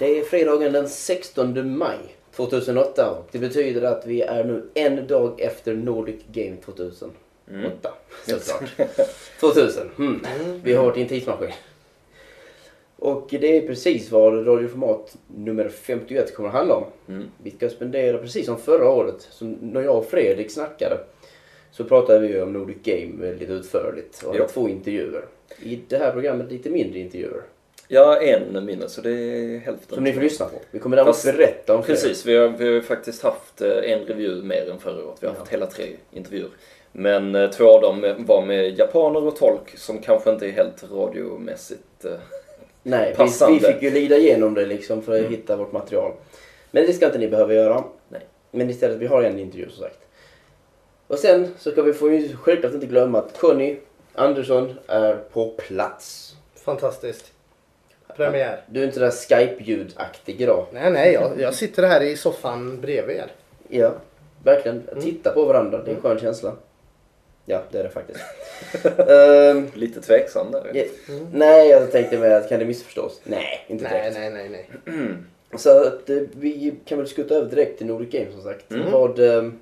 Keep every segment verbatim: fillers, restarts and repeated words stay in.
Det är fredagen den sextonde maj tjugohundraåtta och det betyder att vi är nu en dag efter Nordic Game tjugohundraåtta. Mm. Såklart. tvåtusen. Mm. Vi har varit i en tidsmaskin. Och det är precis vad radioformat nummer femtioett kommer att handla om. Mm. Vi ska spendera precis som förra året. Så när jag och Fredrik snackade så pratade vi om Nordic Game lite utförligt. Och två intervjuer. I det här programmet lite mindre intervjuer. Ja, en mindre, så det är hälften. Som ni får lyssna på. Vi kommer däremot berätta om fler. Precis, vi har, vi har faktiskt haft en review mer än förra året. Vi har ja. haft hela tre intervjuer. Men två av dem var med japaner och tolk som kanske inte är helt radiomässigt eh, Nej, vi, vi fick ju lida igenom det liksom för att mm. hitta vårt material. Men det ska inte ni behöva göra. Nej. Men istället, vi har en intervju som sagt. Och sen så ska vi få ju självklart inte glömma att Conny Andersson är på plats. Fantastiskt. Premiär. Du är inte där Skype-ljudaktig idag. Nej, nej. Jag, jag sitter här i soffan bredvid er. Ja, verkligen. Titta på varandra. Det är en skön känsla. Ja, det är det faktiskt. um, Lite tveksam där. Yeah. Mm. Nej, jag tänkte med att kan det missförstås? Nej, inte nej, direkt. Nej, nej, nej. Mm. Så att uh, vi kan väl skutta över direkt till Nordic Game som sagt. Mm. Vad, um,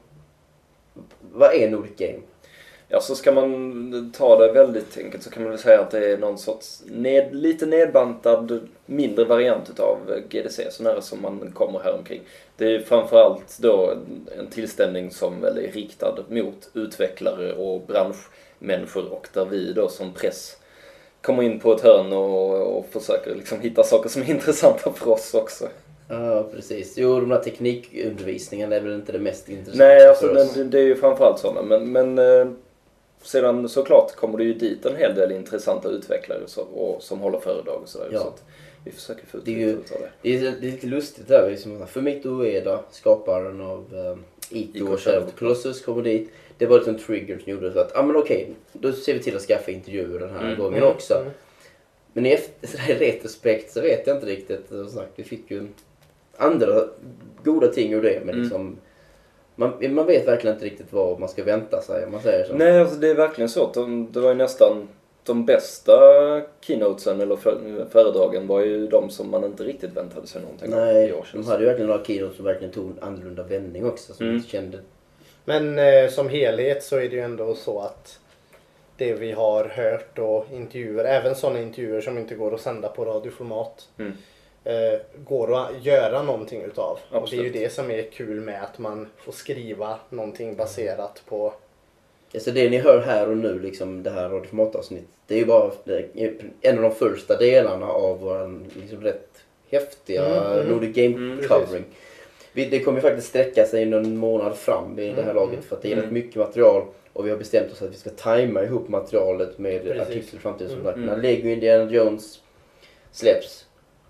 vad är Nordic Game? Ja, så ska man ta det väldigt enkelt så kan man väl säga att det är någon sorts ned, lite nedbantad mindre variant utav G D C, så nära som man kommer här omkring. Det är framförallt då en tillställning som väl är riktad mot utvecklare och branschmänniskor, och där vi då som press kommer in på ett hörn och, och försöker liksom hitta saker som är intressanta för oss också. Ja, precis. Jo, de här teknikundervisningen är väl inte det mest intressanta. Nej, alltså det, det är ju framförallt sådana, men, men sedan såklart kommer det ju dit en hel del intressanta utvecklare så, och, som håller föredrag och sådär. Ja. Så att vi försöker få ut det är lite ju, ut av det. Det är, det är lite lustigt där. Liksom, Fumito Ueda, skaparen av um, Ito och Shadow of the Colossus, kommer dit. Det var lite en trigger som gjorde så att, ja ah, men okej, då ser vi till att skaffa intervjuer den här mm. gången mm. också. Mm. Men i efter, retrospekt så vet jag inte riktigt. Vi fick ju andra goda ting ur det, men mm. liksom... Man, man vet verkligen inte riktigt vad man ska vänta sig om man säger så. Nej, alltså det är verkligen så att de, det var ju nästan de bästa keynotesen eller föredragen var ju de som man inte riktigt väntade sig någonting. Nej, av de hade ju verkligen några keynotes som verkligen tog en annorlunda vändning också som mm. kände. Men eh, som helhet så är det ju ändå så att det vi har hört och intervjuer, även sådana intervjuer som inte går att sända på radioformat. Mm. Uh, går att göra någonting utav. Absolut. Och det är ju det som är kul med att man får skriva någonting baserat på... Ja, så det ni hör här och nu, liksom det här radioformatavsnitt, det är ju bara en av de första delarna av vår liksom rätt häftiga mm, mm, Nordic Game mm, covering. Vi, det kommer ju faktiskt sträcka sig någon månad fram vid mm, det här laget för att det är mm. rätt mycket material och vi har bestämt oss att vi ska tajma ihop materialet med precis. Artiklar i framtiden. Mm, mm. När Lego Indiana Jones släpps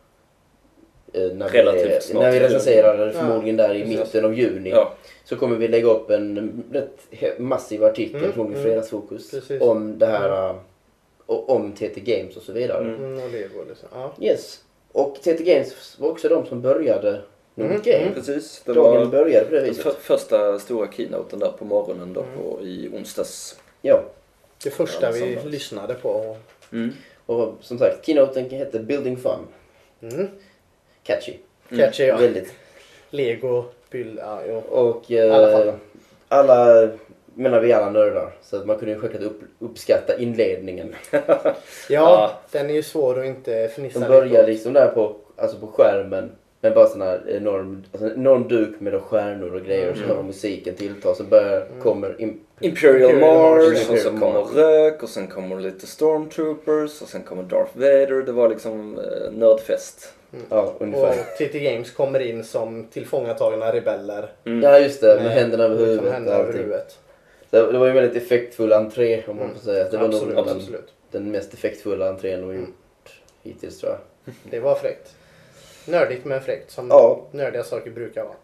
När Relativt vi, när vi recenserar det förmodligen där i mitten av juni ja. Så kommer vi lägga upp en rätt massiv artikel mm, från mm, Fredagsfokus precis. Om det här mm. om T T Games och så vidare. Mm, och Lego liksom. Ja. Yes. Och T T Games var också de som började Nordic mm, Game. Mm, precis. Det Dagen var började på det viset. För, första stora keynoten där på morgonen då mm. på, i onsdags. Ja. Det första ja, vi lyssnade på. Mm. Och som sagt, keynoten heter Building Fun. Mm. Catchy. Mm. Catchy, ja. Väldigt. Lego, bild, ja, jo. Och eh, alla, alla, menar vi alla nördar. Så att man kunde ju självklart upp, uppskatta inledningen. ja, ja, den är ju svår att inte fnissa. De börjar liksom där på, alltså på skärmen. Men bara sån här enorm, alltså enorm duk med stjärnor och grejer. Mm. Så hör musiken tillta. Så börjar, mm. kommer im- Imperial, Imperial Mars. Mars och så kommer rök. Och sen kommer lite Stormtroopers. Och sen kommer Darth Vader. Det var liksom eh, nördfest. Mm. Ja, ungefär. Och T T Games kommer in som tillfångatagna rebeller. Mm. Ja, just det. Med, med händerna över huvudet. Händerna över huvudet. Det, det var ju en väldigt effektfull entré om man får säga. Det var absolut, nog den, den mest effektfulla entrén de har gjort mm. hittills, tror jag. Det var fräckt. Nördigt men fräckt, som ja. Nördiga saker brukar vara.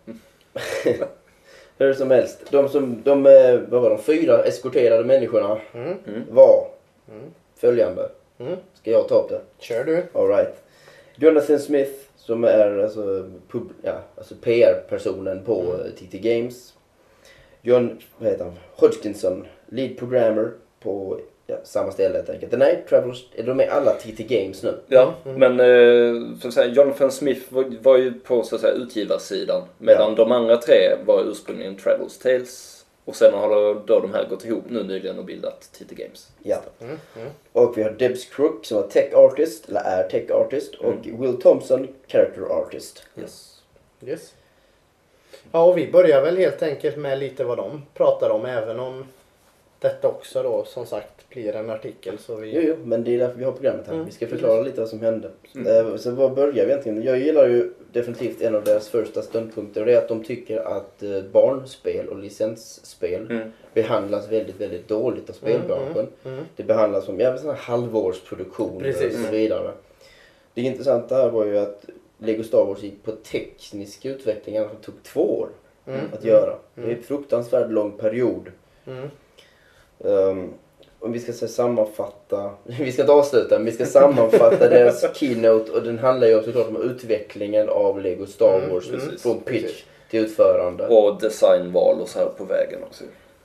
Hur som helst. De, som, de, vad var de, fyra eskorterade människorna mm. var mm. följande. Mm. Ska jag ta upp det? Kör du. All right. Jonathan Smith, som är alltså, pub, ja, alltså P R-personen på mm. T T Games. John, vad heter han? Hodgkinson, lead programmer på ja, samma ställe helt enkelt. Nej, Travelers, de är alla T T Games nu. Ja, mm. men eh, så att säga, Jonathan Smith var, var ju på så att säga, utgivarsidan. Medan ja. de andra tre var ursprungligen Travelers Tales. Och sen har då de här gått ihop nu nyligen och bildat T T Games. Ja. Mm. Mm. Och vi har Debs Crook som är tech artist, eller är tech artist. Och mm. Will Thompson, character artist. Yes. Yes. Ja, och vi börjar väl helt enkelt med lite vad de pratar om, även om detta också då som sagt blir en artikel. Så vi... Jo, jo, men det är därför vi har programmet här. Mm. Vi ska förklara lite vad som hände. Mm. Så vad börjar vi egentligen? Jag gillar ju definitivt en av deras första ståndpunkter, och det är att de tycker att barnspel och licensspel mm. behandlas väldigt, väldigt dåligt av spelbranschen. Mm, mm, mm. Det behandlas som ja, sådana halvårsproduktioner och så vidare. Det intressanta här var ju att Lego Star Wars gick på teknisk utveckling som tog två år mm, att mm, göra. Mm. Det är en fruktansvärt lång period. Mm. Um, om vi ska så sammanfatta, vi ska inte avsluta, men vi ska sammanfatta deras keynote, och den handlar ju såklart om utvecklingen av Lego Star Wars mm, mm, från pitch precis. till utförande. Och designval och så här på vägen också.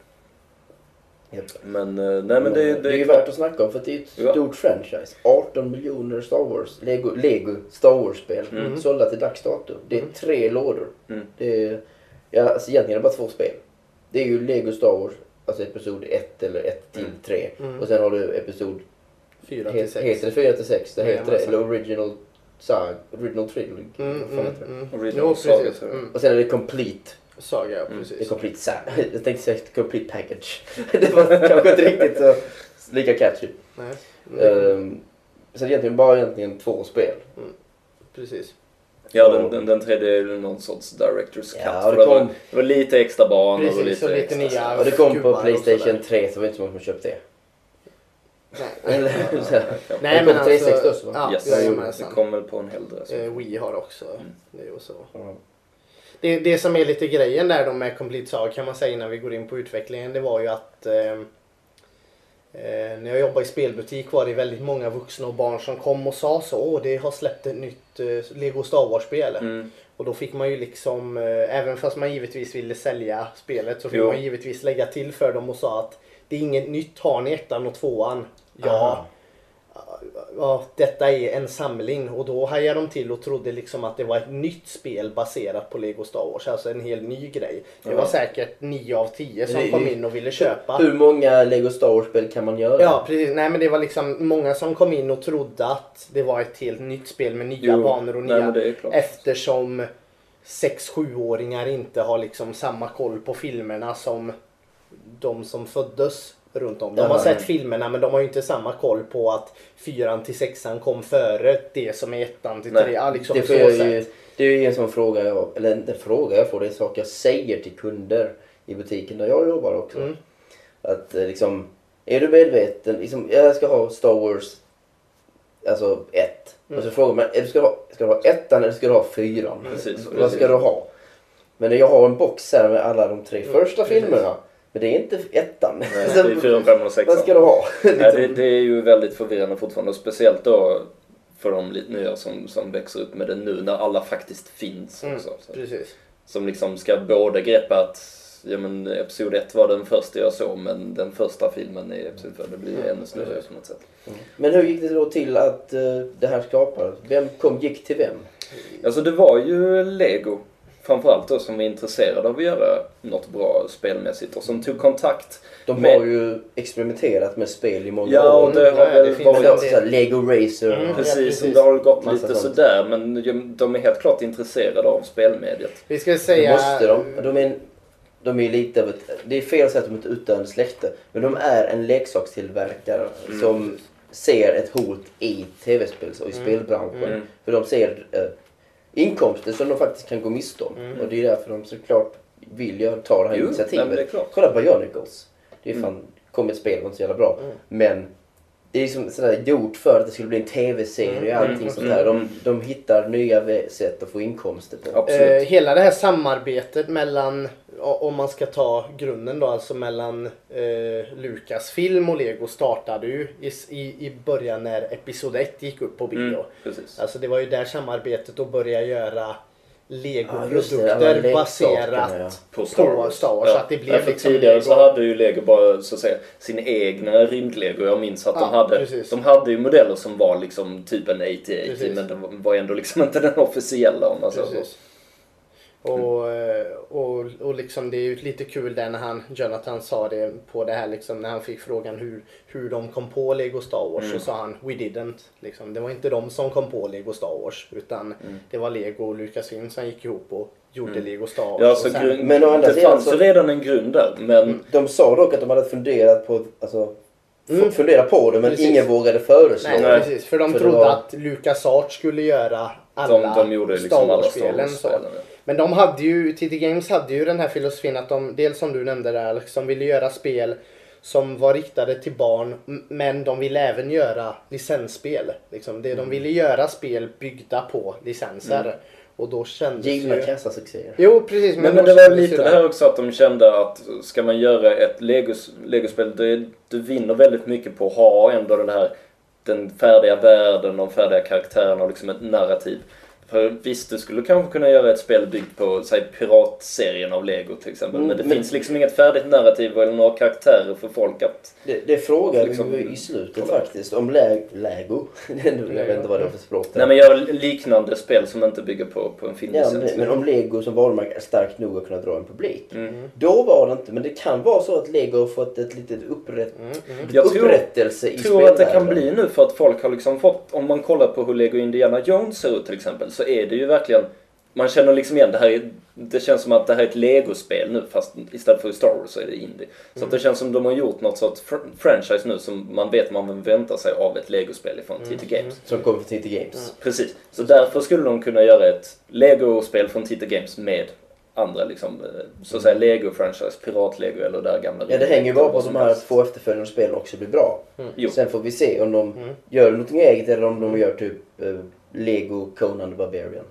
Yep. Men, nej, men det, det, det är ju värt att snacka om, för det är ett ja. stort franchise. arton miljoner Star Wars, Lego, Lego Star Wars-spel mm. sålda till dags datum. Det är tre lådor. Mm. Det är, ja, alltså egentligen är det bara två spel. Det är ju Lego Star Wars, alltså episod ett eller ett till tre. Mm. Och sen har du episod fyra till sex. Heter det fyra till sex? Det heter det. Eller Original Saga, Original Trilogy. Mm, mm, mm. Original jo, Saga. Mm. Och sen är det Complete Saga, ja, precis. Det är Complete Saga. Jag tänkte säga Complete Package. Det var kanske inte riktigt så lika catchy. Nej. Mm. Um, så det är egentligen bara egentligen två spel. Mm. Precis. Ja, den, den, den tredje är någon sorts director's cut. Ja, det, det, kom, var, det var lite extra banor precis, och lite, lite extra nya. Och det kom på PlayStation tre, så var det inte så många som köpte det. Nej, Eller, ja, ja. Nej det men kom tre sextio också, va? Ja, yes. Det kom väl på en hel dress. Eh, Wii har också mm. det och så. Mm. Det, det som är lite grejen där då med Complete Saga, kan man säga innan vi går in på utvecklingen, det var ju att eh, eh, när jag jobbade i spelbutik var det väldigt många vuxna och barn som kom och sa så, åh det har släppt ett nytt eh, Lego Star Wars-spel. Mm. Och då fick man ju liksom, eh, även fast man givetvis ville sälja spelet, så fick jo. man givetvis lägga till för dem och sa att det är inget nytt, har ni ettan och tvåan? Ja. Ja, detta är en samling, och då hajade de till och trodde liksom att det var ett nytt spel baserat på Lego Star Wars, alltså en helt ny grej. Det var ja. säkert nio av tio som kom in och ville köpa. Hur många Lego Star Wars-spel kan man göra? Ja, precis. Nej, men det var liksom många som kom in och trodde att det var ett helt nytt spel med nya jo. banor och nya. Nej, eftersom sex sju-åringar inte har liksom samma koll på filmerna som de som föddes runt om. De har sett filmerna, men de har ju inte samma koll på att fyran till sexan kom före det som är ettan till tre. Ja, liksom det, så ju, det är ju en sån fråga jag, eller inte fråga jag får, det är saker jag säger till kunder i butiken där jag jobbar också. Mm. Att liksom, är du medveten, liksom, jag ska ha Star Wars alltså ett. Mm. Och så frågar man, är du ska, ha, ska du ha ettan eller ska du ha fyran? Precis, Vad precis. ska du ha? Men jag har en box här med alla de tre mm. första precis. filmerna. Men det är inte ettan. Nej, det är fyra, fem och sex. Vad ska du ha? Nej, det, det är ju väldigt förvirrande fortfarande. Och speciellt då för de lite nya som, som växer upp med det nu när alla faktiskt finns. Mm, också, så. Precis. Som liksom ska både greppa att ja, men episod ett var den första jag såg, men den första filmen är episod två. Det blir mm, ännu snurrigare på något sätt. Mm. Men hur gick det då till att uh, det här skapades? Vem kom, gick till vem? Alltså det var ju Lego. Framförallt då som är intresserade av att göra något bra spelmässigt och som tog kontakt. De med... har ju experimenterat med spel i många ja, år. Och det har Nej, väl det varit också så Lego Racer. Mm, precis, ja, precis, det har gått massa lite sånt. Sådär, men de är helt klart intresserade av spelmediet. Vi ska säga... Det måste de. De är, de är lite av ett... Det är fel att säga att de är ett utdöende släkte, men de är en leksakstillverkare mm. som ser ett hot i tv-spel och i mm. spelbranschen. Mm. För de ser... Eh, inkomster som de faktiskt kan gå miste om. Mm. Och det är därför de såklart vill jag ta det här jo, initiativet. Nej, det kolla på Bionicles. Det är fan, mm. kom ett spel, var inte så jävla bra. Mm. Men det är liksom sådär gjort för att det skulle bli en tv-serie och allting mm. sånt här. De, de hittar nya sätt att få inkomster på. Absolut. Eh, hela det här samarbetet mellan, om man ska ta grunden då, alltså mellan eh, Lucasfilm och Lego startade ju i, i, i början när episod ett gick upp på bio. Mm, alltså det var ju där samarbetet då började göra Lego-produkter ja, baserat ja. på Star Wars. Star Wars Ja. så att det blev ja, för liksom tidigare Lego. så hade ju Lego bara så att säga sin egna rymdlego. Jag minns att Ja, de hade precis. de hade ju modeller som var liksom typ en åttioåtta Precis. men de var ändå liksom inte den officiella om man säger så. Precis. Och, och, och liksom det är ju lite kul där när han, Jonathan sa det på det här liksom, när han fick frågan hur, hur de kom på Lego Star Wars Mm. så sa han we didn't. Liksom. Det var inte de som kom på Lego Star Wars utan Mm. det var Lego och Lucasfilm som gick ihop och gjorde Mm. Lego Star Wars. Ja, och så sen, grund, Men å andra det sidan fanns så- ju redan en grund där men De sa dock att de hade funderat på, alltså, Mm. f- fundera på det men Precis. ingen vågade föreslå. nej, Nej. precis. För de För det trodde var- att LucasArts skulle göra alla de, de gjorde liksom Star alla Star Wars-spelen. så. Wars-spelen. Ja. Men de hade ju, T T Games hade ju den här filosofin att de, dels som du nämnde där, liksom ville göra spel som var riktade till barn m- men de ville även göra licensspel. Liksom. Det, de ville göra spel byggda på licenser. Mm. Och då kändes Givna ju... kassasuccéer. Jo, precis. Men, men då det var kändes ju lite det här också att de kände att ska man göra ett Legos, Legospel, det, du vinner väldigt mycket på att ha ändå den här den färdiga världen, de färdiga karaktärerna och liksom ett narrativ. För visst, du skulle kanske kunna göra ett spel byggt på säg, piratserien av Lego till exempel. Mm, men det men- finns liksom inget färdigt narrativ eller några karaktärer för folk att... Det, det frågade Liksom- vi ju i slutet faktiskt om lä- Lego. Jag vet inte vad det är för språk där. Nej, men göra liknande spel som inte bygger på, på en Ja, filmlicens. men, men om Lego som varumärke är starkt nog att kunna dra en publik. Mm. Då var det inte, men det kan vara så att Lego har fått ett litet upprätt, Mm, mm. Jag tror- upprättelse i Jag tror att det kan spelvärlden. bli nu för att folk har liksom fått, om man kollar på hur Lego Indiana Jones ser ut till exempel, så är det ju verkligen, man känner liksom igen det här, är- det känns som att det här är ett Lego-spel nu fast istället för Star Wars så är det indie. Så att det känns som de har gjort något sorts fr- franchise nu som man vet man väntar sig av ett Lego-spel från T T Games. Som kommer från T T Games. Precis. Så därför skulle de kunna göra ett Lego-spel från T T Games med andra liksom, eh, så att säga Lego-franchise, Pirat-Lego eller där gamla... Ja, det hänger ju bara på vad att som de här helst. två efterföljande spelen också blir bra. Jo. Sen får vi se om de Mm. gör någonting eget eller om de gör typ eh, Lego Conan the Barbarian.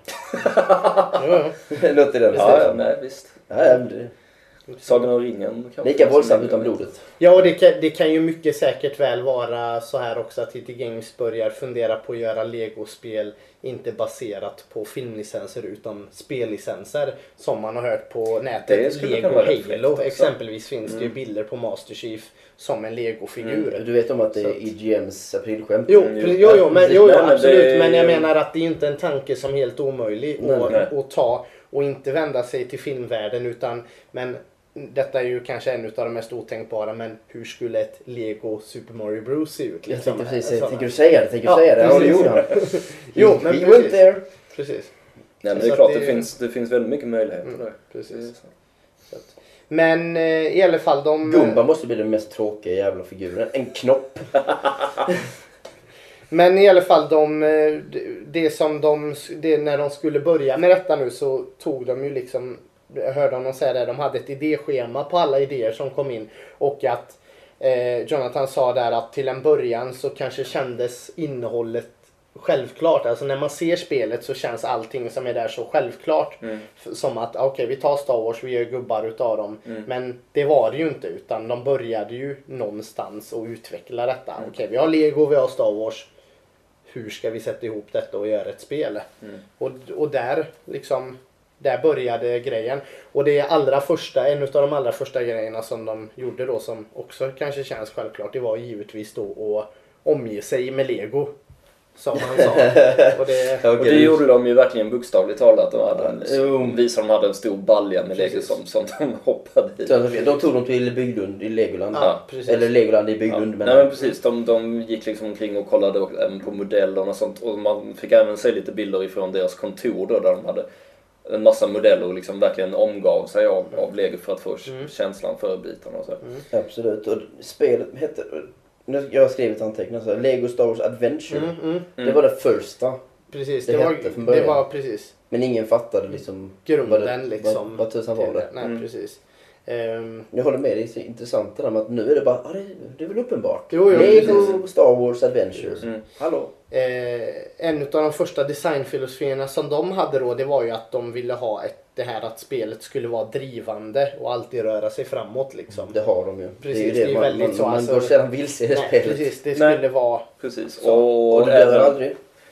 Jo, jo. Något i den Ja, ja, stilen. nej visst. Ja, ja, men det, Sagan om ringen kanske. lika våldsamt utan blodet. Ja, och det kan, det kan ju mycket säkert väl vara så här också att T T Games börjar fundera på att göra Lego-spel inte baserat på filmlicenser utan spellicenser som man har hört på Det nätet. skulle Lego kunna vara rätt fräckt Halo också. exempelvis finns det ju Mm. bilder på Master Chief som en Lego-figur. Mm. Du vet om att det Så är att- E G M's aprilskämt? Jo, Mm, pre- jo. jo, jo, men, jo, jo Nej, men absolut. det- Men jag menar att det är inte en tanke som är helt omöjlig Nej, att, nej. att ta och inte vända sig till filmvärlden utan men detta är ju kanske en av de mest otänkbara men hur skulle ett Lego Super Mario Bros se ut? Jag tänkte precis säga, Sådana- tänker du säga det? Tänker du Ja, säga det? Ja, det precis. gjorde han. Jo, men We precis. went there. Precis. Nej, men Så det är att klart, det- det, finns, det finns väldigt mycket möjligheter Mm, där. precis. Det är så. Så att- Men eh, i alla fall de... Gumba måste bli den mest tråkiga jävla figuren. En knopp. Men i alla fall de, eh, det- det som de, det, när de skulle börja med detta nu så tog de ju liksom, jag hörde honom säga det, de hade ett idéschema på alla idéer som kom in och att eh, Jonathan sa där att till en början så kanske kändes innehållet självklart. Alltså när man ser spelet så känns allting som är där så självklart. Mm. F- Som att okej vi tar Star Wars, vi gör gubbar utav dem. Mm. Men det var det ju inte utan de började ju någonstans och utveckla detta. Mm. Okej vi har Lego, vi har Star Wars. Hur ska vi sätta ihop detta och göra ett spel? Mm. Och, och där liksom där började grejen. Och det allra första, en av de allra första grejerna som de gjorde då som också kanske känns självklart, det var givetvis då att omge sig med Lego. Som han sa. Och det, Och det gjorde de ju verkligen bokstavligt talat. De hade en, Jo. visade de hade en stor balja med Lego Precis. som, som de hoppade i. Så de tog dem till Bygglund i Legoland. ja, precis. Eller Legoland i Ja. Bygglund. Nej men precis, de, de gick liksom omkring och kollade även på modellerna och sånt. Och man fick även se lite bilder ifrån deras kontor då, där de hade en massa modeller och liksom verkligen omgav sig av, av Lego för att få Mm. känslan för bitarna och så. Absolut. Och spelet hette... nu- Jag har skrivit anteckningar så här, Lego Star Wars Adventure. Mm, mm, Det var det första. precis, Det det, var, hette från det början. var precis Men ingen fattade liksom... grunden vad det, liksom. Vad, vad tusan var till det? Nej, Mm. precis. Ehm, Jag håller med dig, det är så intressant det där med att nu är det bara... Ah, det, det är väl uppenbart. Jo, jo, Lego precis. Star Wars Adventures. Mm. Hallå? Eh, en av de första designfilosofierna som de hade då, det var ju att de ville ha ett, det här att spelet skulle vara drivande och alltid röra sig framåt liksom. Det har de ju. Precis, det är ju det är det, man, väldigt man, så, man alltså- går sällan vilse i det Nej, spelet. precis, det Nej. skulle vara... Precis. Så. Och, Och det dör även, aldrig.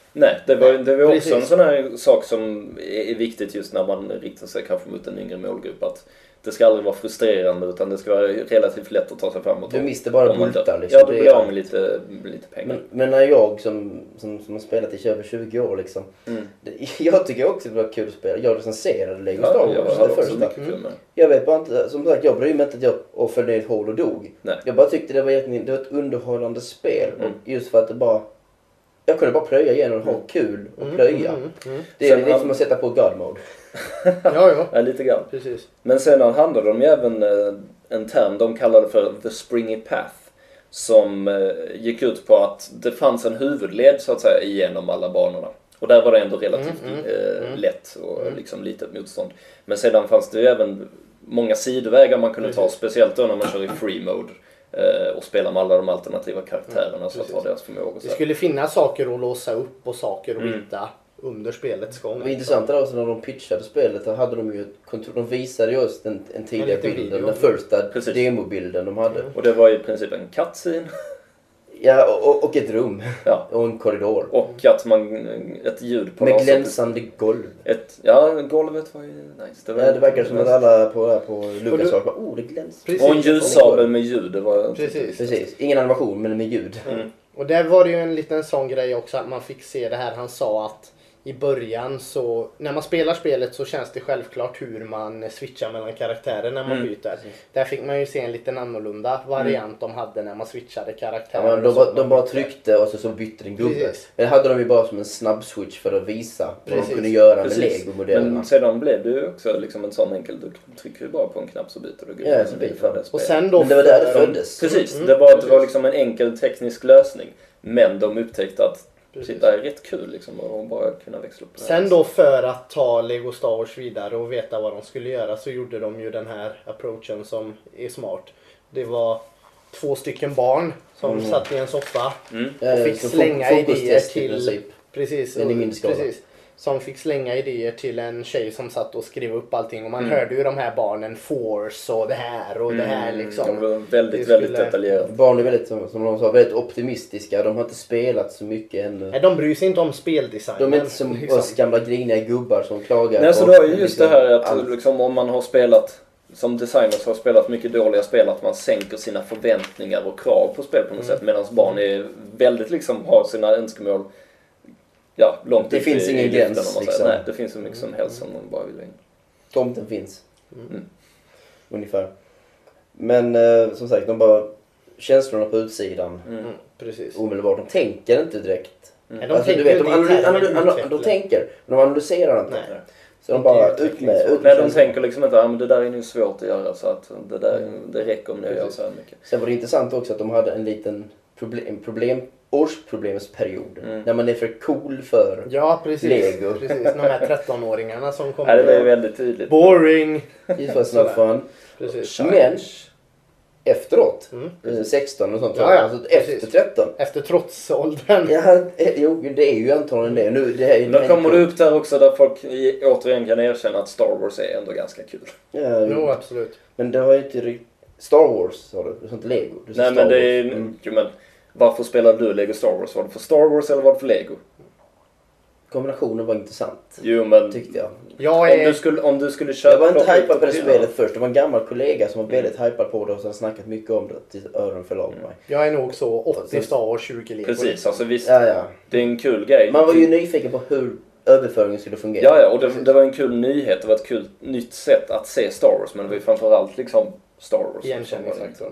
Nej, det var, det var också Precis. en sån här sak som är viktigt just när man riktar sig kanske mot en yngre målgrupp. Att det ska aldrig vara frustrerande utan det ska vara relativt lätt att ta sig framåt. Du miste bara bultar liksom. Ja, du blir av med lite, lite pengar. Men, men när jag som, som, som har spelat i över tjugo år liksom. Mm. Det, jag tycker också det var kul att spela. Jag recenserade Lego Ja, Star jag Wars. hade det också första. mycket kul med. Jag vet bara inte, som sagt, jag bryr mig inte att jag och föll ner i ett hål och dog. Nej. Jag bara tyckte det var, det var ett underhållande spel. Mm. Och just för att det bara... Jag kunde bara plöja igenom och ha kul och Mm, plöja. mm, mm. Det är Sen lite han- som att sätta på God Mode. Ja, ja. Ja, lite grann. Precis. Men sen handlade de ju även eh, en term de kallade för The Springy Path. Som eh, gick ut på att det fanns en huvudled så att säga igenom alla banorna. Och där var det ändå relativt Mm, mm, eh, mm. lätt och Mm. liksom litet motstånd. Men sedan fanns det ju även många sidovägar man kunde ta. Precis. Speciellt då när man kör i free mode. Eh, och spelar med alla de alternativa karaktärerna Mm, så att precis. ha deras förmågor. Det skulle finnas saker att låsa upp och saker att Mm. hitta under spelets gång. Det var intressant där också när de pitchade spelet. Då hade de ju ett kontor, de visade just en, en tidigare liten bild. video. Den första Precis. demobilden de hade. Mm. Och det var i princip en cutscene. Ja, och, och ett rum. Ja. Och en korridor. Och att man, ett ljud på Med något sätt. glänsande golv. Ett, ja, golvet var ju nice. Det, var Ja, det verkar som att alla på, på Lucas du- sa bara, oh det glänser. Precis. Och en ljussabel med ljud. Det var Precis. Precis, ingen animation men med ljud. Mm. Och där var det ju en liten sån grej också att man fick se det här. Han sa att i början så, när man spelar spelet så känns det självklart hur man switchar mellan karaktärer när man Mm. byter. Där fick man ju se en liten annorlunda variant de hade när man switchade Ja, karaktärer. men de, och så bara, man de bara bytte. tryckte och så, så bytte den gubbe. Precis. Men det hade de ju bara som en snabb switch för att visa vad Precis. de kunde göra med Precis. Lego-modellerna. Men sedan blev det ju också liksom en sån enkel, du trycker ju bara på en knapp så byter du gubbe. Ja, så byter för man. det Och spelet. sen då Men det var där det för- föddes. Precis, Mm, det var, det var precis. liksom en enkel teknisk lösning. Men de upptäckte att Precis. shit, det här är rätt kul liksom och bara kunna växla upp det här. Sen då för att ta Lego Star Wars vidare och veta vad de skulle göra så gjorde de ju den här approachen som är smart. Det var två stycken barn som Mm. satt i en soffa Mm. Ja, och fick som slänga fo- idéer fokustest i till... princip. Precis, Men i och- mindre skala. precis. Som fick slänga idéer till en tjej som satt och skrev upp allting och man Mm. hörde ju de här barnen force och det här och det här liksom. De var väldigt, Det väldigt skulle- detaljerat. Barn är väldigt, som som de sa, väldigt optimistiska. De har inte spelat så mycket ännu. Nej, de bryr sig inte om speldesignen. De är inte som liksom. oss gamla griniga gubbar som klagar. Nej, så på det är ju just liksom det här att allt. liksom, om man har spelat, som designers har spelat mycket dåliga spel, att man sänker sina förväntningar och krav på spel på något Mm. sätt. Medan barn är väldigt liksom, har sina önskemål ja, långt Det upp finns i, ingen i luften, gräns, om man liksom. säger. Nej, det finns så mycket som helst som de bara vill ha in. Tomten finns. Mm. Ungefär. Men eh, som sagt, de bara... Känslorna på utsidan. Mm. Mm, precis. Omedelbart. De tänker inte direkt. Nej, de Alltså, tänker du vet, inte de, analy- internt, analy- de analy- utvecklar. de tänker, men de analyserar inte. Nej. Så de Inte bara utveckling, ut med... så. Ut med Nej, de känslorna. tänker liksom inte att ah, men det där är nog svårt att göra så att det, där, det räcker om ni gör Precis. så här mycket. Sen var det intressant också att de hade en liten problem, problem, årsproblemsperiod. Mm. När man är för cool för... Ja, precis. Lego. Precis. De här tretton-åringarna som kommer. Nej, det var ju väldigt tydligt. Boring. Just för snart fun. Precis. Men efteråt, Mm. eh, sexton och sånt, Ja, ja, alltså efter precis. tretton. Efter trotsåldern. Ja, eh, jo, det är ju antagligen det. Nu, det här är Men då kommer du upp där också där folk i- återigen kan erkänna att Star Wars är ändå ganska kul. Ja, Jo, jo. absolut. Men det har ju inte riktigt... Star Wars sa du, du sa inte Lego. Du sa Nej Star men det är Wars. Mm. jo, men varför spelade du Lego Star Wars? Var det för Star Wars eller var det för Lego? Kombinationen var intressant, Jo men tyckte jag. Jag om är... du skulle, om du skulle köpa... Jag var inte plocka ut hypad på det hyllan. spelet först. Det var en gammal kollega som var väldigt hypad på det och som snackat mycket om det till öron förlag Mm. mig. Jag är nog så åttio Star Wars, tjugo Lego. Precis, alltså visst. Ja, ja. Det är en kul grej. Man var ju nyfiken på hur överföringen skulle fungera. Ja, ja, och det, det var en kul nyhet. Det var ett kul nytt sätt att se Star Wars. Men det var ju framförallt liksom Star Wars. Igenkänningsfaktorn.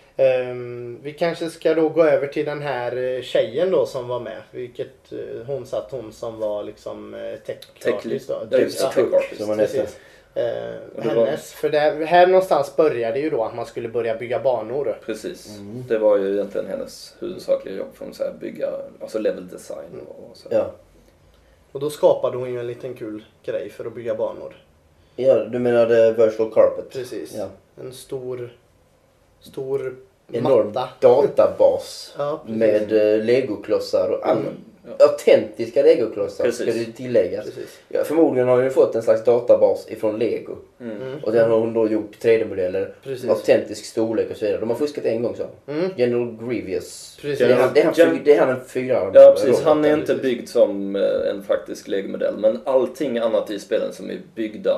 Ehm, vi kanske ska då gå över till den här eh, tjejen då som var med. Vilket eh, hon satt, hon som var liksom eh, tech Tech artist då. Ja, just det, Ja, tech artist. Som man hette. precis. Eh, Och det var- hennes, för där, här någonstans började ju då att man skulle börja bygga banor. Precis. Mm. Det var ju egentligen hennes huvudsakliga jobb. För att säga, bygga alltså level design och, och så. Ja. Och då skapade hon ju en liten kul grej för att bygga banor. Ja, du menade virtual carpet? Precis. Ja. En stor, stor enorm matta. databas Ja, precis. med uh, legoklossar och alla. Mm. Ja. Autentiska legoklossar Precis. ska det tilläggas. Precis. Ja, förmodligen har hon ju fått en slags databas ifrån Lego. Mm. Mm. Och den har hon då gjort tre D-modeller, Precis. autentisk storlek och så vidare. De har fuskat en gång så. Mm. General Grievous. Precis. Det är han, det är han, Gen- det är han en fyra. Ja precis, han är roboten. inte byggd som eh, en faktisk Lego-modell. Men allting annat i spelen som är byggda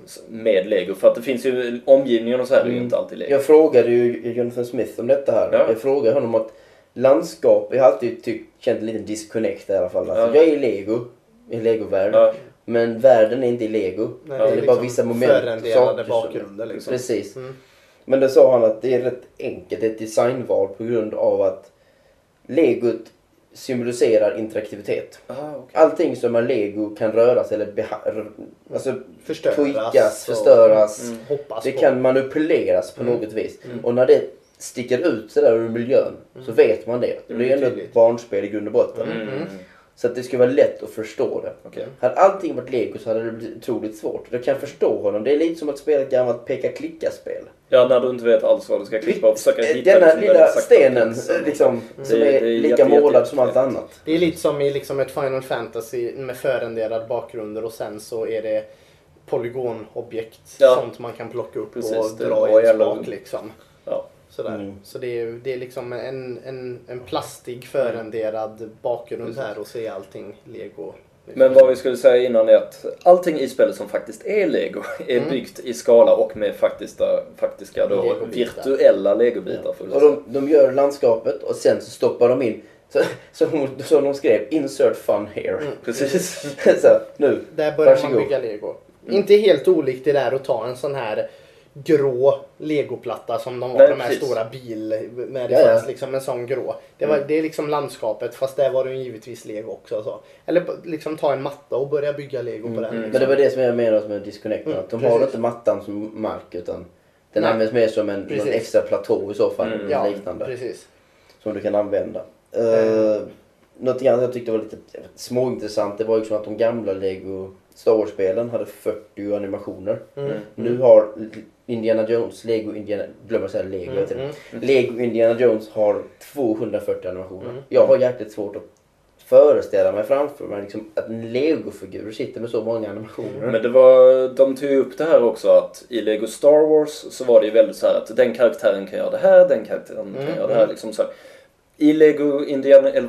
med Lego. För att det finns ju omgivningen och så här är ju Mm. inte alltid Lego. Jag frågade ju Jonathan Smith om detta här. Ja. Jag frågade honom att landskap, jag har alltid tyckt, känt en liten disconnect i alla fall. Alltså, Ja. jag är i Lego, i en Lego-värld. Ja. Men världen är inte i Lego. Nej, det är, liksom bara vissa moment. förrenderade saker som- bakgrunder liksom. Precis. Mm. Men det sa han att det är rätt enkelt, det är ett designval på grund av att Legot symboliserar interaktivitet. Aha, okay. Allting som är Lego kan röras eller beha- alltså Förstöras. tweakas, och- förstöras. Mm. Hoppas Det på. kan manipuleras på Mm. något vis. Mm. Och när det sticker ut sådär ur miljön så vet man det. Det Mm, är ändå tydligt. ett barnspel i grund och botten. Mm. Mm. Så att det ska vara lätt att förstå det. Okej. Hade allting varit Lego så hade det blivit otroligt svårt. Jag kan förstå honom. Det är lite som att spela ett gammalt peka-klicka-spel. Ja, när du inte vet alls vad du ska klippa och försöka hitta Denna liksom den lilla exakta stenen platsen. liksom, som Det- är, det är lika jätte, målad jätte, som allt jätte- annat. Det är lite som i liksom ett Final Fantasy med förrenderad bakgrunder och sen så är det polygonobjekt. Ja. Sånt man kan plocka upp Precis, och det dra var i en jävla- spak liksom. Ja. Sådär. Mm. Så det är, det är liksom en, en, en plastig förrenderad bakgrund Precis. här och se allting Lego. Men vad vi skulle säga innan är att allting i spelet som faktiskt är Lego är Mm. byggt i skala och med faktiska, faktiska då, Legobitar. virtuella legobitar. Får vi Och säga. de, de gör landskapet och sen så stoppar de in, så, så, hon, så de skrev insert fun here. Mm. Precis. så, nu, Där börjar varsågod. man bygga Lego. Inte helt olikt det där att ta en sån här grå legoplatta som de var, Nej, de här precis. stora bil med det Ja, ja. fanns liksom en sån grå. Det, var, Mm. det är liksom landskapet fast där var det ju givetvis Lego också. Så. Eller liksom ta en matta och börja bygga Lego på den. mm. Men Liksom. det var det som jag menade med disconnecten. Mm, att de precis. har inte mattan som mark utan den Nej. används mer som en någon Precis. extra platå i så fall. Mm. Ja, Liknande. precis. Som du kan använda. Mm. Uh, något annat jag tyckte var lite småintressant det var ju som att de gamla Lego Star Wars-spelen hade fyrtio animationer. Mm. Mm. Nu har Indiana Jones, Lego Indiana, glömmer säga Lego Mm, hela tiden. mm. Lego Indiana Jones har tvåhundrafyrtio animationer. Mm. Jag har jäkligt svårt att föreställa mig framför mig liksom, att en Lego-figur sitter med så många animationer. Men det var, de tog ju upp det här också att i Lego Star Wars så var det ju väldigt så här att den karaktären kan göra det här, den karaktären kan Mm, göra det här. mm. Liksom så här. I Lego Indiana, eller,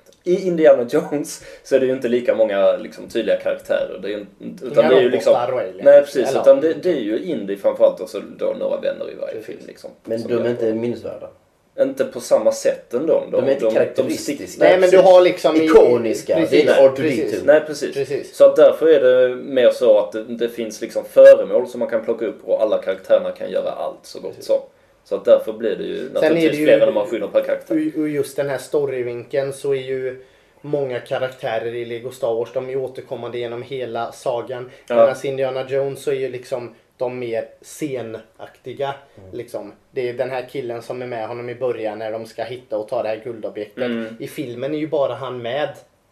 i Indiana Jones så är det ju inte lika många liksom, tydliga karaktärer. Det är ju, utan Inga det är ju liksom, robotar och aliens. nej precis, Eller- utan det, det är ju Indy framförallt och så då några vänner i varje Precis. film. Liksom, Men som de gör- är inte minnesvärda. Inte på samma sätt ändå. De är inte karaktäristiska. stick- Nej men du precis. har liksom... i- Ikoniska. Precis, Det är inte R two D two. precis. Nej precis. Precis. Så att därför är det mer så att det, det finns liksom föremål som man kan plocka upp och alla karaktärerna kan göra allt så gott Precis. som. Så att därför blir det ju är naturligtvis det ju- fler animationer per karaktär. Och just den här storyvinkeln så är ju många karaktärer i Lego Star Wars, de är ju återkommande genom hela sagan. Ja. Medan Indiana Jones så är ju liksom de mer scenaktiga. Mm. Liksom. Det är den här killen som är med honom i början när de ska hitta och ta det här guldobjektet. Mm. I filmen är ju bara han med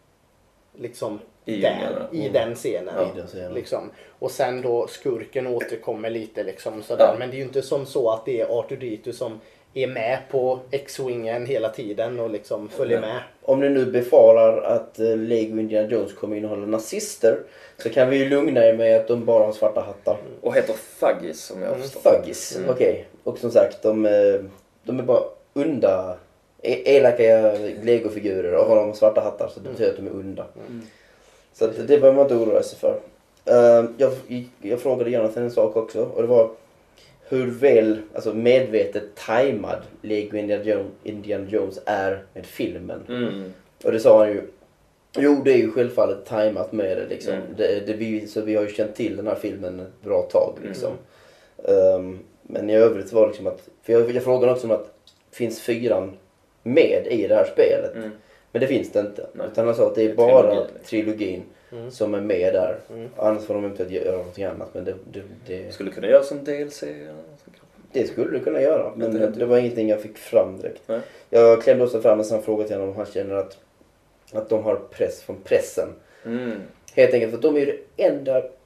liksom I där, djungeln, i Mm. den scenen. Ja, i den scenen. Liksom. Och sen då skurken återkommer lite liksom sådär. Ja. Men det är ju inte som så att det är R two D two som är med på X-wingen hela tiden och liksom följer Nej. med. Om ni nu befarar att eh, Lego Indiana Jones kommer innehålla nazister så kan vi ju lugna er med att de bara har svarta hattar. Och heter Fuggis som jag Mm. förstår. Thuggis, Mm. okej. Och som sagt, de, eh, de är bara onda, e- elaka Lego-figurer och har de svarta hattar så det betyder att de är onda. Mm. Så att det behöver man inte oroa sig för. Eh, jag, jag frågade Jonathan en sak också och det var hur väl, alltså medvetet tajmad Lego Indiana Jones, Indiana Jones är med filmen. Mm. Och det sa han ju. Jo, det är ju självfallet tajmat med det liksom. Mm. Det, det, vi, så vi har ju känt till den här filmen ett bra tag liksom. Mm. Um, men i övrigt var det liksom att, för jag, jag frågade också om att finns fyran med i det här spelet? Mm. Men det finns det inte. Nej. Utan han sa att det är Det är bara trilogin, trilogin, liksom. Mm. som är med där. Mm. Annars får de eventuellt göra någonting annat. Men det, det, det, Skulle kunna göra som D L C. eller något sånt. det skulle du kunna göra. Men Inte det, helt var ingenting jag fick fram direkt. Nej. Jag klämde också fram en sån fråga till honom om han känner att, att de har press från pressen. Mm. Helt enkelt för att de är ju det enda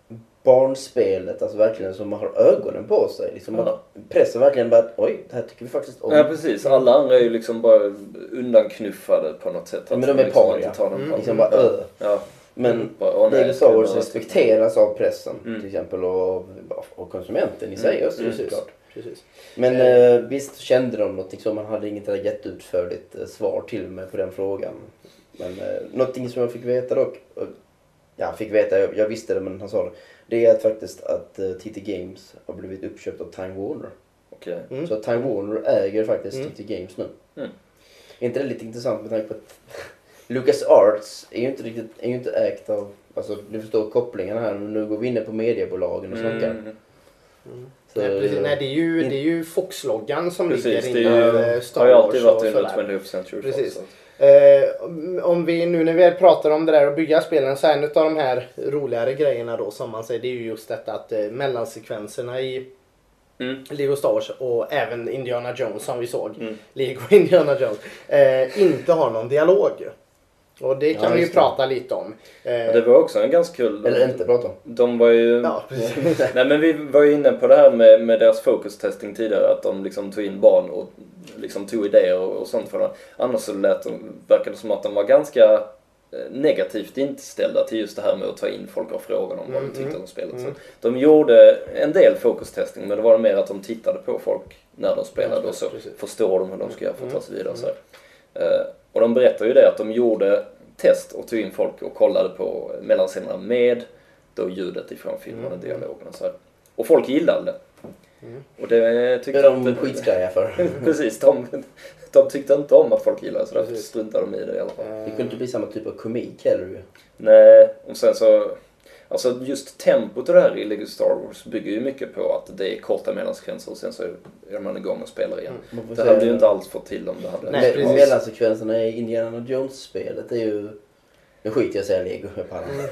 barnspelet, alltså verkligen som man har ögonen på sig. Liksom Ja. att pressen verkligen bara, oj, det här tycker vi faktiskt om. Ja, precis. Alla andra är ju liksom bara undanknuffade på något sätt. Ja, men de är liksom paria. inte tar någon Mm. paus. Liksom bara, ja. öh. Ja. Men Bara, åh, nej, Lego ska Star jag Wars bara- respekteras av pressen Mm. till exempel och, och konsumenten i sig Mm. också, Mm. såklart. Precis. Men Eh. eh, visst kände de någonting som man hade inget gett utförligt eh, svar till mig på den frågan. Men eh, någonting som jag fick veta dock, och, ja fick veta, jag, jag visste det men han sa det. Det är att faktiskt att eh, T T Games har blivit uppköpt av Time Warner. Okej. Mm. Så Time Warner äger faktiskt Mm. T T Games nu. Mm. Är inte det lite intressant med tanke på att Lucas Arts är ju inte riktigt, är ju inte ägt av, alltså du förstår kopplingarna här, men nu går vi inne på mediebolagen och snackar. Mm. Mm. Så, Nej, precis. Nej, det är ju, in- det är ju Fox-loggan som Precis, ligger det inom är eh, ju, Star har ju Wars alltid varit och under sådär. twentieth century Fox. Precis. så. Eh, om vi nu när vi pratar om det där och bygga spelen, så är en av de här roligare grejerna då som man säger, det är ju just detta att eh, mellansekvenserna i Mm. Lego Star Wars och även Indiana Jones som vi såg, Mm. Lego Indiana Jones, eh, inte har någon dialog. Och det kan Ja, vi ju just det. prata lite om. Eh, Det var också en ganska kul... Eller inte prata om. De var ju... ja, precis. Nej, men vi var ju inne på det här med, med deras focus testing tidigare, att de liksom tog in barn och liksom tog idéer och, och sånt för dem. Annars så lät de, verkade det som att de var ganska eh, negativt inställda till just det här med att ta in folk och fråga om vad de tyckte om spelet. mm. Så de gjorde en del focus testing, men det var mer att de tittade på folk när de spelade och så Precis. förstår de hur de ska göra för att ta sig vidare. Mm. Så här. Eh, och de berättade ju det att de gjorde test och tog in folk och kollade på mellanscenerna med då ljudet ifrån filmen och Mm. dialogen och så här. Och folk gillade det. Mm. Och det Det tyckte är de inte- skitskraja för. Precis, de, de tyckte inte om att folk gillade så därför Precis. struntade de i det i alla fall. Det kunde inte bli samma typ av komik heller ju. Nej, och sen så... Alltså just tempot och det här i Lego Star Wars bygger ju mycket på att det är korta mellansekvenser och sen så är man igång och spelar igen. Man får Det säga- hade ju inte alls fått till om det hade... Nej, Me- precis. mellansekvenserna i Indiana Jones-spelet är ju... Nu skiter jag i att säga Lego, jag pallar. Mm.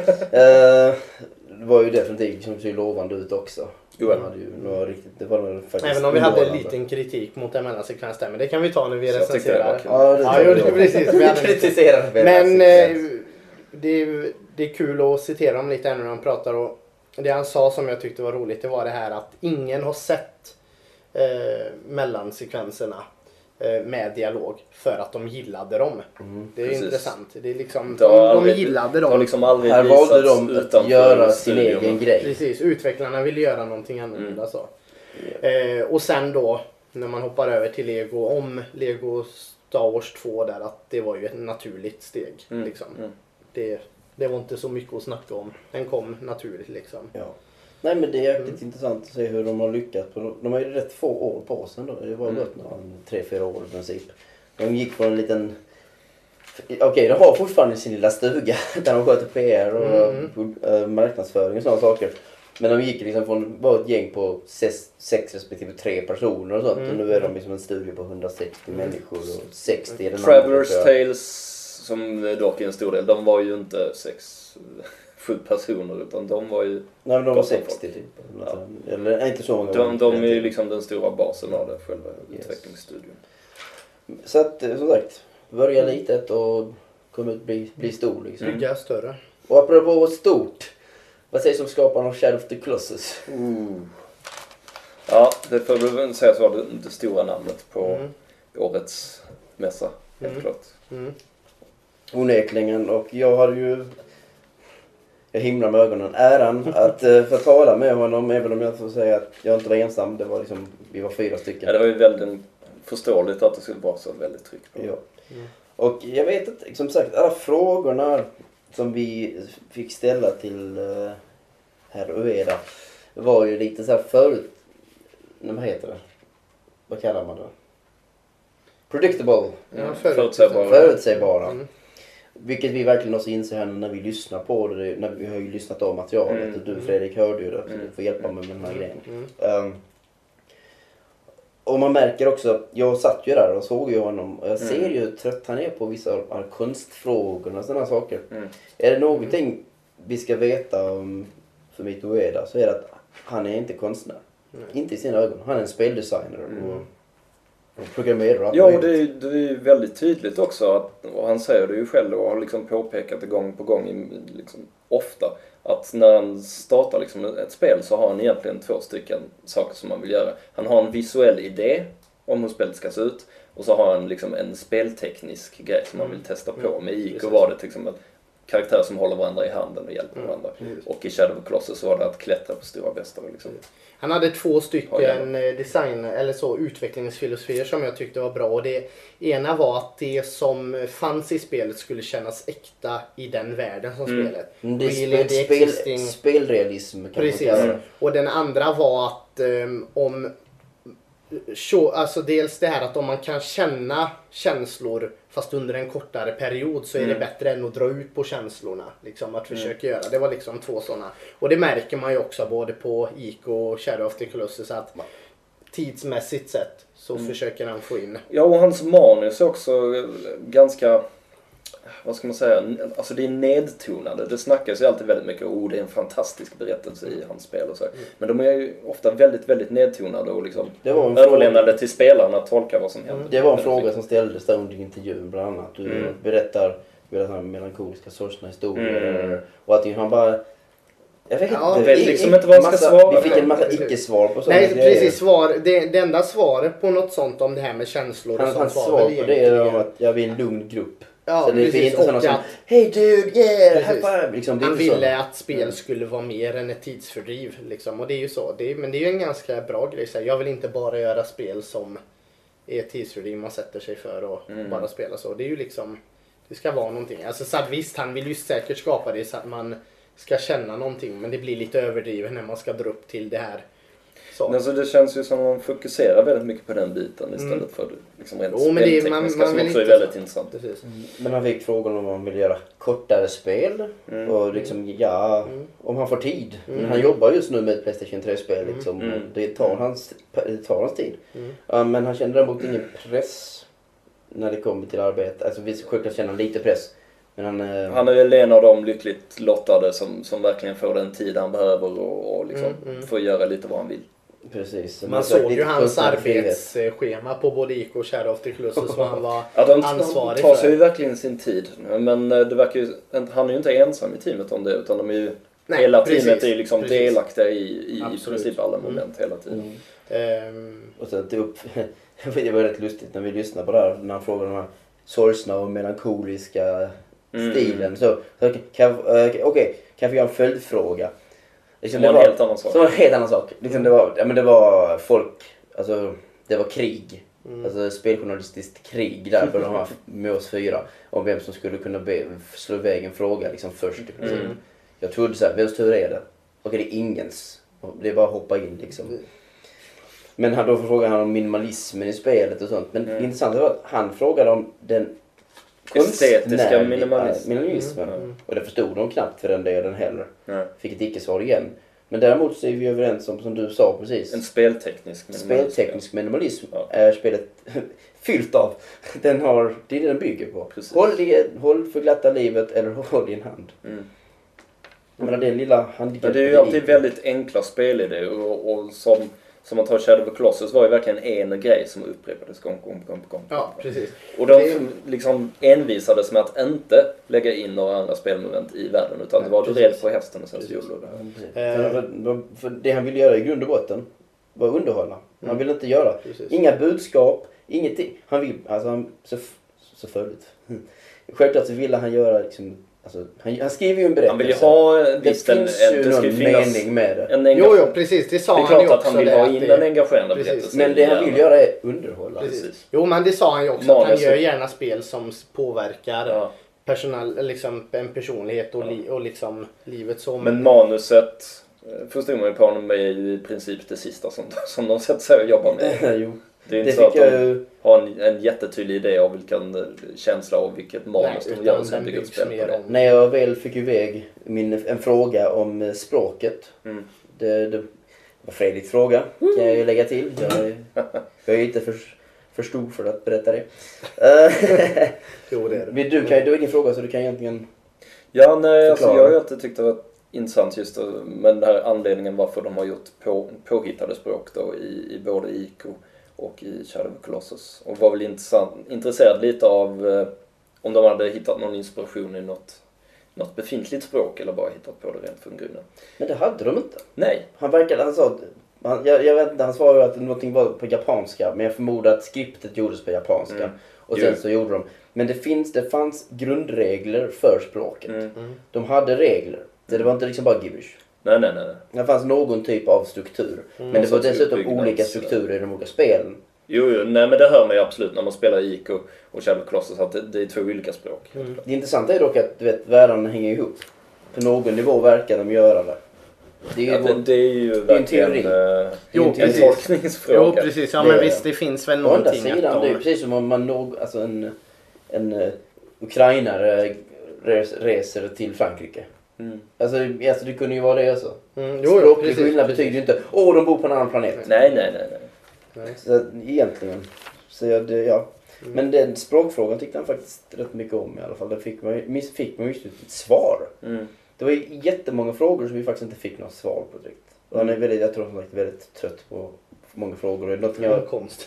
Eh, det var ju definitivt som ser lovande ut också. Jo, De hade ju några riktigt, det var nog faktiskt Även om vi hade en underhållande. liten kritik mot en mellansekvens där, men det kan vi ta när vi Så jag tyckte det var recenserar. kul. Ja, det Ja, jo, tror det jag. precis. Vi hade en- Kritiserar Men mellansekvens. eh, det, är, det är kul att citera dem lite när han pratar. Och det han sa som jag tyckte var roligt, det var det här att ingen har sett eh, mellansekvenserna eh, med dialog för att de gillade dem. Mm. Det är Precis. intressant. Det är liksom, Det har de, de aldrig- gillade Det har dem. liksom aldrig Här valde visats de att utanför göra sin studion. egen grej. Precis, utvecklarna ville göra någonting annorlunda. Så. Eh, och sen då när man hoppar över till Lego, om Lego Star Wars två där, att det var ju ett naturligt steg. Mm. Liksom. Mm. Det, det var inte så mycket att snacka om. Den kom naturligt liksom. Ja. Nej men det är jäkligt intressant att se hur de har lyckats. På, de har ju rätt få år på sig då. Det var Mm. gått några, tre, fyra år i princip. De gick från en liten... Okej, de har fortfarande sin lilla stuga där de sköter P R och Mm. äh, marknadsföring och sådana saker. Men de gick liksom från var ett gäng på sex, sex respektive tre personer och sånt. Mm. Och nu är de liksom en studio på hundrasextio människor och sextio är den Travelers andra, tror jag. Tales, som dock är en stor del, de var ju inte sex, sju personer utan de var ju... Nej men de var Gott om sextio typ. Ja. Eller nej, inte så många. De, de är ju Relativt. liksom den stora basen av det, själva Yes. utvecklingsstudion. Så att eh, som sagt, börja litet och komma ut bli, bli stor liksom. Mm. Bygga större. Och apropå stort, vad sägs om skaparen av Shadow of the Colossus? Ooh. Ja, det får vi väl säga så var det, det stora namnet på Mm. årets mässa, helt Mm. klart. Mm. Onekligen, och jag hade ju, jag himlar med ögonen, äran att eh, få tala med honom, även om jag får säga att jag inte var ensam, det var liksom, vi var fyra stycken. Ja, det var ju väldigt förståeligt att det skulle vara så väldigt tryck på. Ja. Mm. Och jag vet inte, som sagt, alla frågorna som vi fick ställa till uh, herr Ueda var ju lite så här förut... Nej, vad heter det? Vad kallar man det? Predictable. Ja, Mm. förut- Förutsägbara. Förutsägbara. Mm. Vilket vi verkligen också inser här när vi lyssnar på det. När vi har ju lyssnat av materialet. Mm. Och du Fredrik hörde ju det. Så Mm. du får hjälpa mig med den här grejen. Mm. Um, och man märker också, jag satt ju där och såg ju honom och jag ser Mm. ju hur trött han är på vissa av de här konstfrågorna och sådana saker. Mm. Är det någonting vi ska veta om för mitt Ueda så är det att han är inte konstnär. Nej. Inte i sina ögon. Han är en speldesigner. Mm. Och Programmerare. Ja, och det är, det är väldigt tydligt också att, och han säger det ju själv och har liksom påpekat det gång på gång liksom, ofta, att när han startar liksom ett spel så har han egentligen två stycken saker som han vill göra. Han har en visuell idé om hur spelet ska se ut, och så har han liksom en spelteknisk grej som han vill testa på. Med I K var det liksom karaktärer som håller varandra i handen och hjälper varandra. Mm. Och i Shadow of the Colossus så var det att klättra på stora bestar. Liksom. Han hade två stycken design eller så utvecklingsfilosofier som jag tyckte var bra. Och det ena var att det som fanns i spelet skulle kännas äkta i den världen som mm. spelet. Mm, det är spel, spel, existing... spelrealism kan Precis. man kalla det. Och den andra var att um, om alltså dels det här att om man kan känna känslor fast under en kortare period så är mm. det bättre än att dra ut på känslorna. Liksom att försöka mm. göra. Det var liksom två sådana. Och det märker man ju också både på I K och Shadow of the Colossus att tidsmässigt sett så mm. försöker han få in. Ja, och hans manus är också ganska, vad ska man säga, alltså det är nedtonade. Det snackas ju alltid väldigt mycket, oh det är en fantastisk berättelse i hans spel och så. Mm. Men de är ju ofta väldigt, väldigt nedtonade och liksom överlämnade till spelarna att tolka vad som händer. Mm. Det var en fråga som ställdes där under intervjun bland annat. Du mm. berättar, berättar melankoliska sorgsna historier mm. och att han bara... Jag vet, ja, inte, vet liksom inte vad han ska svara. Vi fick en massa icke-svar på sådana Nej, grejer. Precis. Svar, det, det enda svaret på något sånt om det här med känslor han, och sånt var svar på det är om att jag vill en lugn grupp. Ja, så det precis. är inte sådana som, hey dude, yeah, high five. Liksom, han ville att spel mm. skulle vara mer än ett tidsfördriv. Liksom. Och det är ju så. Det är, men det är ju en ganska bra grej. Så jag vill inte bara göra spel som är ett tidsfördriv man sätter sig för och mm. bara spela så. Det är ju liksom, det ska vara någonting. Alltså så visst, han vill ju säkert skapa det så att man ska känna någonting. Men det blir lite överdrivet när man ska dra upp till det här. Så. Alltså det känns ju som att man fokuserar väldigt mycket på den biten istället mm. för liksom rent oh, speltekniska som också är väldigt intressant. Mm. Men han fick frågan om man vill göra kortare spel mm. och liksom ja, mm. om han får tid. Mm. Men han jobbar just nu med ett PlayStation tre-spel liksom, mm. och det tar hans, det tar hans tid. Mm. Uh, men han känner däremot ingen press när det kommer till arbete. Alltså vi självklart känner lite press. Men han, uh... han är väl en av de lyckligt lottade som, som verkligen får den tid han behöver och, och liksom mm. Mm. får göra lite vad han vill. Precis. Man såg ju hans arbetsschema på både I K och Shadow of the Colossus vad han var ja, de, ansvarig för. De tar sig ju verkligen sin tid. Men det verkar ju, han är ju inte ensam i teamet om det utan de är ju, Nej, hela precis, teamet är ju liksom precis. delaktiga i, i, i princip alla moment mm. hela tiden. Mm. Um. Och sen till upp, det var rätt lustigt när vi lyssnade på det här när han frågade de här sorgsna och melankoliska mm. stilen. Så, så kan, okej, okay, kan vi göra en följdfråga? Liksom, det var en helt annan sak. Det var en helt annan sak. Liksom, det, var, ja, men det var folk, alltså det var krig. Mm. Alltså speljournalistiskt krig där på de här med oss fyra. Om vem som skulle kunna be, slå iväg en fråga liksom först. Liksom. Mm. Jag trodde så här, vems tur är det? Okej, det är ingens. Det är bara att hoppa in liksom. Mm. Men han, då frågade han om minimalismen i spelet och sånt. Men mm. intressant var att han frågade om den estetiska minimalismen. minimalismen. Mm. Och det förstod de knappt för den delen heller. Mm. Fick ett icke-svar igen. Men däremot så är vi överens om, som du sa precis. En spelteknisk minimalism. Spelteknisk minimalism ja. är spelet fyllt av. Den har, det är det den bygger på. Precis. Håll, det, håll för glatta livet eller håll din hand. Mm. Jag menar, den lilla handikappet. Det är ju alltid väldigt enkla spelidéer och, och som... Som man tar Shadow of the Colossus var ju verkligen en grej som upprepades gång på gång, gång, gång. Ja, precis. Och de det... liksom envisades med att inte lägga in några andra spelmoment i världen utan ja, det var rädd på hästen och sen så gjorde det här. Äh... För, för det han ville göra i grund och botten var underhålla. Han mm. ville inte göra precis. Inga budskap, ingenting. Han vill, alltså han, så, så följt. Mm. Självklart så ville han göra liksom, alltså, han, han skriver ju en berättelse. Han vill ju ha en det finns en, ju det någon mening med det. En jo, jo, precis. Det sa han ju också. Det är klart att han vill ha in det, en engagerande berättelse. Men det han vill göra är underhålla. Precis. Jo, men det sa han ju också. Manus. Att han gör gärna spel som påverkar ja. personal, liksom, en personlighet och, li, och liksom livet som... Men manuset förstår man ju på honom är ju i princip det sista som, som de sätter sig och jobbar med. Jo. Det är inte det så att de jag... har en, en jättetydlig idé av vilken känsla och vilket manus de gör och sen bygger ett spel på det. När jag väl fick iväg min, en fråga om språket. Mm. Det, det var Fredriks fråga, kan jag ju lägga till. Jag är, jag är inte för, för stor för att berätta det. Jo, det är det. Du, kan, du har ingen fråga så du kan egentligen Ja, nej, alltså, jag har alltid tyckt det var intressant just med den här anledningen varför de har gjort på, påhittade språk då i, i både I K och i Shadow of Colossus. Och var väl intressant, intresserad lite av eh, om de hade hittat någon inspiration i något, något befintligt språk eller bara hittat på det rent från grunden. Men det hade de inte. Nej. Han verkade, han sa, han, jag, jag vet inte, han svarade att någonting var på japanska, men jag förmodar att skriptet gjordes på japanska. Mm. Och sen jo. så gjorde de. Men det, finns, det fanns grundregler för språket. Mm. Mm. De hade regler. Det, det var inte liksom bara gibberish. Nej, nej, nej. Det fanns någon typ av struktur. Mm. Men det var dessutom olika strukturer i de olika spelen. Jo, jo, nej men det hör man ju absolut när man spelar Ico och Shadow of Colossus att det, det är två olika språk. Mm. Det intressanta är dock att du vet, världarna hänger ihop. På någon nivå verkar de göra det. Det är ju, ja, det, det är ju det är en teori. Äh, jo, en tolkningsfråga. Jo, precis. Ja, men det, visst, det finns väl någonting. Å andra sidan, de... det är precis som om man någ, alltså en, en uh, ukrainare res, reser till Frankrike. Mm. Alltså, alltså det kunde ju vara det alltså. Mm, jo, språklig skillnad betyder ju inte åh, oh, de bor på en annan planet. Nej, nej, nej. nej. nej. Så egentligen. Så jag, det, ja. Mm. Men den språkfrågan tyckte han faktiskt rätt mycket om i alla fall. Där fick man, fick man just ett svar. Mm. Det var ju jättemånga frågor som vi faktiskt inte fick något svar på direkt. Och han är väldigt, jag tror han är väldigt trött på många frågor. Det är något jag... konst.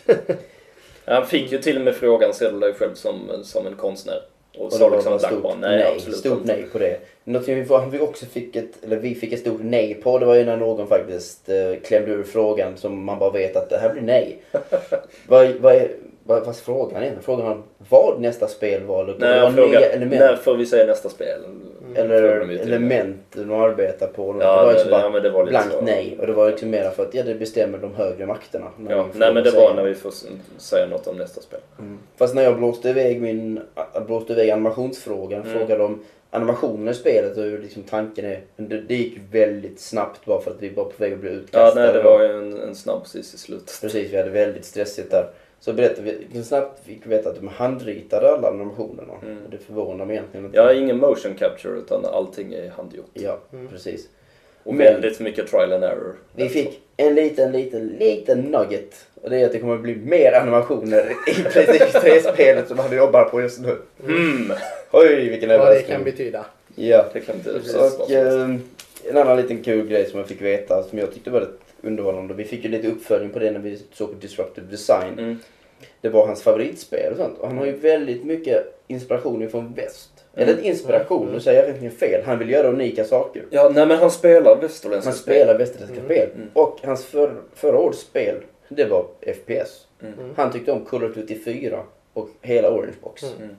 Han fick ju till och med frågan, ser du dig själv som, som en konstnär? Och, och så liksom stort bara, nej, nej absolut stort inte. Nej på det. Något vi, vi också fick ett, eller vi fick ett stort nej på, det var ju när någon faktiskt eh, klämde ur frågan som man bara vet att det här blir nej. vad, vad är vad, vad frågan är? Frågan om vad nästa spel var? Eller nej, var frågan, element? När får vi säga nästa spel? Mm. Eller element de arbetar på. Ja, det var det, liksom bara ja, men det var blankt så. Nej. Och det var liksom mer för att ja, det bestämmer de högre makterna. Ja, nej men det var när vi får säga något om nästa spel. Mm. Fast när jag blåste iväg min blåste iväg animationsfrågan, mm. frågade om animationen i spelet och hur liksom tanken är. Men det, det gick väldigt snabbt bara för att vi var på väg att bli utkastade. Ja, nej, det var ju en, en snabb precis i slutet. Precis, vi hade väldigt stressigt där. Så berättade vi, snabbt fick vi veta att de handritade alla animationerna. Mm. Och det förvånar mig egentligen inte. Ja, ingen motion capture utan allting är handgjort. Ja, mm. precis. Och men, väldigt mycket trial and error. Vi fick en liten, liten, liten nugget. Och det är att det kommer att bli mer animationer i PlayStation tre-spelet som han jobbar på just nu. Mm. Oj, vilken överraskning. Vad det kan betyda. Ja, det kan betyda. Och eh, en annan liten kul grej som jag fick veta som jag tyckte var rätt underhållande. Vi fick ju lite uppföljning på det när vi såg på Disruptive Design. Mm. Det var hans favoritspel och sånt. Och han har ju väldigt mycket inspiration från väst. Mm. Eller inspiration, nu säger jag egentligen fel. Han vill göra unika saker. Ja, nej men han spelar västerländska Han spel. spelar västerländska mm. spel. Mm. Och hans för, förra årets spel, det var F P S. Mm. Han tyckte om Call of Duty fyra och hela Orange Box. Mm.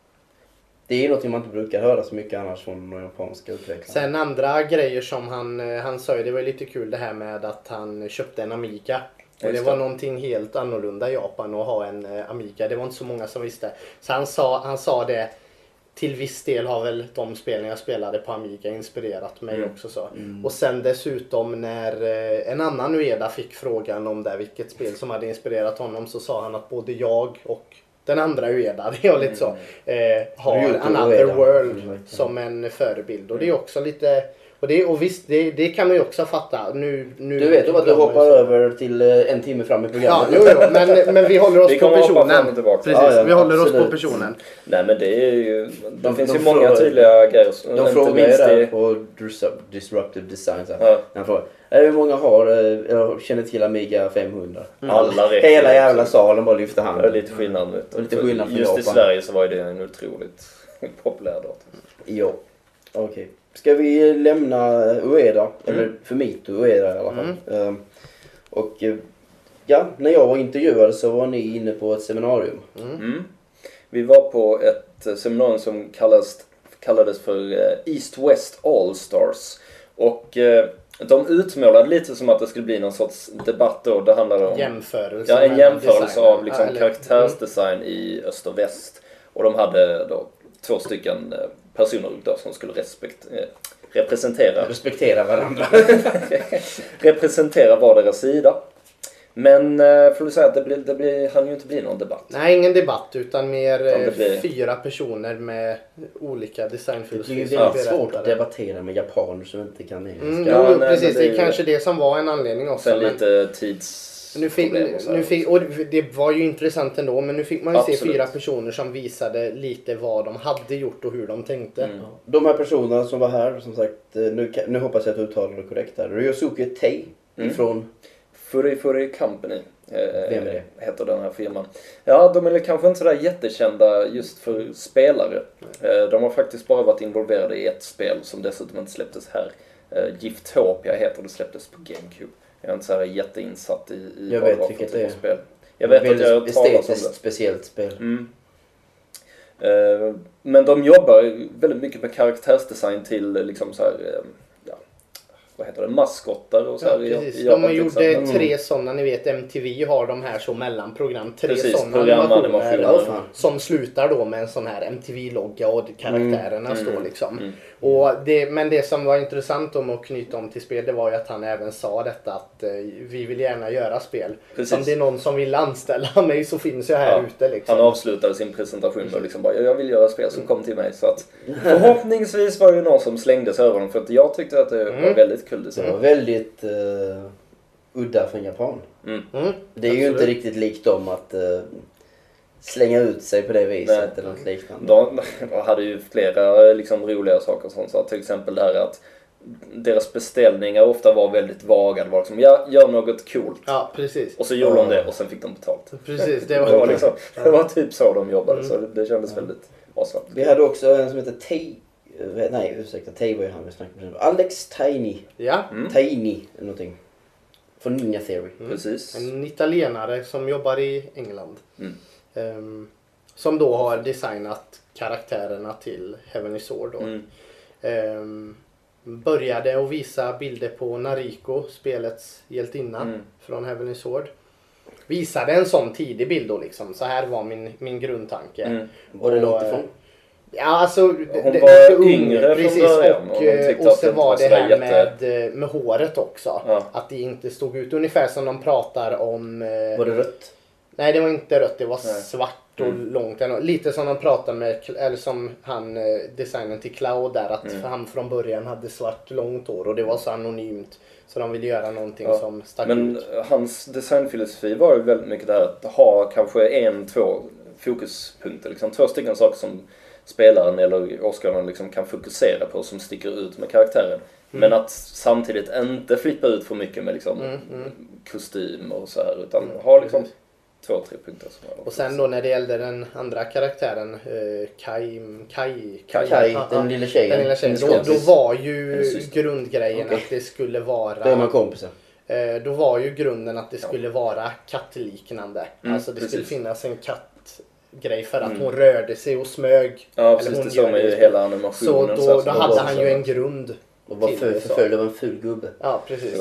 Det är något man inte brukar höra så mycket annars från de japanska utvecklare. Sen andra grejer som han, han sa ju, det var lite kul det här med att han köpte en Amiga. Och det var någonting helt annorlunda i Japan att ha en Amiga. Det var inte så många som visste. Så han sa, han sa det, till viss del har väl de spelen jag spelade på Amiga inspirerat mig mm. också. Så. Mm. Och sen dessutom när en annan Ueda fick frågan om det, vilket spel som hade inspirerat honom, så sa han att både jag och den andra Ueda, det är lite så, eh, har Another World mm. som en förebild. Och det är också lite... Och, det, och visst, det, det kan man ju också fatta. Nu, nu du vet om att du hoppar över till en timme fram i programmet. Ja, jo, jo, men, men vi håller oss vi på personen. Precis, ja, ja, vi håller absolut. oss på personen. Nej, men det är ju... Det de, finns de ju många frågar, tydliga grejer. De frågar ju där på Disruptive Design. Ja. Han frågar, hur många har, jag känner till Amiga femhundra? Mm. Alla räcker. Hela jävla salen bara lyfter handen. Det är lite skillnad. Och lite skillnad för just Japan. I Sverige så var det en otroligt populär dator. Jo, okej. Okay. Ska vi lämna Ueda, mm. eller Fumito Ueda i alla fall. Mm. Um, och ja, när jag var intervjuad så var ni inne på ett seminarium. Mm. Mm. Vi var på ett seminarium som kallades, kallades för East West All Stars. Och uh, de utmålade lite som att det skulle bli någon sorts debatt då. Det handlade om jämförelse, ja, en jämförelse av liksom, ja, karaktärsdesign mm. i öst och väst. Och de hade då två stycken personer då som skulle respekt, eh, representera respektera varandra representera var deras sida. Men eh, får du säga att det blir det blir han ju inte bli någon debatt. Nej, ingen debatt utan mer eh, blir... fyra personer med olika designfilosofier. Det är väldigt svårt att debattera med japaner som inte kan engelska. Mm, ja, jo, nej, precis, det är ju... kanske det som var en anledning också. Sen men... lite tids Nu fick, nu fick, och det var ju intressant ändå, men nu fick man ju Absolut. se fyra personer som visade lite vad de hade gjort och hur de tänkte. Mm. De här personerna som var här, som sagt, nu, nu hoppas jag att du uttalar det korrekt här. Ryosuke Tei mm. ifrån Furi Furi Company. Vem är det? Heter den här firman. Ja, de är kanske inte sådär jättekända just för spelare. Mm. De har faktiskt bara varit involverade i ett spel som dessutom inte släpptes här. Giftopia heter det, släpptes på GameCube. Jag är inte såhär jätteinsatt i, i jag vet vilket det är. Spel. Jag vet att jag har talat om det. Speciellt spel. Mm. Men de jobbar väldigt mycket med karaktärsdesign till liksom så här, ja, vad heter det, maskotter och så här. Ja, precis. I, i de gjorde mm. tre sådana, ni vet M T V har de här så mellanprogram, tre precis, sådana animationer, animationer. som slutar då med en sån här M T V-logga och karaktärerna mm. står liksom. Mm. Och det, men det som var intressant om att knyta om till spel, det var ju att han även sa detta att eh, vi vill gärna göra spel. Precis. Om det är någon som vill anställa mig så finns jag här ja. ute liksom. Han avslutade sin presentation med liksom bara, jag vill göra spel som kom till mig, så att förhoppningsvis var det någon som slängdes över dem, för att jag tyckte att det mm. var väldigt kul. Det var väldigt uh, udda från Japan. Mm. Mm. Det är ju inte riktigt likt dem att uh, slänga ut sig på det viset. Nej. Eller något liknande. De, de hade ju flera liksom, roliga saker som så, till exempel det här att deras beställningar ofta var väldigt vaga. Det var liksom, ja, gör något coolt. Ja, precis. Och så gjorde de det och sen fick de betalt. Precis, det var, det var, liksom, det var typ så de jobbade, mm. så det, det kändes väldigt awesome. Vi hade också en som heter Tay. Nej, ursäkta, Tay var ju han vi snackade med. Alex Tiny. Ja. Mm. Tiny, eller någonting. Från Ninja Theory. Mm. Precis. En italienare som jobbar i England. Mm. Um, som då har designat karaktärerna till Heavenly Sword då. Mm. Um, började att visa bilder på Nariko, spelets hjältinna mm. från Heavenly Sword. Visade en sån tidig bild då liksom. Så här var min, min grundtanke. Mm. Var det långt ifrån? Ja, alltså hon det, var det yngre precis, från början och, och, och så var det här jätte... med, med håret också. Ja. Att det inte stod ut ungefär som de pratar om. Var det rött? Nej, det var inte rött, det var Nej. svart och mm. långt. Lite som de pratar med, eller som han designen till Cloud där, att mm. han från början hade svart långt hår och det var så anonymt. Så de ville göra någonting ja. som stack Men ut. hans designfilosofi var ju väldigt mycket där att ha kanske en, två fokuspunkter. Liksom två stycken saker som spelaren eller åskådaren liksom kan fokusera på som sticker ut med karaktären. Mm. Men att samtidigt inte flippa ut för mycket med liksom mm, mm. kostym och så här, utan mm. ha liksom två, tre punkter. Som och sen då när det gällde den andra karaktären, eh, Kai, Kai, Kai, Kai ja, den lilla tjejen. Den lilla tjejen. Då, då var ju grundgrejen okay. att det skulle vara... Då är man kompisar. Eh, då var ju grunden att det skulle vara kattliknande. Mm, alltså det precis. skulle finnas en katt grej för att mm. hon rörde sig och smög. Ja, precis, det såg man ju hela animationen. Så då, så då hade han ju en grund. Och var för, förföljd av en ful gubbe. Ja, precis.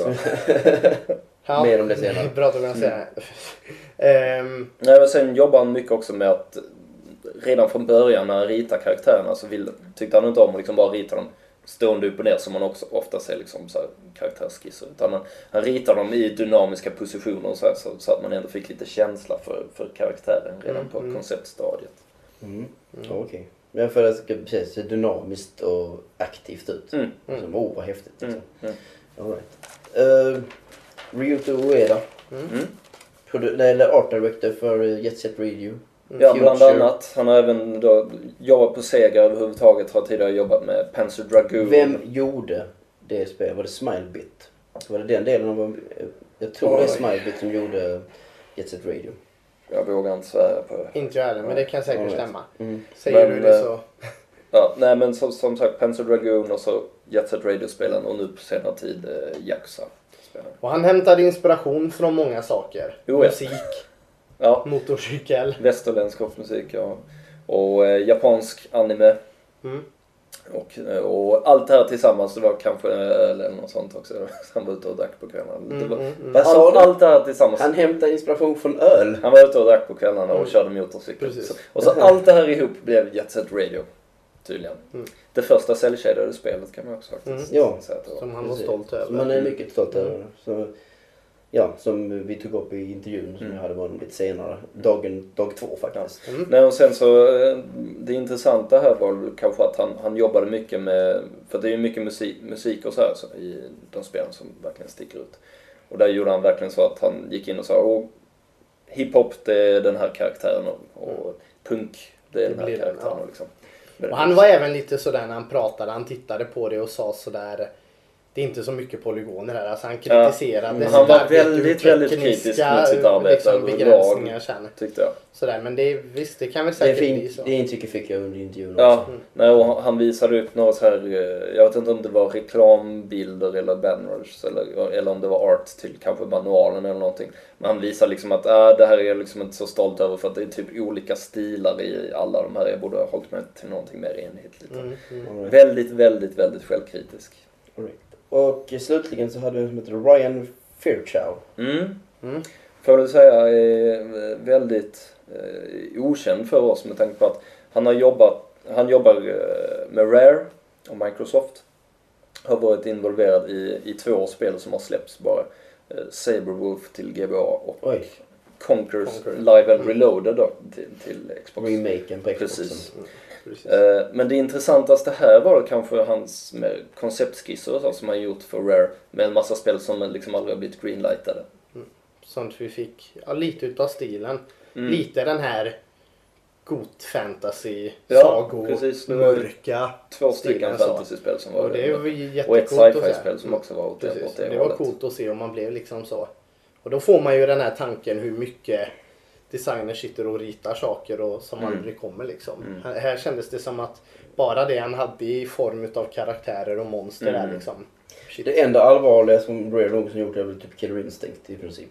Ja. Mer om det senare. Bra att kunna säga. Mm. um, Nej, men sen jobbar han mycket också med att redan från början när han ritar karaktärerna så vill, tyckte han inte om att liksom bara rita dem stående upp och ner som man också ofta ser liksom så här karaktärsskisser. Utan han, han ritar dem i dynamiska positioner och så, här, så, så att man ändå fick lite känsla för, för karaktären redan mm, på mm. konceptstadiet. Mm. Mm. Okej. Okay. Men för att det ska se dynamiskt och aktivt ut. Mm. Som, oh, vad häftigt. Liksom. Mm. All right. uh, Ryuto Ueda. Mm. Mm. Produ- eller art director för Jet Set Radio. Mm. Ja, bland annat. Han har även då jobbat på Sega överhuvudtaget. Har tidigare jobbat med Panzer Dragoon. Vem gjorde det spelet? Var det Smilebit? Var det den delen av... Jag tror Oj. det är Smilebit som gjorde Jet Set Radio. Jag vågar inte svära på det. Inte jag heller, men det kan säkert right. stämma. Mm. Säger men, du det så... Ja, nej men som, som sagt Panzer Dragoon och så Jet Set Radio-spelen och nu på senare tid eh, Yakuza. Och han hämtade inspiration från många saker. Jo, ja. Musik, ja. motorcykel. Västerländsk musik, ja. Och eh, japansk anime. Mm. Och, och allt det här tillsammans, det var kanske öl eller något sånt också. Han var ute och drack på kvällarna. Mm, det var, mm, mm. allt, allt det här tillsammans. Han hämtade inspiration från öl. Han var ute och drack på kvällarna och mm. körde motorcykel. Precis. Så, och så allt det här ihop blev Jet Set Radio. Tydligen. Mm. Det första cell-shadade spelet kan man också faktiskt mm. ja. säga att det var. Som han var stolt över. Som man är mycket stolt över. Mm. Så, ja, som vi tog upp i intervjun som mm. jag hade varit lite senare. Dagen, dag två faktiskt. Mm. Nej, och sen så, det intressanta här var kanske att han, han jobbade mycket med, för det är ju mycket musik, musik och så här så, i de spelen som verkligen sticker ut. Och där gjorde han verkligen så att han gick in och sa, åh, hiphop det är den här karaktären och, och punk det är det den här karaktären. Den, ja. liksom. Och han var även lite sådär när han pratade, han tittade på det och sa sådär, det är inte så mycket polygoner här. Alltså han kritiserade ja, han var väldigt, väldigt kritisk mot sitt arbete liksom, begränsningar känner. Tyckte jag. Sådär, men det, visst, det kan väl säkert det bli så. Det intrycket fick jag under intervjun ja, också. Mm. Nej, och han visade upp några så här, jag vet inte om det var reklambilder eller banners eller, eller om det var art till kanske manualen eller någonting. Men han visade liksom att äh, det här är jag liksom inte så stolt över för att det är typ olika stilar i alla de här. Jag borde ha hållit mig till någonting mer enhetligt. Mm, mm. Right. Väldigt, väldigt, väldigt självkritisk. Right. Och slutligen så hade vi en som heter Ryan Fairchild. Mm. Mm. Får jag säga är väldigt eh, okänd för oss med tanke på att han har jobbat, han jobbar eh, med Rare och Microsoft. Har varit involverad i, i två spel som har släppts bara. Eh, Saberwolf till G B A och Oj. Conquers Conquer. Live and Reloaded då, till, till Xbox. Remaken på Xbox. Precis. Mm. Precis. Eh, men det intressantaste här var kanske hans med konceptskisser och så som han gjort för Rare med en massa spel som liksom aldrig har blivit greenlightade. Mm. Sånt vi fick ja, lite utav stilen. Mm. Lite den här god fantasy, ja, sago, precis. mörka två stycken fantasyspel som var och det var jättegott och ett sci-fi-spel som också var åt det, åt det, det var coolt att se om man blev liksom så. Och då får man ju den här tanken hur mycket designers sitter och ritar saker och som mm. aldrig kommer liksom. Mm. Här, här kändes det som att bara det han hade i form av karaktärer och monster mm. där liksom. Shit. Det enda allvarliga som Rare någonsin gjort är väl typ Killer Instinct i princip.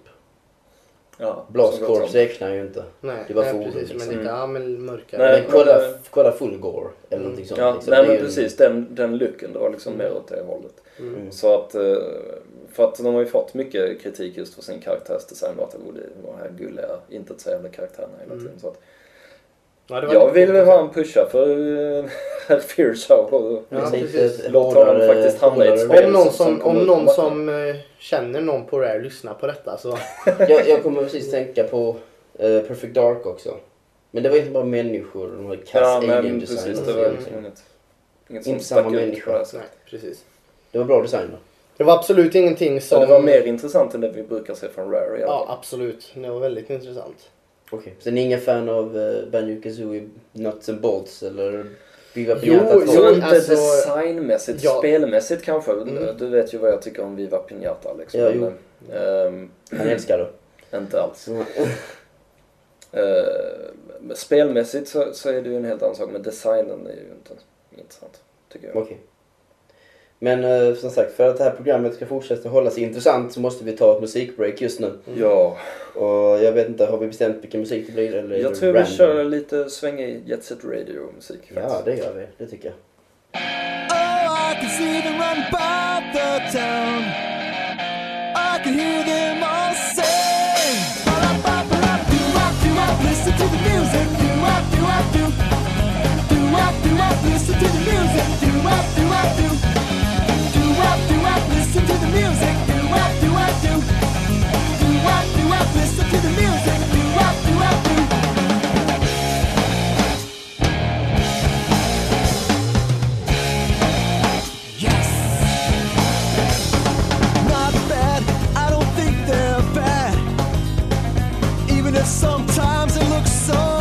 Ja, Blast Corps räknar ju inte. Nej, det var nej fordon, precis, liksom. men lite ja, men mörkare. Nej, men kolla, kolla Full Gore eller mm. någonting sånt. Ja, liksom. nej men ju... precis, den, den looken det var liksom mm. mer åt det hållet. Mm. Så att, för att de har ju fått mycket kritik just för sin karaktärsdesign och att det var här gulliga, inte så jävla karaktärerna hela tiden. Mm. Så att, ja, jag vill väl ha en pusha för herr Fairchild och ja, låt honom faktiskt hamna i ett spel. Om någon som, som, om någon som uh, känner någon på Rare lyssnar på detta så... jag, jag kommer precis tänka på uh, Perfect Dark också. Men det var inte bara människor, de har kass ja, alien design. Precis, det var liksom inget, inget inte samma människor. Nej, precis. Det var bra design då. Det var absolut ingenting som... Ja, det var mer intressant än det vi brukar se från Rare. Ja, absolut. Det var väldigt intressant. Okej, okay. Så ni är ingen fan av uh, Banjo-Kazooie Nuts and Bolts eller Viva Pinata? Jo, jo inte alltså, designmässigt, ja. spelmässigt kanske. Mm. Du vet ju vad jag tycker om Viva Pinata liksom. Ja, jo. Um, Han älskar det. Inte alls. Mm. uh, spelmässigt så, så är det ju en helt annan sak, men designen är ju inte intressant, tycker jag. Okej. Okay. Men eh, som sagt, för att det här programmet ska fortsätta hålla sig intressant så måste vi ta ett musikbreak just nu. Mm. Ja. Och jag vet inte, har vi bestämt vilken musik det blir? Eller jag tror random? Vi kör lite svängig Jet Set Radio-musik. Ja, det gör vi. Det tycker jag. Oh, I can see them run by the town. I can hear them all sing. Listen to the music. Listen to the music. Listen to the music, do what do I do? Do what do I listen to the music, do what do I do? Yes! Not bad, I don't think they're bad. Even if sometimes it looks so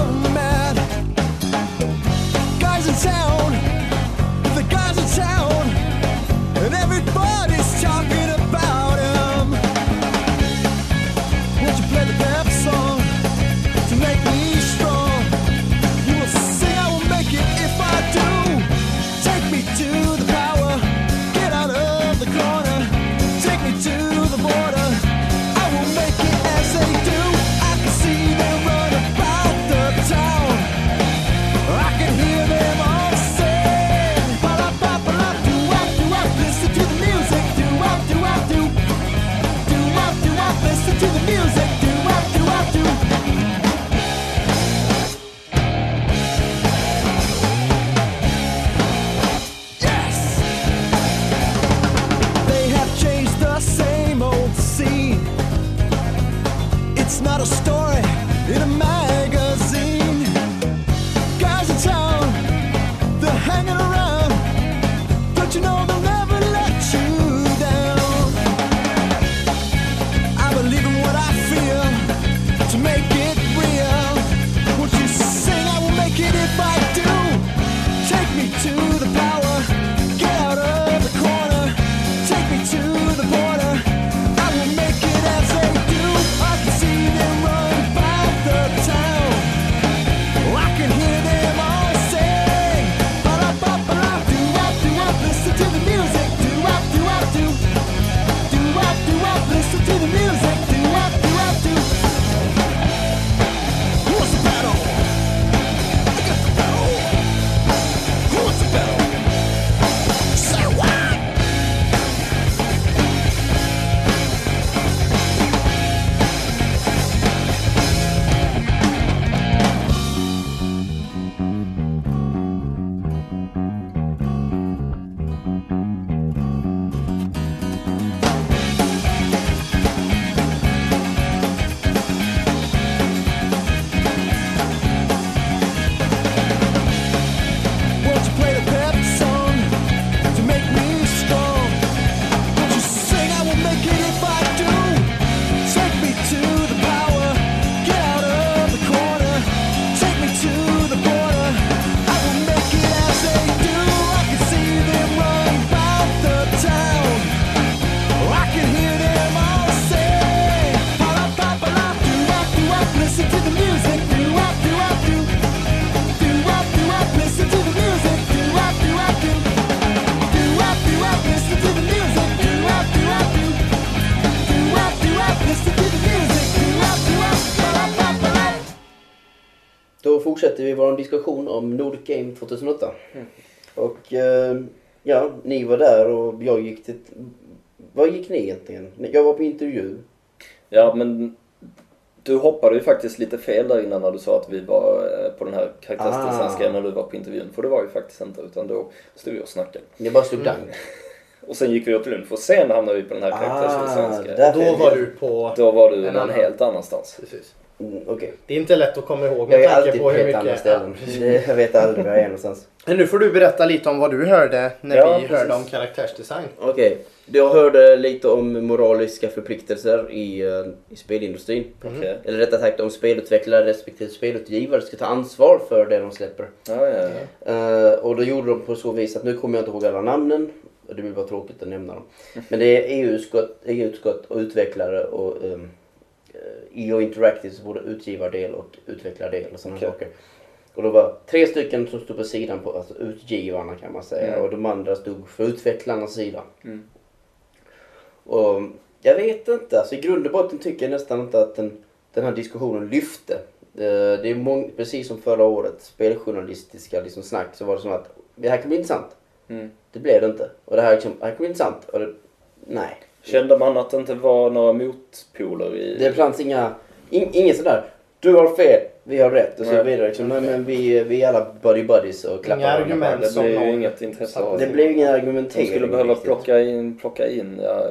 fortsätter vi vår diskussion om Nordic Game tjugohundraåtta. Mm. Och eh, ja, ni var där och jag gick till... Vad gick ni egentligen? Jag var på intervju. Ja, men du hoppade ju faktiskt lite fel där innan när du sa att vi var på den här karaktärsdesignsgrejen Ah. när du var på intervjun. För det var ju faktiskt inte, utan då stod vi och snackade. Det bara stod mm. Och sen gick vi åt lunch och sen hamnade vi på den här karaktärsdesignsgrejen. Ah, Då var du på... Då var du någon annan. helt annanstans. Precis. Mm, Okej. Okay. Det är inte lätt att komma ihåg Jag med är tanke alltid på på hur helt mycket... andra ställen. Det- Jag vet aldrig var jag är någonstans. Men nu får du berätta lite om vad du hörde när Ja, vi precis. hörde om karaktärsdesign. Okej. Okay. Jag hörde lite om moraliska förpliktelser i, uh, i spelindustrin. Mm. Okej. Eller rättare sagt om spelutvecklare respektive spelutgivare ska ta ansvar för det de släpper. Ja, ja, ja. Uh, och då gjorde de på så vis att nu kommer jag inte ihåg alla namnen. Och det blir bara tråkigt att nämna dem. Men det är E U-utskott, E U-utskott och utvecklare och um, E O Interactive, både utgivardel och utvecklardel och sådana Okej. saker. Och då var tre stycken som stod på sidan på, alltså utgivarna kan man säga. Mm. Och de andra stod för utvecklarnas sida. Mm. Och jag vet inte, alltså i grund och botten tycker jag nästan inte att den, den här diskussionen lyfte. Det, det är mång, precis som förra året, speljournalistiska liksom snack, så var det som att det här kan bli intressant. Mm. Det blev det inte. Och det här, liksom, det här kan bli intressant. Och det, nej. Kände man att det inte var några motpoler i... Det fanns inga, in, ingen sådär, du har fel, vi har rätt och så Nej. vidare. Liksom. Nej, men vi, vi är alla buddy buddies och klappar Inga varandra. argument. Det som blev ju någon- inget intresse av Det blev ingen De argumentering. skulle behöva riktigt. plocka in, plocka in ja,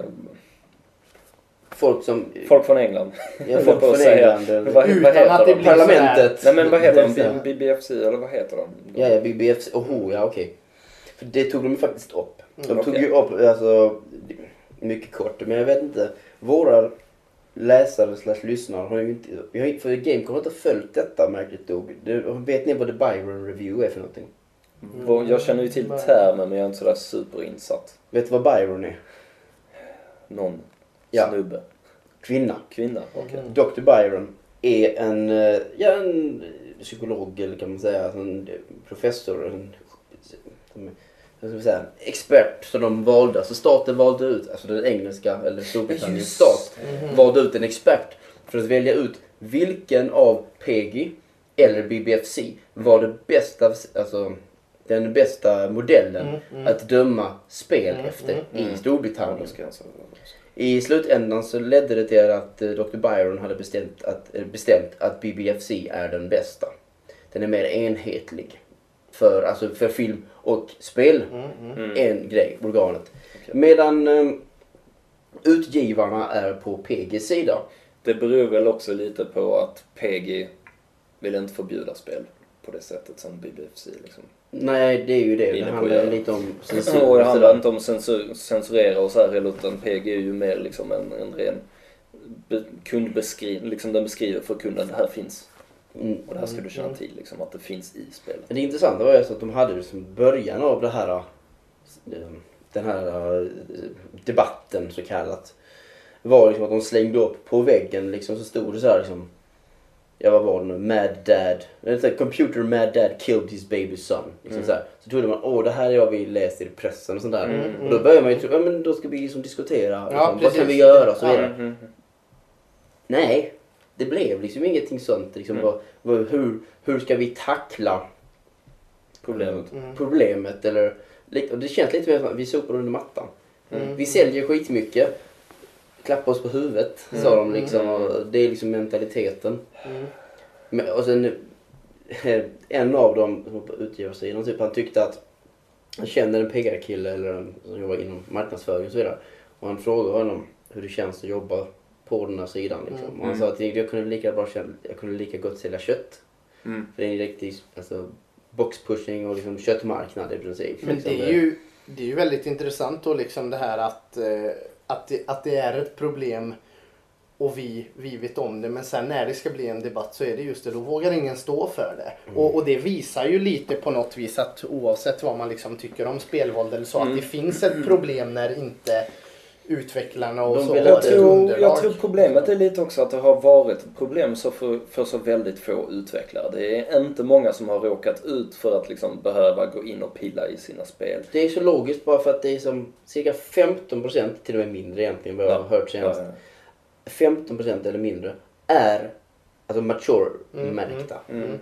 Folk som... folk från England. Ja, höll folk på att från säga. England. eller- Men vad, Utan vad heter att det de? blir Parlamentet. Nej men vad heter de? Ja. B- BBFC eller vad heter de? Ja, ja, B B F C. Oho, ja okej. För det tog de ju faktiskt upp. De Mm, tog okej. ju upp, alltså, mycket kort, men jag vet inte. Våra läsare slash lyssnare har ju inte, vi har, för Gamecom har inte följt detta märkligt nog. Det, vet ni vad The Byron Review är för någonting? Vad- Jag känner ju till termen men jag är inte sådär superinsatt. Vet du vad Byron är? Någon Ja. snubbe. Kvinna. Kvinna. Okej. Mm. doktor Byron är en, eh, ja, en psykolog eller kan man säga, en professor, en, vad ska vi säga, expert som de valde, alltså staten valde ut, alltså den engelska eller Storbritanniens stat Mhm. valde ut en expert för att välja ut vilken av P G eller B B F C var det bästa, alltså den bästa modellen Mm, mm. att döma spel Mm, efter mm, mm. i Ja, Storbritannien. då ska jag säga. I slutändan så ledde det till att eh, doktor Byron hade bestämt att, eh, bestämt att B B F C är den bästa. Den är mer enhetlig för, alltså för film och spel. Mm, mm. Mm. En grej, organet. Okej. Medan eh, utgivarna är på P G:s sida. Det beror väl också lite på att P G vill inte förbjuda spel på det sättet som B B F C liksom. Nej, det är ju det. Inne Det på handlar göra. lite om censur. Och det och handlar sådär. inte om censur, censurera och så här heller, utan P G är ju mer liksom en, en ren be, kundbeskrivning, liksom den beskriver för kunden det här finns. Mm. Och det här ska du känna till liksom, att det finns i spelet. Men det intressanta var ju så att de hade liksom början av det här, eh, den här eh, debatten så kallat. Var liksom att de slängde upp på väggen liksom, så stod det så här liksom, ja vad var det nu, Mad Dad, eller så här, Computer Mad Dad killed his baby son. Liksom Mm. så, här. Så trodde man, åh det här är jag vi läst i pressen och sånt där. Mm, Och då började man ju tro, ja men då ska vi liksom diskutera, liksom, vad precis. kan vi göra och så vidare. Mm, mm, Nej, det blev liksom ingenting sånt. Liksom, Mm. vad, vad, hur, hur ska vi tackla Problemet. Mm. problemet? Eller, och det känns lite mer som att vi sopar under mattan. Mm. Vi säljer skitmycket. Klappa oss på huvudet, Mm. sa de liksom. Och det är liksom mentaliteten. Mm. Men, och sen en av dem som var på utgivarsidan, typ, han tyckte att han kände en P R-kille eller en som jobbar inom marknadsföring och så vidare. Och han frågade honom hur det känns att jobba på den här sidan. Liksom. Mm. Och han sa att jag kunde lika, bra, jag kunde lika gott sälja kött. Mm. För det är en riktig alltså, boxpushing och liksom köttmarknad i princip. Men liksom. det är ju, det är ju väldigt intressant då liksom det här att, eh, att, det, att det är ett problem och vi, vi vet om det, men sen när det ska bli en debatt så är det just det, då vågar ingen stå för det. Mm. Och, och det visar ju lite på något vis att oavsett vad man liksom tycker om spelvåld eller så, Mm. att det finns ett problem när inte utvecklarna och De så vill har Jag ett tror, underlag. jag tror problemet är lite också att det har varit ett problem så för, för så väldigt få utvecklare. Det är inte många som har råkat ut för att liksom behöva gå in och pilla i sina spel. Det är så logiskt bara för att det är som cirka femton procent, till och med mindre egentligen vad jag har hört senast. Ja, femton procent eller mindre är alltså mature Mm, märkta. Mm. Mm.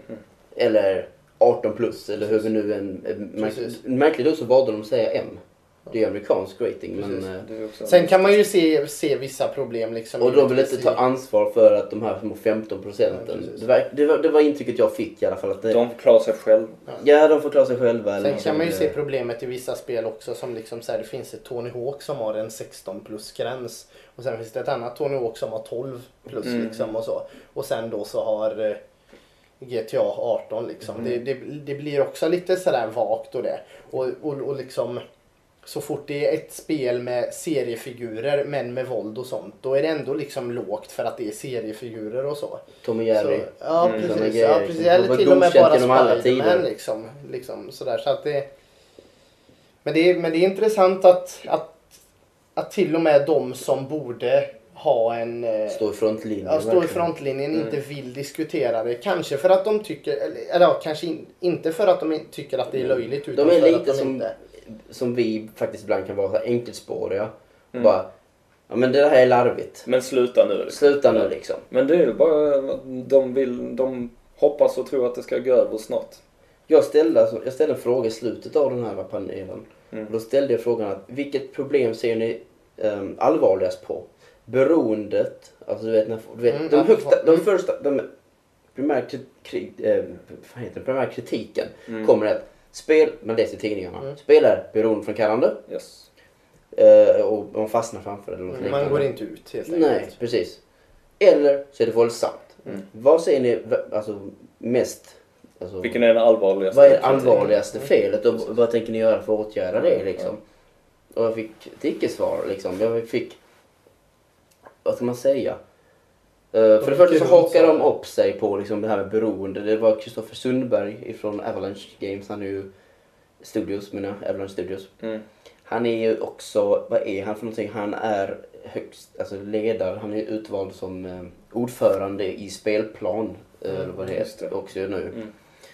Eller arton plus eller hur vi nu en... Märkligt, märkligt då så valde de att säga M. Det är amerikansk rating. Men, sen kan man ju se, se vissa problem. Liksom, och då vill inte ta ansvar för att de här små femton procenten. Ja, det, var, det, var, det var intrycket jag fick i alla fall. Att det, de får klara sig själva. Ja, ja de får klara sig själva. Sen kan man ju se problemet i vissa spel också. Som liksom så här, det finns ett Tony Hawk som har en sexton plus gräns. Och sen finns det ett annat Tony Hawk som har tolv plus mm. liksom och så. Och sen då så har eh, G T A arton liksom. Mm. Det, det, det blir också lite sådär vagt och det. Och, och, och liksom... Så fort det är ett spel med seriefigurer men med våld och sånt, då är det ändå liksom lågt för att det är seriefigurer och så. Tom och Jerry. Så, ja, mm. precis. Ja, precis. Eller till och med bara Spiderman liksom, liksom sådär. Så att det, men, det är, men det är intressant att, att, att till och med de som borde ha en... Stå i frontlinjen. Ja, stå i frontlinjen mm. inte vill diskutera det. Kanske för att de tycker, eller, eller ja, kanske in, inte för att de tycker att det är löjligt. Utan de är för lite att de som... inte... som vi faktiskt ibland kan vara så enkelspåriga. Mm. Bara, ja men det här är larvigt. Men sluta nu. Liksom. Sluta nu liksom. Men det är ju bara, de vill, de hoppas och tror att det ska gå över snart. Jag ställde, alltså, jag ställde en fråga i slutet av den här panelen. Mm. Då ställde jag frågan att vilket problem ser ni um, allvarligast på? Beroendet, alltså du vet, när, du vet mm, de, högsta, de första, de primär, kri, eh, vad heter det, primär kritiken mm. kommer att spel, man läser i tidningarna. Mm. Spel är beroendeframkallande. Yes. Uh, och man fastnar framför det. Eller mm, man går inte ut helt enkelt. Nej, precis. Eller så är det våldsamt. Mm. Vad säger ni alltså, mest? Alltså, vilken är den allvarligaste? Vad är det allvarligaste mm. felet? Och vad tänker ni göra för att åtgärda det? Liksom? Och jag fick ett icke-svar. Liksom. Jag fick... Vad ska man säga? Uh, för det första så hakar de upp sig på liksom, det här med beroende. Det var Kristoffer Sundberg från Avalanche Games. Han är ju Studios, menar Avalanche Studios. Mm. Han är ju också, vad är han för någonting? Han är högst, alltså ledare. Han är utvald som uh, ordförande i spelplan. Uh, mm, vad det heter också nu. Mm.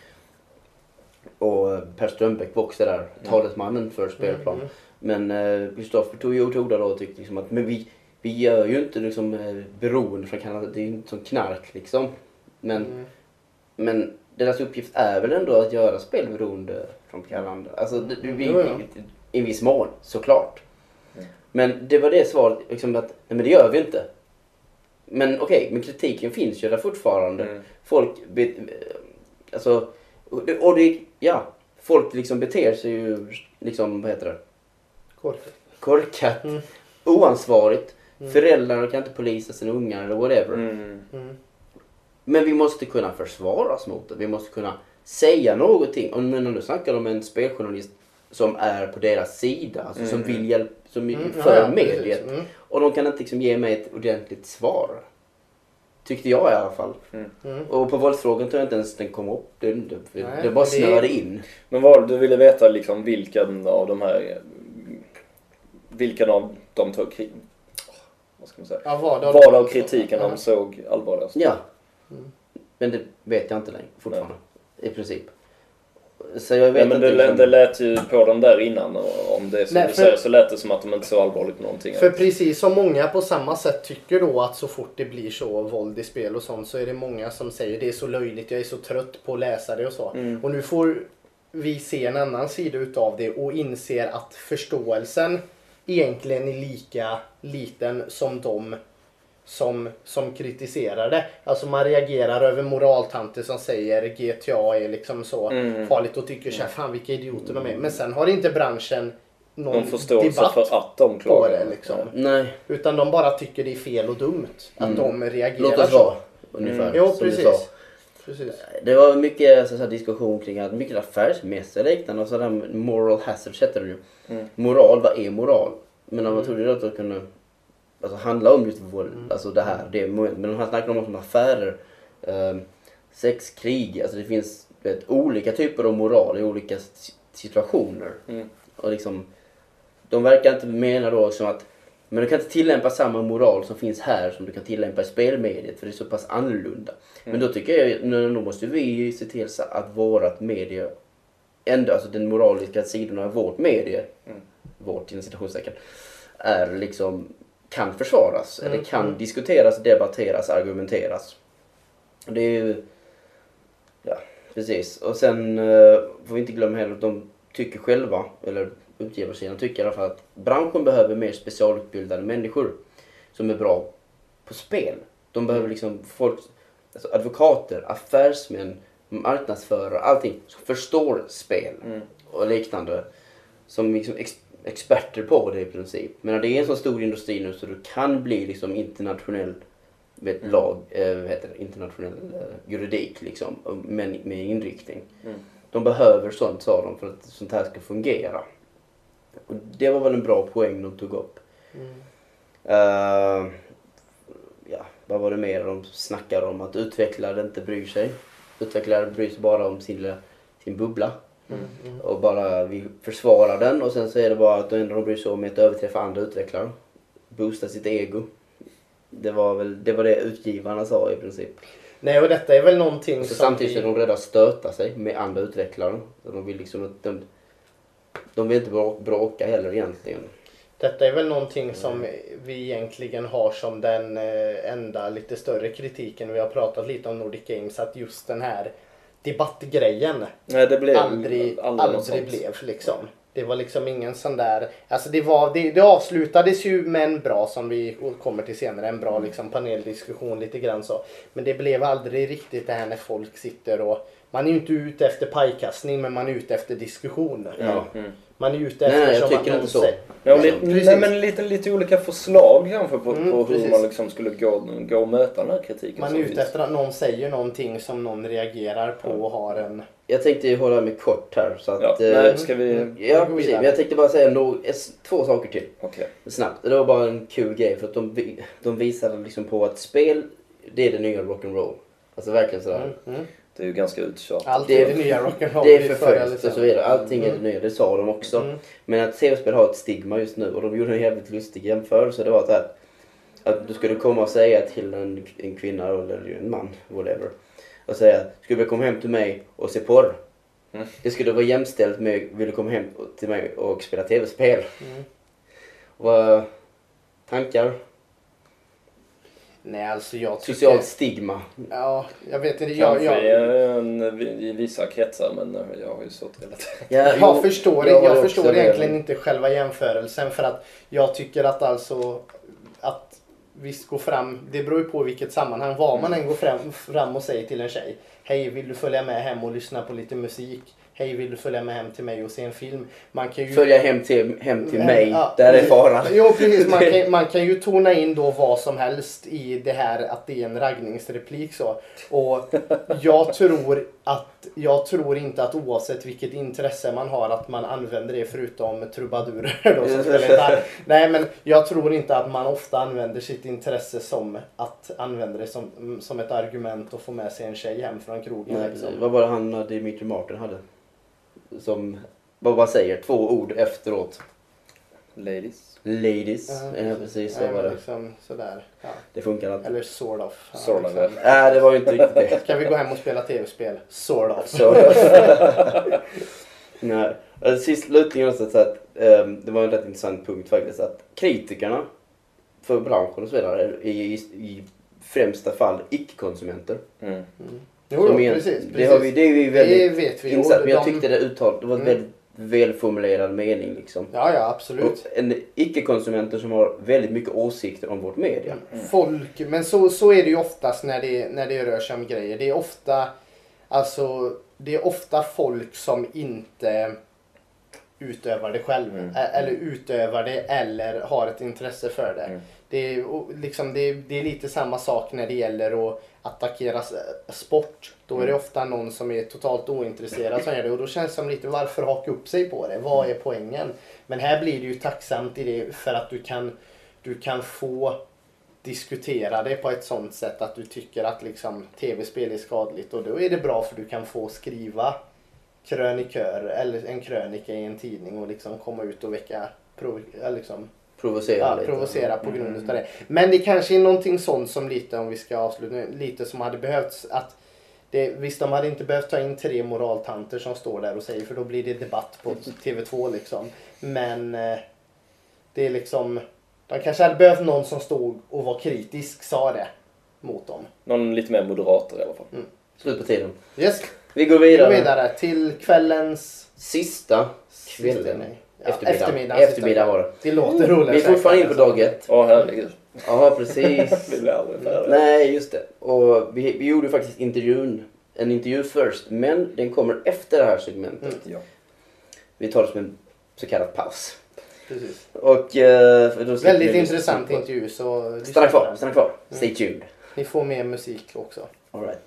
Och Per Strömbäck var också där, mm. talesmannen för spelplan. Mm. Men Kristoffer uh, tog ju åt orda då och tyckte liksom att men vi Vi gör ju inte liksom eh, beroende från Kanada, det är ju inte som knark liksom. Men, mm. men deras uppgift är väl ändå att göra spel beroende från Kanada. Alltså det, det, vi, mm. i, i en viss mån, såklart. Mm. Men det var det svaret, liksom att nej men det gör vi inte. Men okej, okay, men kritiken finns ju där fortfarande. Mm. Folk, be, alltså, och det, och det, ja, folk liksom beter sig ju liksom, vad heter det? Korkat. Korkat. Mm. Oansvarigt. Mm. Föräldrar kan inte polisa sina ungar eller whatever. Mm. Mm. Men vi måste kunna försvara oss mot det. Vi måste kunna säga någonting. Och när du snackar om en speljournalist som är på deras sida. Alltså mm. som vill hjälpa, som mm. för ja, mediet. Mm. Och de kan inte liksom ge mig ett ordentligt svar. Tyckte jag i alla fall. Mm. Mm. Och på våldsfrågan tror jag inte ens den kom upp. Det, det, Nej, det bara snöade in. Men vad du ville veta liksom vilken av de här... Vilken av de tog krig... Vad ska man säga? Ja, vad, vad av kritiken de såg allvarligast? Ja. Mm. Men det vet jag inte längre fortfarande. Nej. I princip. Så jag vet ja, men inte det, liksom... det lät ju på dem där innan. Och om det är som Nej, du för... säger så lät det som att de inte så allvarligt på någonting. För precis som många på samma sätt tycker då att så fort det blir så våld i spel och sånt så är det många som säger det är så löjligt, jag är så trött på att läsa det och så. Mm. Och nu får vi se en annan sida utav det och inser att förståelsen egentligen är lika liten som de som, som kritiserar det. Alltså man reagerar över moraltanter som säger G T A är liksom så mm. farligt och tycker så här, fan vilka idioter de är. Men sen har inte branschen någon de förståelse för att de klarar på det liksom. Nej. Utan de bara tycker det är fel och dumt att mm. de reagerar Låt oss så. Vara, ungefär, mm. Jo, precis. precis. Det var mycket så här, diskussion kring att mycket affärsmässiga liknande och sådär moral hazard heter det ju. Mm. Moral, vad är moral? Men om man trodde att det kunde alltså, handla om just våld, mm. alltså det här, det, men de här snackar om affärer, eh, sex, krig, alltså det finns vet, olika typer av moral i olika situationer. Mm. Och liksom, de verkar inte mena då som att, men du kan inte tillämpa samma moral som finns här som du kan tillämpa i spelmediet, för det är så pass annorlunda. Mm. Men då tycker jag, nu, nu måste vi se till så att vårat medie, ändå, alltså den moraliska sidan av vårt medie, mm. vårt inom citationstecken, är liksom kan försvaras mm. eller kan mm. diskuteras, debatteras, argumenteras. Det är ju ja, Precis. Och sen uh, får vi inte glömma heller att de tycker själva, eller utgivarsidan tycker i alla fall, att branschen behöver mer specialutbildade människor som är bra på spel. De behöver liksom folk, alltså advokater, affärsmän, marknadsförare, allting som förstår spel mm. och liknande. Som liksom ex- experter på det i princip. Men det är en så stor industri nu så du kan bli liksom internationell vet, mm. lag, eh, vad heter det, internationell eh, juridik liksom, men med inriktning. Mm. De behöver sånt, sa de, för att sånt här ska fungera. Och det var väl en bra poäng de tog upp. Mm. Uh, ja, vad var det mer de snackade om? Att utvecklare inte bryr sig. Utvecklare bryr sig bara om sin, sin bubbla. Mm, mm. Och bara vi försvarar den. Och sen så är det bara att det enda de bryr sig om är att överträffa andra utvecklare. Boosta sitt ego. Det var väl det, var det utgivarna sa i princip. Nej, och detta är väl någonting så som samtidigt vi... är de rädda att stöta sig med andra utvecklare. De vill liksom att de, de vill inte bråka heller egentligen. Detta är väl någonting som vi egentligen har som den enda lite större kritiken. Vi har pratat lite om Nordic Games, att just den här debattgrejen Nej, det blev aldrig, aldrig, aldrig blev liksom. Det var liksom ingen sån där, alltså det var, det, det avslutades ju med en bra, som vi kommer till senare, en bra liksom paneldiskussion lite grann så. Men det blev aldrig riktigt det här när folk sitter och, man är ju inte ute efter pajkastning, men man är ute efter diskussion. Ja. Mm. Man är ute efter, nej, jag som tycker att inte så. Ja, li- nej, men lite, lite olika förslag kanske på, mm, på hur precis. man liksom skulle gå, gå och möta den här kritiken. Man är ute efter att någon säger någonting som någon reagerar på och har en... Jag tänkte ju hålla mig kort här så att... Ja, eh, nej, ska vi... Ja, precis. Men jag tänkte bara säga no, två saker till. Okej. Snabbt. Det var bara en kul grej för att de, de visade liksom på att spel, det är det nya rock'n'roll. Alltså verkligen sådär. Mm, mm. Det är ju ganska uttjatat. Allt är det nya rock'n'roll. Det är förföljt och så vidare. Allting är det mm. nya, det sa de också. Mm. Men att tv-spel har ett stigma just nu och de gjorde en jävligt lustig jämförelse. Det var att, här, att du skulle komma och säga till en, en kvinna eller en man, whatever. Och säga, skulle du komma hem till mig och se porr? Mm. Det skulle vara jämställt med, vill du komma hem till mig och spela tv-spel? Mm. Vad tankar? Nej, alltså jag tycker... Socialt stigma. Ja, jag vet inte. Jag, Kanske jag... en, i vissa kretsar, men jag har ju så relaterat. Ja, jag förstår, jag jag förstår det. egentligen inte själva jämförelsen, för att jag tycker att alltså att visst gå fram, det beror ju på vilket sammanhang. Var man än går fram, fram och säger till en tjej, hej, vill du följa med hem och lyssna på lite musik? Hej, vill du följa med hem till mig och se en film? Man kan ju... Följa hem till, hem till Men, mig, ja, där är faran. Jo, precis. Man kan, man kan ju tona in då vad som helst i det här, att det är en raggningsreplik så. Och jag tror att, jag tror inte att oavsett vilket intresse man har att man använder det, förutom trubadurer då som spelar. Nej, men jag tror inte att man ofta använder sitt intresse som att använda det som, som ett argument att få med sig en tjej hem från krogen. Nej, liksom. vad var det han, Dimitri Martin hade? Som, vad man säger, två ord efteråt. Ladies. Ladies, uh, ja precis så nej, var det. Liksom, sådär. Ja. Det funkar inte. Eller sort of. Ja, sort of. liksom. Nej, det var ju inte riktigt det. Ska vi gå hem och spela tv-spel? Sort of. Sort of. Nej. Sist slutligen också så att um, det var en rätt intressant punkt faktiskt, att kritikerna för branschen och så vidare är i, i främsta fall icke-konsumenter. Mm. Mm. Jo, jo, igen, precis, precis. Det, har vi, det är vi väldigt det vet vi. insatt, men jag de... tyckte det uttalet, det var en mm. väldigt välformulerad mening liksom. Ja, ja, absolut. Och en icke-konsumenter som har väldigt mycket åsikter om vårt media. Mm. Folk, men så, så är det ju oftast när det, när det rör sig om grejer. Det är ofta, alltså, det är ofta folk som inte utövar det själv. Mm. Eller utövar det eller har ett intresse för det. Mm. Det är, liksom, det, är, det är lite samma sak när det gäller att attackera sport. Då är det ofta någon som är totalt ointresserad som gör det. Och då känns det som lite, varför haka upp sig på det? Vad är poängen? Men här blir det ju tacksamt i det för att du kan, du kan få diskutera det på ett sånt sätt att du tycker att liksom, tv-spel är skadligt. Och då är det bra för du kan få skriva krönikör eller en krönika i en tidning och liksom komma ut och väcka liksom, provocera, ja, lite. provocera på grund mm. av det. Men det kanske är någonting sånt som lite, om vi ska avsluta, lite som hade behövts att det, visst, de hade inte behövt ta in tre moraltanter som står där och säger, för då blir det debatt på T V två liksom. Men eh, det är liksom, de kanske hade behövt någon som stod och var kritisk, sa det mot dem. Någon lite mer moderator i alla fall. Mm. Slut på tiden. Yes. Vi går Vi vidare. går vidare till kvällens... Sista kvällen. Sista, nej. Ja, Eftermiddag. eftermiddag. Eftermiddag var det. Det låter roligt. Vi är fortfarande inne på dag ett. Åh herregud. Ja, precis. Vi blir aldrig färdiga. Nej, just det. Och vi, vi gjorde faktiskt intervjun, en intervju först, men den kommer efter det här segmentet. Mm. Ja. Vi tar det som en så kallad paus. Precis. Och, eh, för då slipper Väldigt ni intressant lyssna på- intervju. Så Stanna kvar, stanna kvar. Stay tuned. Ni får mer musik också. All right.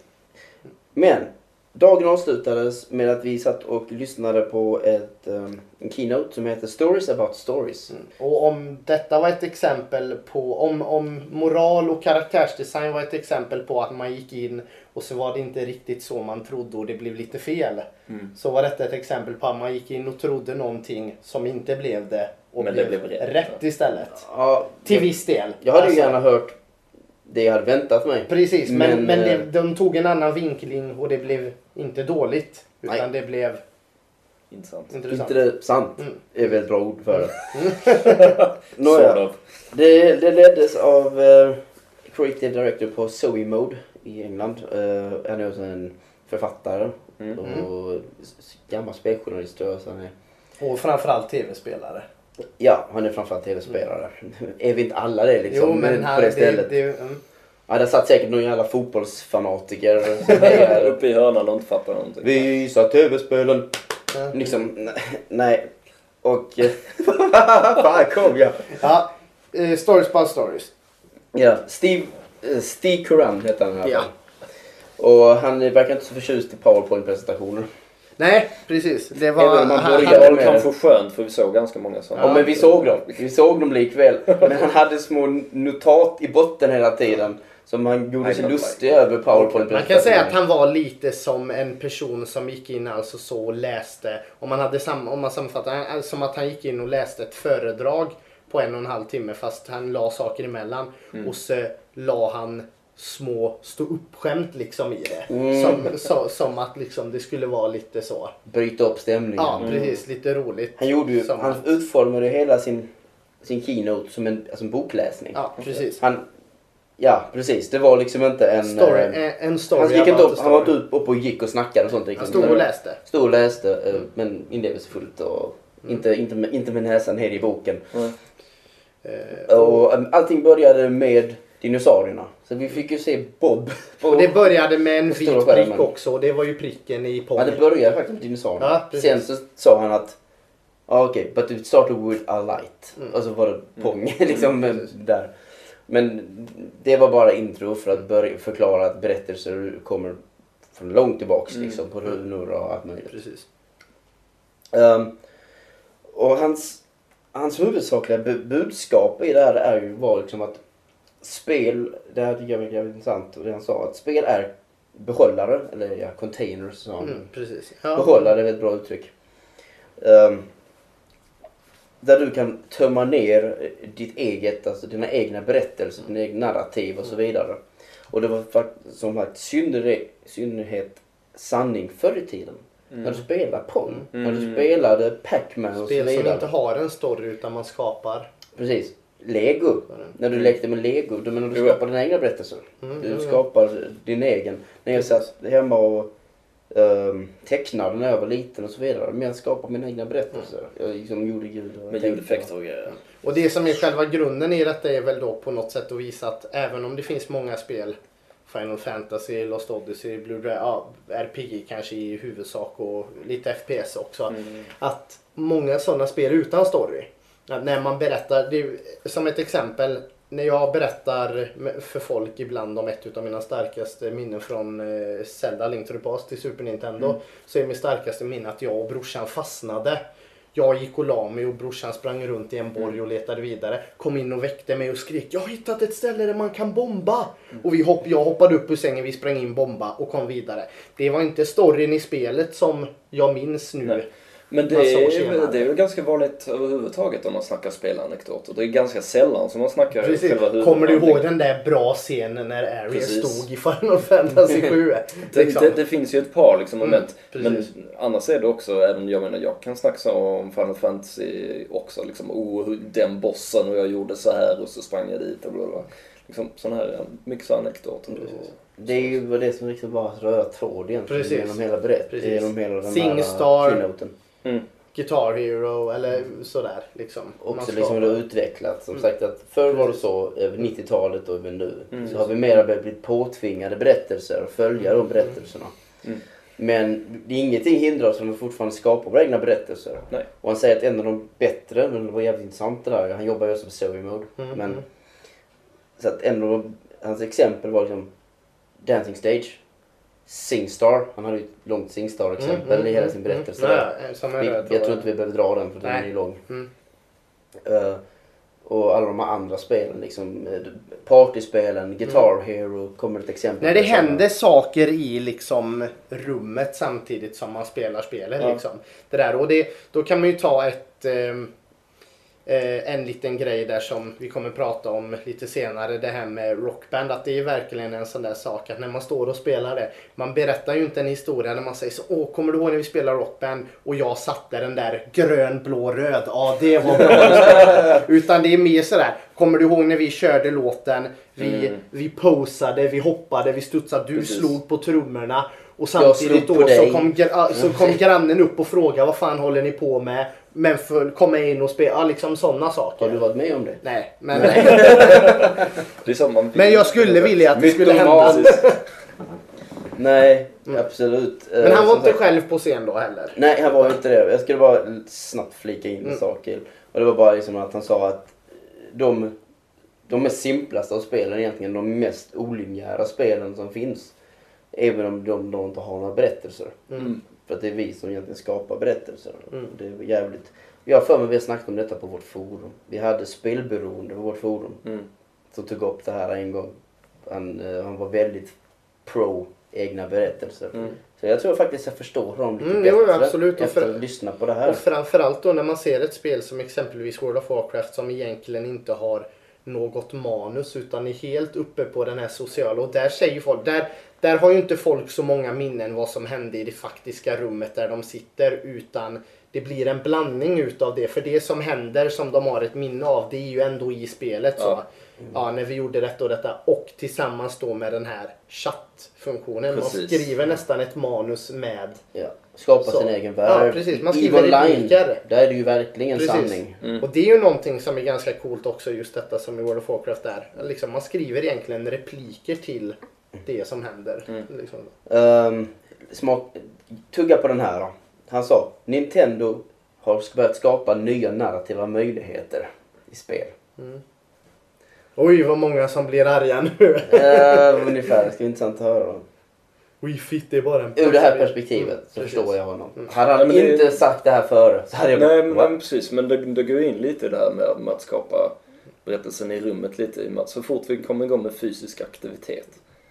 Men dagen avslutades med att vi satt och lyssnade på ett, um, en keynote som heter Stories about stories. Mm. Och om detta var ett exempel på, om, om moral och karaktärsdesign var ett exempel på att man gick in och så var det inte riktigt så man trodde och det blev lite fel. Mm. Så var detta ett exempel på att man gick in och trodde någonting som inte blev det och Men det blev, blev rätt. rätt istället. Ja, Till jag, viss del. jag hade ju Alltså, gärna hört det jag hade väntat mig. Precis, men, Men, men, det, eh, de tog en annan vinkling och det blev inte dåligt. Utan Nej. det blev Intressant. intressant. Intressant Mm. är väl ett bra ord för det. Sort Nåja, of. det, det leddes av uh, Creative Director på Zoe Mode i England. Uh, han är också en författare Mm. och s- gammal speljournalist tror jag. Så han är. Och framförallt tv-spelare. Ja, han är framförallt tv-spelare. Är vi inte alla det liksom? Jo, men Men här, på det det, stället. det, mm. Ja, det satt säkert någon jävla fotbollsfanatiker som hejar. Uppe i hörnan och inte fattar någonting. Visa tv-spelen. Mm. Liksom, nej, nej. Och... eh, Fan, kom jag. Ja, eh, stories about stories. Ja, Steve, eh, Steve Curran heter han i alla Ja. fall. Och han verkar inte så förtjust i PowerPoint-presentationer. Nej, precis. Det var... Även om man han- börjar- Det han- var kanske skönt för vi såg ganska många sådana. Ja, men vi såg dem. Vi såg dem likväl. Men han hade små notat i botten hela tiden. Som han gjorde I sig don't lustig över PowerPoint-presentationer. Man kan säga att han var lite som en person som gick in alltså så och läste. Om man, hade sam, om man sammanfattar han- som att han gick in och läste ett föredrag på en och en halv timme fast han la saker emellan. Mm. Och så la han små stå upp-skämt liksom i det. Mm. Som, så, som att liksom det skulle vara lite så. Bryta upp stämningen. Ja, precis. Lite roligt. Han, gjorde ju, Som han att- utformade hela sin, sin keynote som en, alltså en bokläsning. Ja, precis. Han, ja, precis. Det var liksom inte en... Story, eh, en, en story han gick inte about upp, a han var story. inte upp och gick och snackade och sånt. Han Liksom. stod och läste. Stod och läste, eh, men inlevelsefullt och inte, inte, med, inte med näsan ner i boken. Mm. Eh, Och eh, allting började med dinosaurierna. Så vi fick ju se Bob. På, Och det började med en på stora vit skärmen. prick också. Och det var ju pricken i Ja, ponnyn. det började faktiskt med dinosaurierna. Ja, precis. Sen så sa han att ja, okej, but it started with a light. Mm. Och så var det pång liksom Mm, precis. där. Men det var bara intro för att börja förklara att berättelser kommer från långt tillbaks Mm. liksom, på runor och allt möjligt. Precis. Um, och hans, hans huvudsakliga bu- budskap i det här är ju, var liksom att spel, det här tycker jag är jävligt intressant, och det han sa, att spel är behållare, eller ja, containers sa han. Mm, precis. Ja. Behållare är ett bra uttryck. Um, där du kan tömma ner ditt eget, alltså dina egna berättelser, dina egna narrativ och så vidare. Och det var faktiskt som sagt synnerhet, synnerhet sanning förr i tiden. Mm. När du spelade Pong, Mm. när du spelade Pac-Man och så Spel som vidare. inte har en story utan man skapar. Precis. Lego. När du lekte med Lego, då menar du Jo. skapar dina egna berättelser. Mm, Du jo, jo. skapar din egen. När jag satt hemma och um, tecknade när jag var liten och så vidare. Men jag skapade mina egna berättelser. Jag liksom gjorde ljud och Med tänkte. ljudeffekter och grejer. Och det som är själva grunden i detta är väl då på något sätt att visa att även om det finns många spel, Final Fantasy, Lost Odyssey, Blue Dragon, ja, R P G kanske i huvudsak och lite F P S också. Mm. Att många sådana spel utan story. Att när man berättar, det är, som ett exempel, när jag berättar för folk ibland om ett av mina starkaste minnen från eh, Zelda Link to the Past till Super Nintendo, Mm. så är mitt starkaste minne att jag och brorsan fastnade. Jag gick och la mig och brorsan sprang runt i en borg och letade vidare. Kom in och väckte mig och skrek: jag har hittat ett ställe där man kan bomba. Och vi hopp, jag hoppade upp ur sängen, vi sprang in, bomba och kom vidare. Det var inte storyn i spelet som jag minns nu. Nej. Men det Massa år är, senare. det är ju ganska vanligt överhuvudtaget om man snackar spelanekdoter. Det är ganska sällan som man snackar Precis. själva huvudhandlingen. Kommer du ihåg den där bra scenen när Ares Precis. stod i Final Fantasy sju? Det, liksom. det, det finns ju ett par liksom Mm, moment. Men precis. annars är det också, även jag menar jag kan snacka om Final Fantasy också. Liksom, oh, hur- den bossen och jag gjorde så här och så sprang jag dit och bla bla. Liksom sådana här, mycket så anekdoter. Precis. Det är ju det som liksom bara röra tråd egentligen. Precis. Genom hela berätt. Precis. Genom hela den Singstar. här keynoten. Mm. Guitar Hero eller sådär liksom. Man Också ska- liksom det har utvecklats. Som Mm. sagt att förr var det så över nittiotalet och över nu. Mm. Så har vi mera blivit påtvingade berättelser och följa de berättelserna. Mm. Men det är ingenting hindrar oss från att fortfarande skapa våra egna berättelser. Nej. Och han säger att en av de bättre, men det var jävligt intressant det där. Han jobbar ju också på Story Mode. Mm. Men så att en av de, hans exempel var liksom Dancing Stage. Singstar. Han hade ju ett långt Singstar-exempel Mm, mm, i hela mm, sin berättelse. mm. där. Nej, som en Vi, röd jag tror tråd. inte vi behöver dra den för den Nej. är ju lång. Mm. Uh, och alla de här andra spelen, liksom eh, partyspelen, Guitar Hero kommer ett exempel. När det på sådana. händer saker i liksom rummet samtidigt som man spelar spelet. Ja. Liksom. Det där. Och det, då kan man ju ta ett, ehm, eh, en liten grej där som vi kommer prata om lite senare. Det här med rockband. Att det är verkligen en sån där sak att när man står och spelar det. Man berättar ju inte en historia när man säger så. Åh, kommer du ihåg när vi spelade rockband och jag satte den där grön, blå, röd. Ja, det var bra. Utan det är mer sådär. Kommer du ihåg när vi körde låten? Vi, Mm. vi posade, vi hoppade, vi studsade. Du Precis. slog på trummorna. Och Jag samtidigt slog på då så dig. kom, gra- så kom grannen upp och frågade vad fan håller ni på med? Men för komma in och spela, ja, liksom sådana saker. Har du varit med om det? Nej, men, Det är så man vill. men jag skulle vilja att det skulle hända. Mytomaniskt. Nej, absolut. Men Eh, han var som inte sagt- själv på scen då heller. Nej, han var ju inte det. Jag skulle bara snabbt flika in en Mm. sak till. Och det var bara liksom att han sa att de, de mest simplaste av spelen är egentligen de mest olinjära spelen som finns. Även om de då inte har några berättelser. Mm. För att det är vi som egentligen skapar berättelser. Mm. Det är jävligt. Jag har för mig att vi har snackat om detta på vårt forum. Vi hade spelberoende på vårt forum. Mm. Som tog upp det här en gång. Han, eh, han var väldigt pro egna berättelser. Mm. Så jag tror faktiskt jag förstår dem lite Mm, bättre jo, absolut. Och efter för- att lyssna på det här. Och framförallt då när man ser ett spel som exempelvis World of Warcraft som egentligen inte har något manus utan är helt uppe på den här sociala. Och där säger folk, där, där har ju inte folk så många minnen vad som hände i det faktiska rummet där de sitter, utan det blir en blandning utav det. För det som händer som de har ett minne av, det är ju ändå i spelet. Så. Ja. Ja, när vi gjorde detta och detta. Och tillsammans då med den här chattfunktionen. Man Precis. skriver nästan ett manus med. Ja. Skapa Så. sin egen Ja, värld. precis. Man EVE skriver Online, repliker. där är det ju verkligen Precis. sanning. Mm. Och det är ju någonting som är ganska coolt också, just detta som i World of Warcraft är. Liksom, man skriver egentligen repliker till det som händer. Mm. Liksom. Um, smak, tugga på den här då. Han sa, Nintendo har börjat skapa nya narrativa möjligheter i spel. Oj, vad många som blir arga nu. uh, ungefär, det ska bli intressant att höra. Då. Wii Fit det är bara en... Ur det här perspektivet Mm, så precis. förstår jag honom. Mm. Hade han Nej, men det- inte sagt det här före så hade jag Nej, bara, men "What?" precis. Men det, det går in lite i det här med, med att skapa berättelsen i rummet lite. I och med att så fort vi kommer igång med fysisk aktivitet.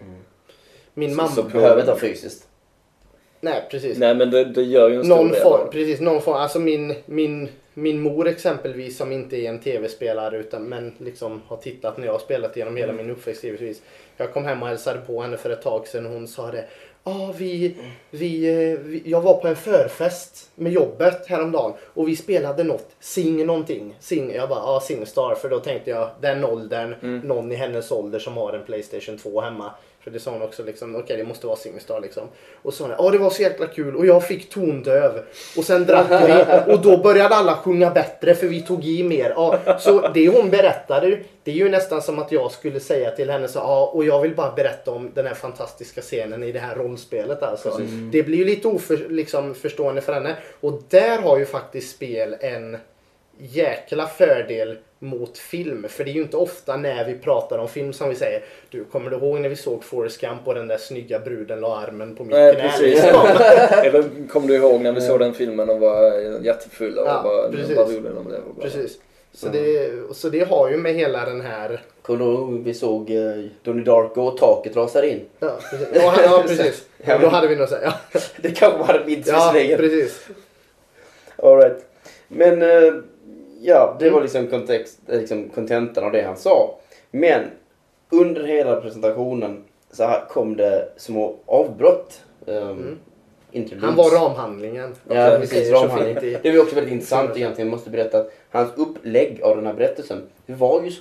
Min Så- mamma... så- behöver inte ha fysiskt. Nej, precis. Nej, men det, det gör ju en stor Någon del. form, precis, någon form. Alltså min, min, min mor exempelvis som inte är en tv-spelare utan men liksom har tittat när jag har spelat genom hela min uppväxt givetvis. Jag kom hem och hälsade på henne för ett tag sedan och hon sa det. Ja, ah, vi, vi, eh, vi, jag var på en förfest med jobbet häromdagen och vi spelade något, Sing någonting. Sing, jag bara, ja ah, Singstar, för då tänkte jag den åldern, Mm. någon i hennes ålder som har en PlayStation två hemma. För det sa hon också liksom, okej okay, det måste vara Singstar liksom. Och så sa hon, ja det var så jäkla kul och jag fick tondöv. Och sen drack vi och då började alla sjunga bättre för vi tog i mer. Ja, så det hon berättade, det är ju nästan som att jag skulle säga till henne så, ja och jag vill bara berätta om den här fantastiska scenen i det här rollspelet alltså. Mm. Det blir ju lite oförstående liksom, förstående för henne. Och där har ju faktiskt spel en jäkla fördel mot film. För det är ju inte ofta när vi pratar om film som vi säger, du kommer du ihåg när vi såg Forrest Gump och den där snygga bruden la armen på mitt Nej, knä? precis. Liksom. Eller kom du ihåg när vi såg den filmen och var jättefulla och Ja, bara, precis. bara roliga de blev. och bara- Precis. Så det, så det har ju med hela den här... Kommer du ihåg vi såg eh, Donnie Darko och taket rasade in? Ja, precis. Ja, ja, precis. Ja, men- Då hade vi nog sagt, ja. Det kanske hade blivit Ja, visserligen. precis. All right. Men eh, ja, det var liksom kontext, eh, liksom kontentan av det han sa. Men under hela presentationen så här kom det små avbrott. Um, Mm. interludes. Han var ramhandlingen. Ja, Vi precis. säger så Ramhandling. fint i- Det var också väldigt intressant egentligen. Jag måste berätta att hans upplägg av den här berättelsen, det var ju som en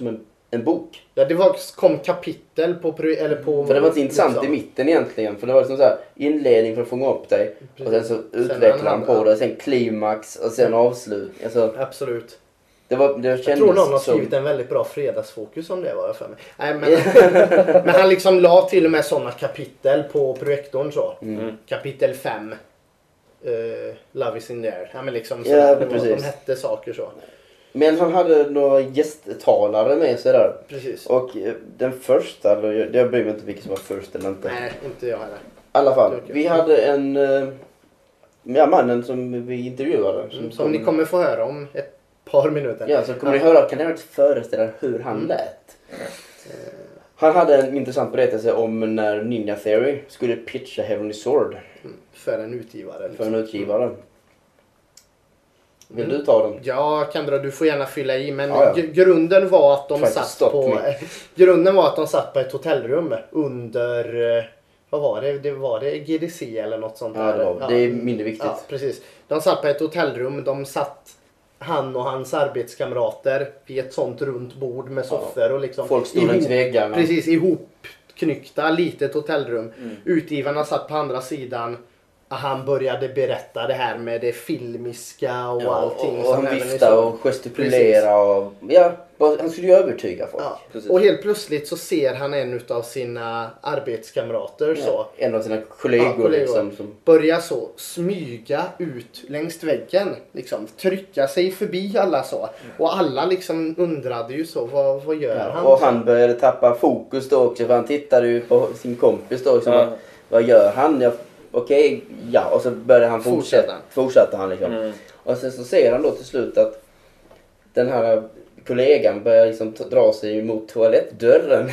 en bok. Ja, det var, kom kapitel på... Eller på För det var inte intressant liksom. i mitten egentligen. För det var liksom så här inledning för att fånga upp dig. Precis. Och sen så Sen utvecklade han han- på ja. det. Sen klimax och sen avslut. Alltså, Absolut. det var, det Jag kändes tror någon har som- skrivit en väldigt bra fredagsfokus om det, var jag för mig. Nej, men, men han liksom la till och med sådana kapitel på projektorn så. Mm. Kapitel fem. Uh, Love is in there. Ja, men liksom, så Ja, det var, precis. de hette saker så. Men han hade några gästtalare med sig där. Precis. Och eh, den första, eller jag bryr mig inte vilken som var först eller inte. Nej, inte jag heller. I alla fall, Okej. vi hade en... eh, Ja, mannen som vi intervjuade. Mm, som ni kommer få höra om ett par minuter. Ja, så kommer ni höra, kan ni höra föreställa er hur han Mm. lät? Han hade en intressant berättelse om när Ninja Theory skulle pitcha Heavenly Sword Mm, för en utgivare. för Liksom. en utgivare. Vill Mm. du ta den? Ja, Kendra, du får gärna fylla i. Men Ja, ja. g- grunden var att de Try to satt stop på... me. grunden var att de satt på ett hotellrum under... eh, Vad var det? Det var det G D C eller något sånt Ja, där? det, var, det är mindre viktigt. Ja, precis. De satt på ett hotellrum. De satt, han och hans arbetskamrater, vid ett sånt runt bord med soffor och liksom... Folk stod längs väggarna. Precis, ihopknyckta, litet hotellrum. Mm. Utgivarna satt på andra sidan. Han började berätta det här med det filmiska och Ja, allting. och, och som han även viftade är så. och gestikulerade och... Ja, bara- han skulle ju övertyga folk. Ja. Precis. Och helt plötsligt så ser han en av sina arbetskamrater så. Ja, en av sina kollegor, Ja, kollegor. liksom. Som, Börja så smyga ut längs väggen. Liksom, trycka sig förbi alla så. Och alla liksom undrade ju så, vad, vad gör ja, han? och han började tappa fokus då också, för han tittade ju på sin kompis då. Liksom, Ja. vad, vad gör han? Ja, Okej, ja. Och så började han fortsätta. Fortsätta. Fortsatte han liksom. Mm. Och sen så ser han då till slut att den här kollegan börjar liksom t- dra sig mot toalettdörren.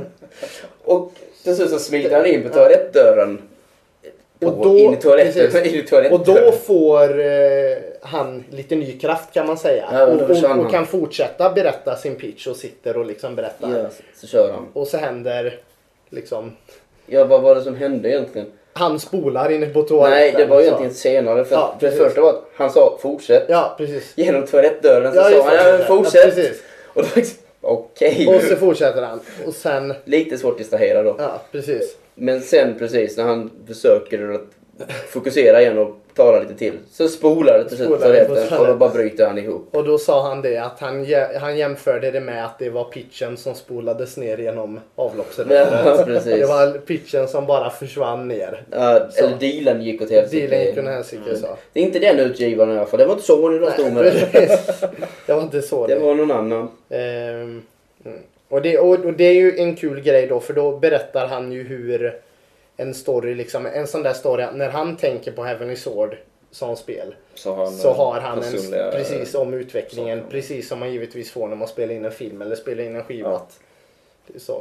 Och till slut så smiter han in på toalettdörren. På, Och då- in i toaletten. precis. In i toaletten. Och då får eh, han lite ny kraft kan man säga. Ja, och då och, försvann och, och han. kan fortsätta berätta sin pitch och sitter och liksom berättar. Ja, så, så kör han. Och så händer liksom... Ja, vad var det som hände egentligen? Han spolar inne på toaletten. Nej, det var ju så. egentligen senare. För, Ja, för det precis. första var att han sa fortsätt. Ja, precis. Genom toalettdörren så Ja, sa just han det. ja, Ja, fortsätt. precis. Och då liksom, okej. Och så fortsätter han. Och sen... Lite svårt att distrahera då. Ja, precis. Men sen precis när han försöker att fokusera igen och tala lite till så spolar det till slut Spolar det på toaletten och då toaletten. bara bryter han ihop. Och då sa han det att han, jä- han jämförde det med att det var pitchen som spolades ner genom avloppsröret. Ja, precis. Det var pitchen som bara försvann ner. Ja, Så. eller dealen gick åt helsike. Dealen gick åt helsike så. Det är inte den utgivaren i alla fall. Det var inte Sony de stod med det. Precis. Det var inte så. Det var någon annan. Ehm, mm. och, det, och, och det är ju en kul grej då, för då berättar han ju hur en story, liksom, en sån där story, när han tänker på Heavenly Sword som spel, Så har han, så har han personliga- en, precis om utvecklingen, saker. precis som man givetvis får när man spelar in en film eller spelar in en skiva. Ja. Att det är så.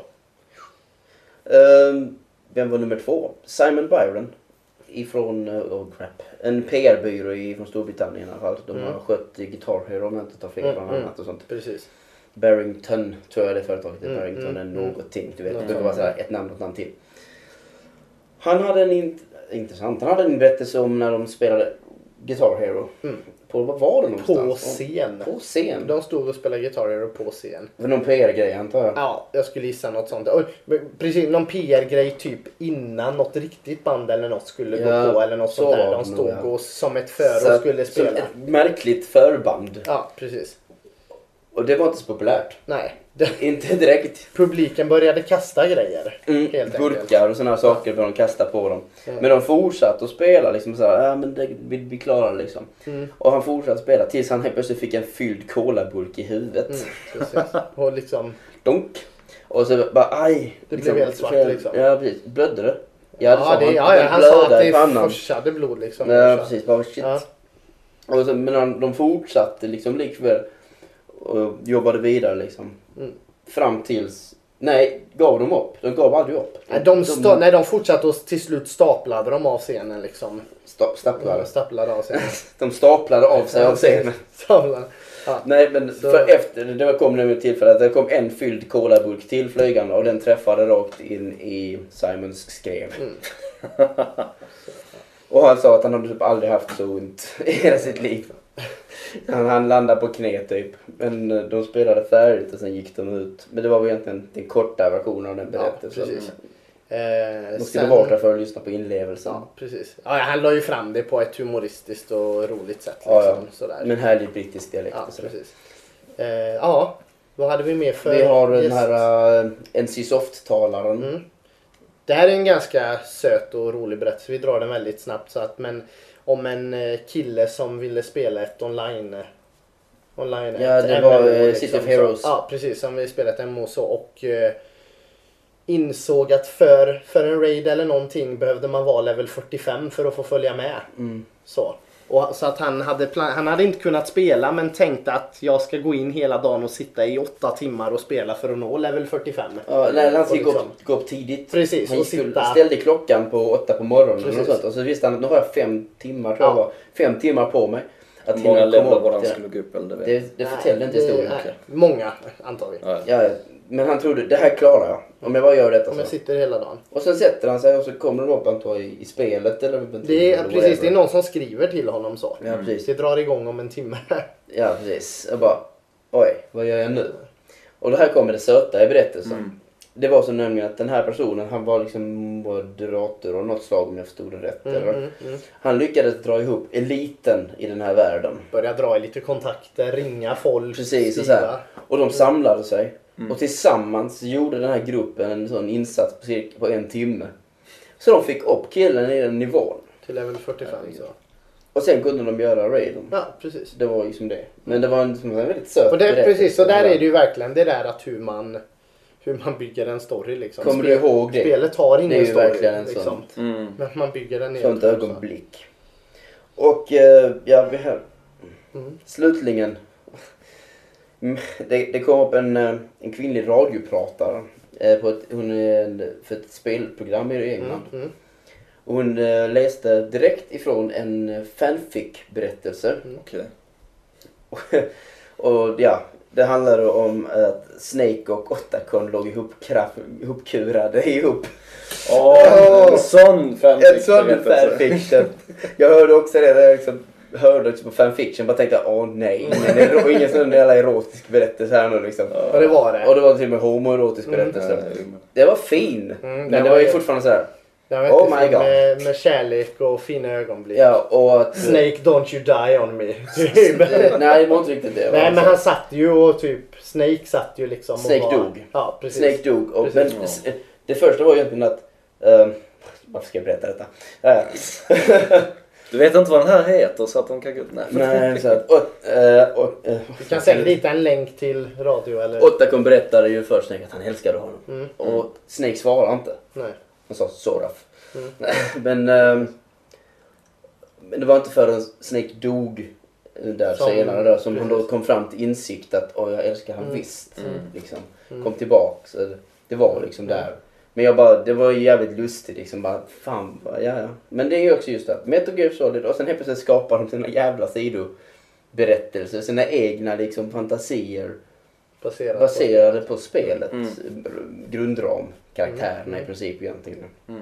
Ehm, vem var nummer två? Simon Byron. Ifrån, uh, oh crap, en P R-byrå i- från Storbritannien i alla fall. De Mm. har skött Guitar Hero om jag inte tar fel Mm, bland mm. annat och sånt. Precis. Barrington tror jag det företaget är. Mm, Barrington mm, är mm. någonting. Du vet, det Mm. brukar vara så här ett namn och ett namn till. Han hade en int- intressant, han hade en berättelse om när de spelade Guitar Hero. Mm. På, vad var det någonstans? På scen. På scen? De stod och spelade Guitar Hero på scen. För någon P R-grej antar jag. Ja, jag skulle gissa något sånt. Och, precis, någon P R-grej typ innan något riktigt band eller något skulle Ja, gå på eller något så sånt där. var De det stod nog, ja. och som ett för Så och att- skulle som spela. ett märkligt förband. Ja, precis. Och det var inte så populärt. Nej. Det, Inte direkt. publiken började kasta grejer. Mm, Helt burkar enkelt. och sådana saker började de kasta på dem. Mm. Men de fortsatte att spela liksom så här, ja men det, vi, vi klarar det liksom. Mm. Och han fortsatte spela tills han helt plötsligt fick en fylld colaburk i huvudet. Mm, precis. Och liksom, Donk. Och så bara aj. Det blev helt svart, fel- liksom. Ja precis. Blödde det? ja, det sa det, han. ja, ja, han sa blödde att i det pannan. forsade blod liksom. Ja precis, bara shit. Ja. Och så, men de, de fortsatte liksom likväl och jobbade vidare liksom. Mm. Fram tills, nej, gav de upp? De gav aldrig upp. Nej, de, sta- nej, de fortsatte och till slut staplade de av scenen liksom. sta, staplade. Staplade av scenen. De staplade av sig av scenen. Staplade. Ja. Nej men Så- för efter, det kom nu ett tillfälle att det kom en fylld colaburk till flygande och den träffade rakt in i Simons skrev. Mm. Och han sa att han hade typ aldrig haft så ont i hela sitt liv. han, han landade på knä typ. Men eh, de spelade färdigt och sen gick de ut. Men det var väl egentligen den korta versionen av den berättelsen. Ja, precis. De Eh, skulle sen- vara där för att lyssna på inlevelsen. Ja, precis. Ja, han la ju fram det på ett humoristiskt och roligt sätt. Liksom, Ja, ja. Sådär. Men härlig brittisk dialekt. Ja, och sådär. precis. Eh, ja, vad hade vi mer för Vi har den gäst? här uh, N C Soft-talaren. Mm. Det här är en ganska söt och rolig berättelse. Vi drar den väldigt snabbt. Så att, men om en eh, kille som ville spela ett online... eh, online Ja, ett det M var, M O, eh, City of Heroes. Så, ja, precis. Som vi spelade ett M M O så. Och eh, insåg att för, för en raid eller någonting behövde man vara level fyrtiofem för att få följa med. Mm. Så. Och, så att han hade, plan- han hade inte kunnat spela men tänkte att jag ska gå in hela dagen och sitta i åtta timmar och spela för att nå level fyrtiofem. Ja, nej, han skulle Och gå, liksom- upp, gå upp tidigt. Precis, Han och skulle, sitta- ställde klockan på åtta på morgonen och, Precis. sånt, och så visste han att nu har jag fem timmar, tror jag Ja. var. Fem timmar på mig. Att Hur många hinna komma levlar upp var han till- skulle gå upp eller det vet Det, det förtäller inte Nej, historien. det- nej, många antagligen. jag. Ja. Ja, men han trodde, det här klarar jag. Om jag bara gör detta Om jag så. sitter hela dagen. Och sen sätter han sig och så kommer de upp antar i, i spelet eller Det är, eller precis, det är whatever. någon som skriver till honom så. Ja, precis. Det drar igång om en timme. Ja, precis. Jag bara, oj, vad gör jag nu? Och det här kommer det söta i berättelsen. Mm. Det var så nämligen att den här personen, han var liksom moderator och något slag om jag förstod det rätt. Mm, eller? mm, mm. Han lyckades dra ihop eliten i den här världen. Börja dra i lite kontakter, ringa folk, Precis, och, så skriva. här. Och de samlade sig. Mm. Och tillsammans gjorde den här gruppen en sån insats på, cirka, på en timme. Så de fick upp killen i den nivån. Till level fyrtiofem. Så. Och sen kunde de göra raiden. Ja, precis. Det var liksom det. Men det var en, som en väldigt söt Och det, berättelse. precis, så där är det ju verkligen det där att hur man, hur man bygger en story. Liksom. Kommer du ihåg det? Spelet har ingen Det är ju story. verkligen en liksom. sånt. Mm. Men man bygger den Sånt helt också. ögonblick. Och eh, ja, vi här. Mm. Slutligen. Mm, Det, det kom upp en, eh, en kvinnlig radiopratare. eh, På ett, hon är en, för ett spelprogram i England. Mm, mm. Och hon eh, läste direkt ifrån en eh, fanfic-berättelse. Okej. Och ja, det handlade om att Snake och Otacon låg ihop kraft, ihopkurade ihop. Åh, en sån fanfic. En sån fanfiction. Jag hörde också det, jag liksom hörde också på fanfiction, bara tänkte åh nej, ingen, ero- ingen sån jävla erotisk berättelse här nu liksom. Och det var det. Och det var till och med homoerotisk Mm. berättelse. Ja, jo, men- Det var fin, Mm, men det det var var ju ju- fortfarande så här. Jag vet Oh inte, my God. med, med kärlek och fina ögonblick. Ja, och att... Snake, don't you die on me. Nej, det var inte riktigt det. Nej, men han satt ju och typ, Snake satt ju liksom Snake och var, dog. Ja, precis. Snake dog. Och, men Precis. det, det första var ju egentligen att... ehm, varför ska jag berätta detta? Ja, ja. Du vet inte vad den här heter så att de kan gå... Nej. Nej, så att... Och, eh, och, eh, Vi kan sända dit en länk till radio eller... Otacon berättade ju först Snake att han älskade honom. Mm. Och Snake svarade inte. Nej. Han sa sort of. Mm. men, ehm, men det var inte förrän Snake dog där Som- senare där, som han då precis. kom fram till insikt att åh, jag älskar han Mm. visst. Mm. Liksom. Mm. Kom tillbaka. Så det, det var liksom där. Men jag bara, det var ju jävligt lustigt liksom. Bara, fan, bara, ja, ja. Men det är ju också just det. Metal Gear Solid och sen helt plötsligt skapar de sina jävla sidoberättelser. Sina egna liksom fantasier. Baserat Baserade på spelet. Mm. Grundram. Karaktärerna Mm. i princip egentligen. Mm.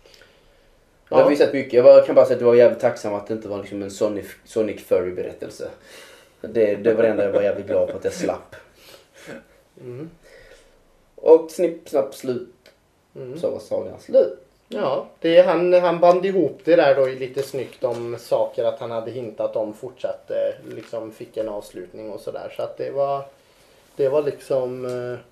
Jag har Ja. visat mycket. Jag var, kan bara säga att jag var jävligt tacksam att det inte var liksom en Sonic, Sonic Furry-berättelse. Det, det var det enda jag var jävligt glad på att jag slapp. Mm. Och snipp, snapp, slut. Mm. Så var sagan slut. Ja, det är, han, han band ihop det där då i lite snyggt om saker att han hade hintat om fortsatte, liksom fick en avslutning och sådär. Så att det var, det var liksom...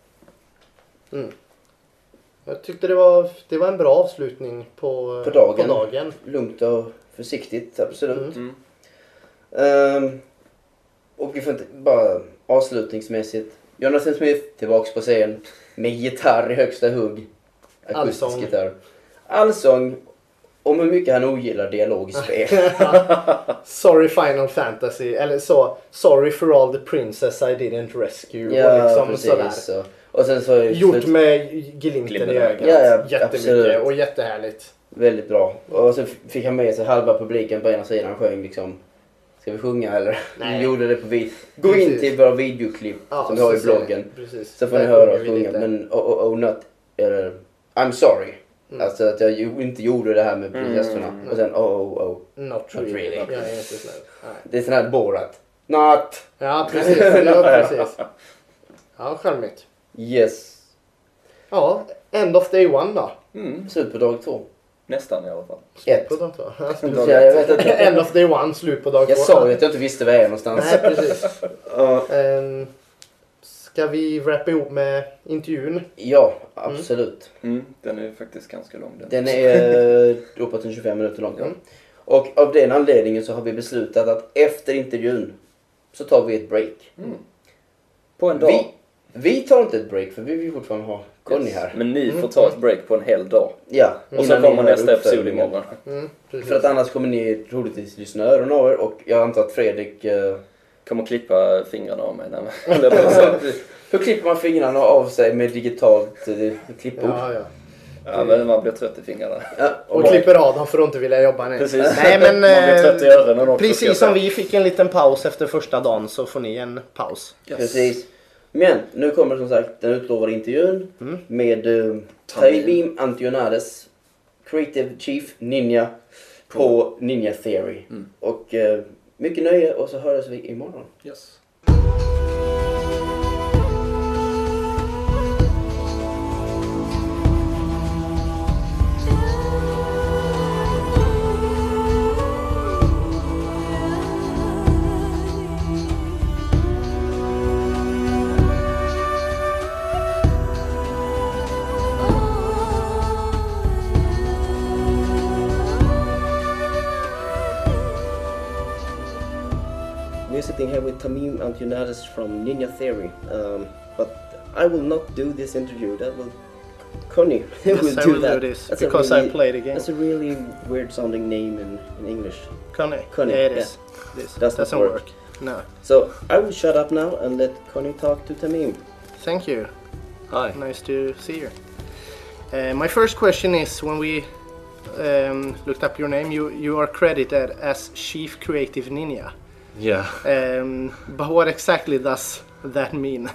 eh, Mm. Jag tyckte det var, det var en bra avslutning på, På dagen. På dagen. Lugnt och försiktigt, absolut. Mm. Mm. Ehm, och vi får inte bara avslutningsmässigt. Jonathan Smith tillbaks på scen med gitarr i högsta hugg. Akustisk Allsång. gitarr. Allsång om hur mycket han ogillar dialog i spel. Sorry Final Fantasy, eller så, sorry for all the princess I didn't rescue. Ja, och liksom precis. sådär. Så. Och sen så är Gjort slut- med glimten Glimten i i ögat. Ja, ja, Jättemycket absolut. och jättehärligt. väldigt bra. Och så fick han med sig halva publiken på ena sidan, sjöng liksom. Ska vi sjunga eller? Nej. Vi gjorde det på vid. Gå in Precis. till våra videoklipp Ja, som vi har i så ser ni. bloggen. Precis. Så får ni Där höra sjunger oss vi sjunga. lite. Men oh, oh, oh not, eller I'm sorry. Mm. Alltså att jag ju inte gjorde det här med Mm. gästerna. Och sen oh oh oh. Not really. really. Jag är inte snäll. Nej. Det är sån här Borat. Not! Ja, precis. Ja, precis. Ja, charmigt. Yes. Ja, end of day one då. Mm. Slut på dag två. Nästan i alla fall. Ett. På dag två. Ja, slut. Ja, jag vet inte. End of day one, slut på dag två. Jag sa ju att jag inte visste var jag är någonstans. Nej, precis. Ja. Um, ska vi wrappa ihop med intervjun? Ja, absolut. Mm. Den är ju faktiskt ganska lång. Den, Den är eh, uppåt en tjugofem minuter lång. Ja. Och av den anledningen så har vi beslutat att efter intervjun så tar vi ett break. Mm. På en dag. Vi, vi tar inte ett break för vi vill fortfarande ha Conny Yes. här. Men ni får ta ett break på en hel dag. Ja, Och så innan ni kommer hör nästa episod uppföljningen. imorgon. Mm, precis. För att annars kommer ni troligtvis lyssna öronen av er och jag antar att Fredrik... Eh, Kommer klippa fingrarna av mig. Nej, men, hur klipper man fingrarna av sig med digitalt eh, klippbord? Ja, ja. ja, men man blir trött i fingrarna. Ja, Och klipper av dem för att inte vilja jobba nu. Precis. Nej, men, Man blir trött i eh, öronen också. ska jag precis säga. som vi fick en liten paus efter första dagen så får ni en paus. Yes. Precis. Men nu kommer som sagt den utlovade intervjun Mm. med uh, Tamim Antionades, Creative Chief Ninja på Ninja Theory. Mm. Och uh, mycket nöje och så hörs vi imorgon. Yes. We're sitting here with Tamim Antionades from Ninja Theory. Um, but I will not do this interview. That will Conny Yes, will I do will that. do this That's a because really- I played the game. That's a really weird sounding name in, in English. Conny. Conny, Yeah, it yeah. is. This Does not doesn't work. work. No. So I will shut up now and let Conny talk to Tamim. Thank you. Hi. Nice to see you. Uh, my first question is when we um, looked up your name, you, you are credited as Chief Creative Ninja. Yeah. Um, but what exactly does that mean?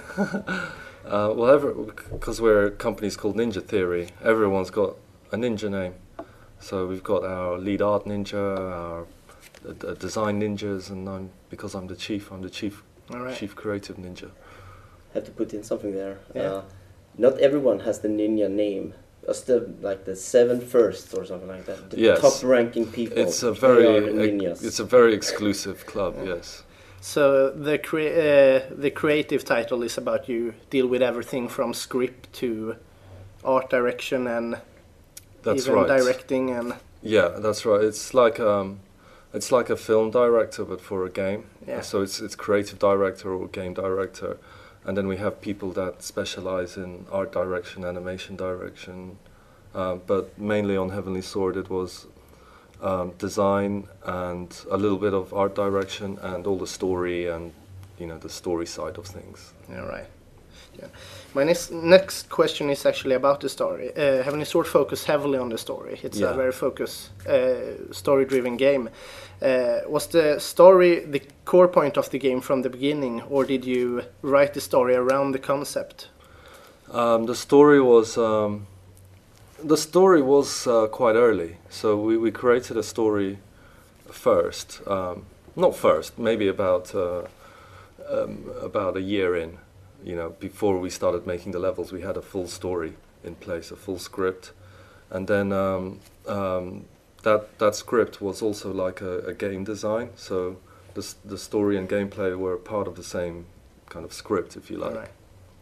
Uh, well, because we're a company's called Ninja Theory, everyone's got a ninja name. So we've got our lead art ninja, our uh, design ninjas, and I'm because I'm the chief. I'm the chief All right. chief creative ninja. Have to put in something there. Yeah. Uh, not everyone has the ninja name. It's the like the seven first or something like that. The Yes. top ranking people. It's a they very are the ex- ninjas. it's a very exclusive club. Yes. So the crea- uh, the creative title is about you deal with everything from script to art direction and That's even right. directing and Yeah, that's right. It's like um, it's like a film director, but for a game. Yeah. So it's it's creative director or game director, and then we have people that specialize in art direction, animation direction, um, but mainly on Heavenly Sword it was um, design and a little bit of art direction and all the story and you know the story side of things. all right. Yeah. My next next question is actually about the story. Uh, Heavenly Sword focus heavily on the story. It's a Yeah. very focus uh, story-driven game. Uh, was the story the core point of the game from the beginning, or did you write the story around the concept? Um, the story was um, the story was uh, quite early, so we, we created a story first. Um, not first, maybe about uh, um, about a year in. You know, before we started making the levels, we had a full story in place, a full script, and then um, um, that that script was also like a, a game design. So the s- the story and gameplay were part of the same kind of script, if you like. Right.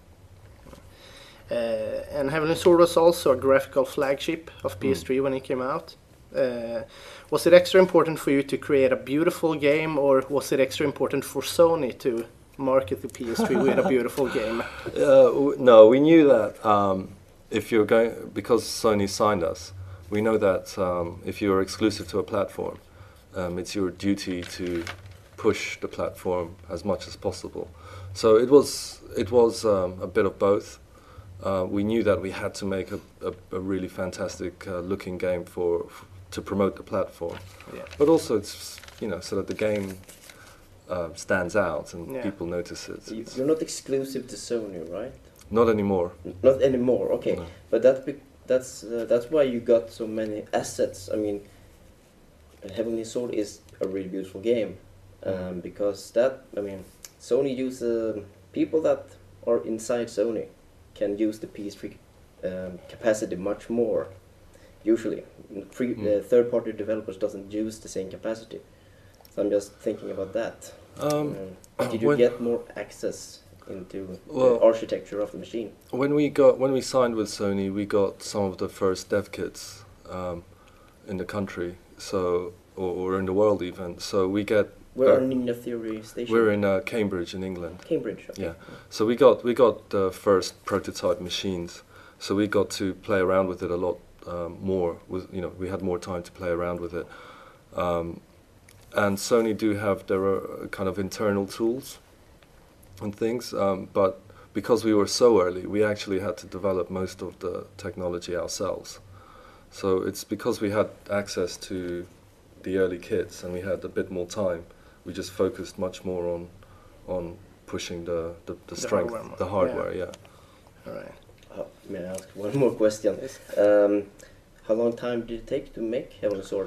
Uh, and Heavenly Sword was also a graphical flagship of P S three when it came out. Uh, was it extra important for you to create a beautiful game, or was it extra important for Sony to market the P S three with a beautiful game? Uh, w- no, we knew that um, if you're going, because Sony signed us, we know that um, if you're exclusive to a platform, um, it's your duty to push the platform as much as possible. So it was it was um, a bit of both. Uh, we knew that we had to make a, a, a really fantastic uh, looking game for, f- to promote the platform, Yeah. but also it's you know so that the game uh, stands out and Yeah. people notice it. You- It's You're not exclusive to Sony, right? not anymore. Not anymore. Okay, No. but that be- that's uh, that's why you got so many assets. I mean, Heavenly Sword is a really beautiful game, um, because that I mean, Sony use uh, people that are inside Sony can use the P S three um, capacity much more. Usually, free, Mm. uh, third-party developers doesn't use the same capacity. So I'm just thinking about that. Um, Um, did you when- get more access into Well- the architecture of the machine? When we got when we signed with Sony, we got some of the first dev kits um, in the country, so or, or in the world even. So we get Where uh, are Ninja Theory Station? we're in uh, Cambridge in England. Cambridge. Okay. Yeah. So we got we got the first prototype machines. So we got to play around with it a lot um, more. With you know we had more time to play around with it. Um, and Sony do have their uh, kind of internal tools and things, um, but because we were so early, we actually had to develop most of the technology ourselves. So it's because we had access to the early kits and we had a bit more time, we just focused much more on on pushing the, the, the The strength, hardware more. the hardware, yeah. All right. Uh, may I ask one more question? Yes. Um, how long time did it take to make Heavenly Sword?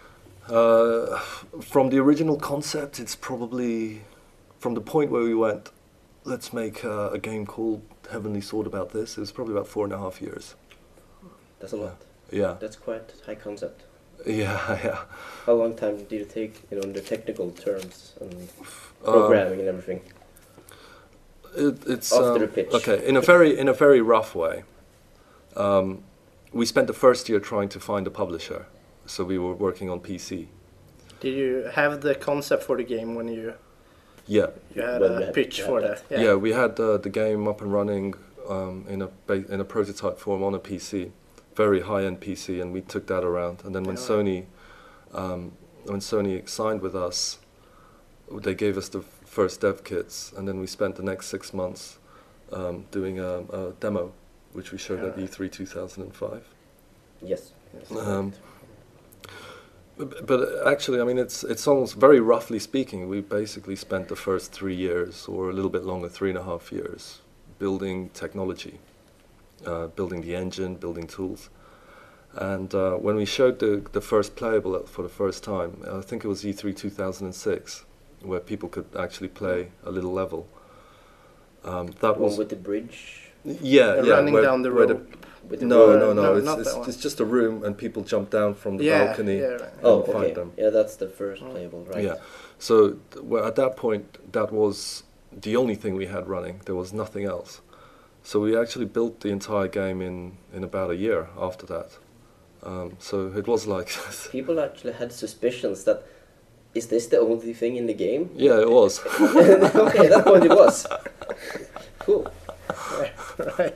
Uh, from the original concept, it's probably from the point where we went, let's make uh, a game called Heavenly Sword about this. It was probably about four and a half years. That's a lot. Yeah, That's quite high concept. yeah, yeah. How long time did it take, you know, in the technical terms and Um, programming and everything? It, it's After um, the pitch. okay. In a very in a very rough way, um, we spent the first year trying to find a publisher. So we were working on P C. Did you have the concept for the game when you Yeah, you had When a you had- pitch you for had that? yeah. We had uh, the game up and running um, in a ba- in a prototype form on a P C, very high end P C, and we took that around. And then when Yeah. Sony um, when Sony signed with us, they gave us the first dev kits, and then we spent the next six months um, doing a, a demo, which we showed at Yeah. E three two thousand five. Yes. Um, b- but actually, I mean, it's it's almost very roughly speaking, we basically spent the first three years, or a little bit longer, three and a half years, building technology, uh, building the engine, building tools. And uh, when we showed the the first playable for the first time, I think it was E three two thousand six, where people could actually play a little level. Um, that One was with the bridge. yeah, Uh, yeah. running where- down the where road. With the no, road. no, no, No, It's not it's, that one. it's just a room, and people jump down from the yeah, balcony. yeah, right. Oh, and find okay. them. Yeah, that's the first Oh. playable, right? Yeah. So th- well, at that point, that was the only thing we had running. There was nothing else. So we actually built the entire game in, in about a year after that. Um, so it was like, People actually had suspicions that, is this the only thing in the game? yeah, it was. Okay, at that point it was. Cool. Right.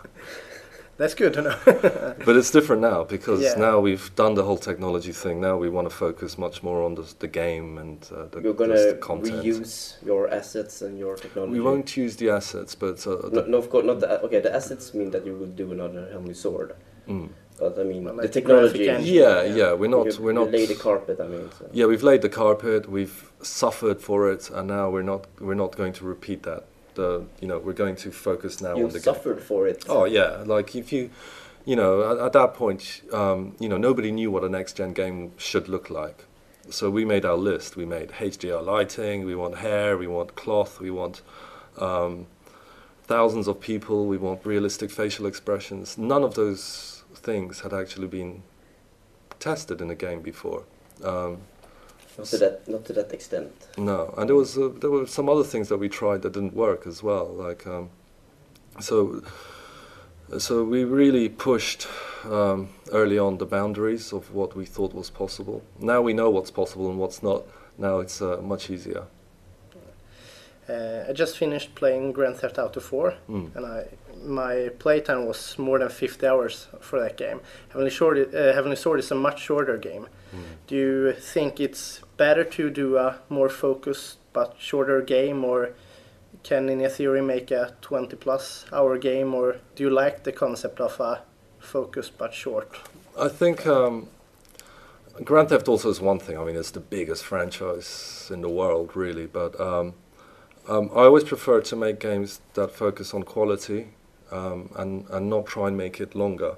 That's good to know. But it's different now because Yeah. now we've done the whole technology thing. Now we want to focus much more on the, the game and uh, the, You're the, gonna the content. reuse your assets and your technology. We won't use the assets, but uh, No, the, no, of course not. The, okay, the assets mean that you will do another Heavenly Sword, mm. but I mean Well, the like technology. graphic engine. yeah, Yeah. yeah, we're not, you, we're you not. lay the carpet. I mean. So. Yeah, we've laid the carpet. We've suffered for it, and now we're not. We're not going to repeat that. The you know we're going to focus now You on the game. suffered for it. Oh yeah, like if you, you know, at, at that point, um, you know, nobody knew what a next gen game should look like. So we made our list. We made H D R lighting. We want hair. We want cloth. We want um, thousands of people. We want realistic facial expressions. None of those things had actually been tested in a game before. Um, Not to that, not to that extent. No, and there was uh, there were some other things that we tried that didn't work as well. Like um, so, so we really pushed um, early on the boundaries of what we thought was possible. Now we know what's possible and what's not. Now it's uh, much easier. Uh, I just finished playing Grand Theft Auto four, Mm. and I my playtime was more than fifty hours for that game. Heavenly Sword, uh, Heavenly Sword is a much shorter game. Do you think it's better to do a more focused but shorter game, or can Ninja Theory make a twenty plus hour game, or do you like the concept of a focused but short? I think um, Grand Theft Auto is one thing. I mean, it's the biggest franchise in the world, really. But um, um, I always prefer to make games that focus on quality um, and and not try and make it longer.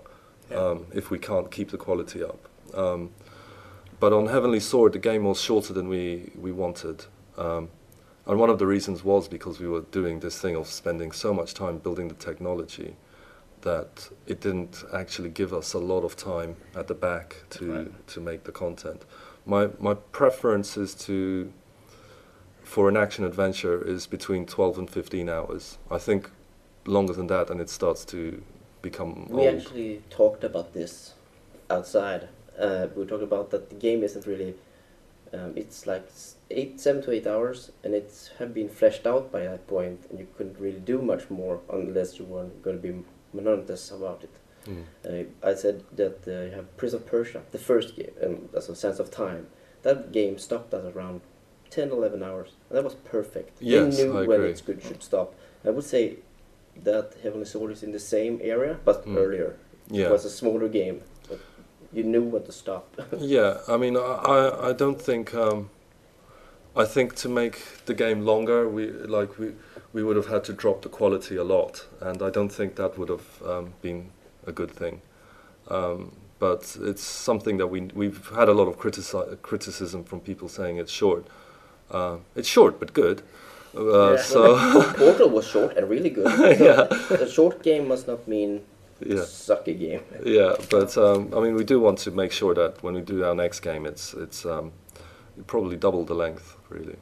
yeah. um, if we can't keep the quality up. Um, but on Heavenly Sword, the game was shorter than we, we wanted. Um, and one of the reasons was because we were doing this thing of spending so much time building the technology that it didn't actually give us a lot of time at the back to, right. to make the content. My, my preference is to, for an action adventure, is between twelve and fifteen hours. I think longer than that and it starts to become We old. actually talked about this outside. Uh, we talked about that the game isn't really, um, it's like s- eight, seven to eight hours, and it's have been fleshed out by that point, and you couldn't really do much more unless you were going to be monotonous about it. Mm. Uh, I said that uh, you have Prince of Persia, the first game, um, that's a Sense of Time. That game stopped at around ten, eleven hours, and that was perfect. Yes, they knew I when agree. it should, should stop. I would say that Heavenly Sword is in the same area, but Mm. earlier. Yeah. It was a smaller game, but you knew when to stop. Yeah, I mean, I, I, I don't think, um, I think to make the game longer, we like we, we would have had to drop the quality a lot, and I don't think that would have um, been a good thing. Um, but it's something that we we've had a lot of critici- criticism from people saying it's short. Uh, it's short but good. Uh, Yeah. So Portal was short and really good. So Yeah. A short game must not mean yeah. sucky game. Yeah, but um, I mean, we do want to make sure that when we do our next game, it's it's um, probably double the length, really.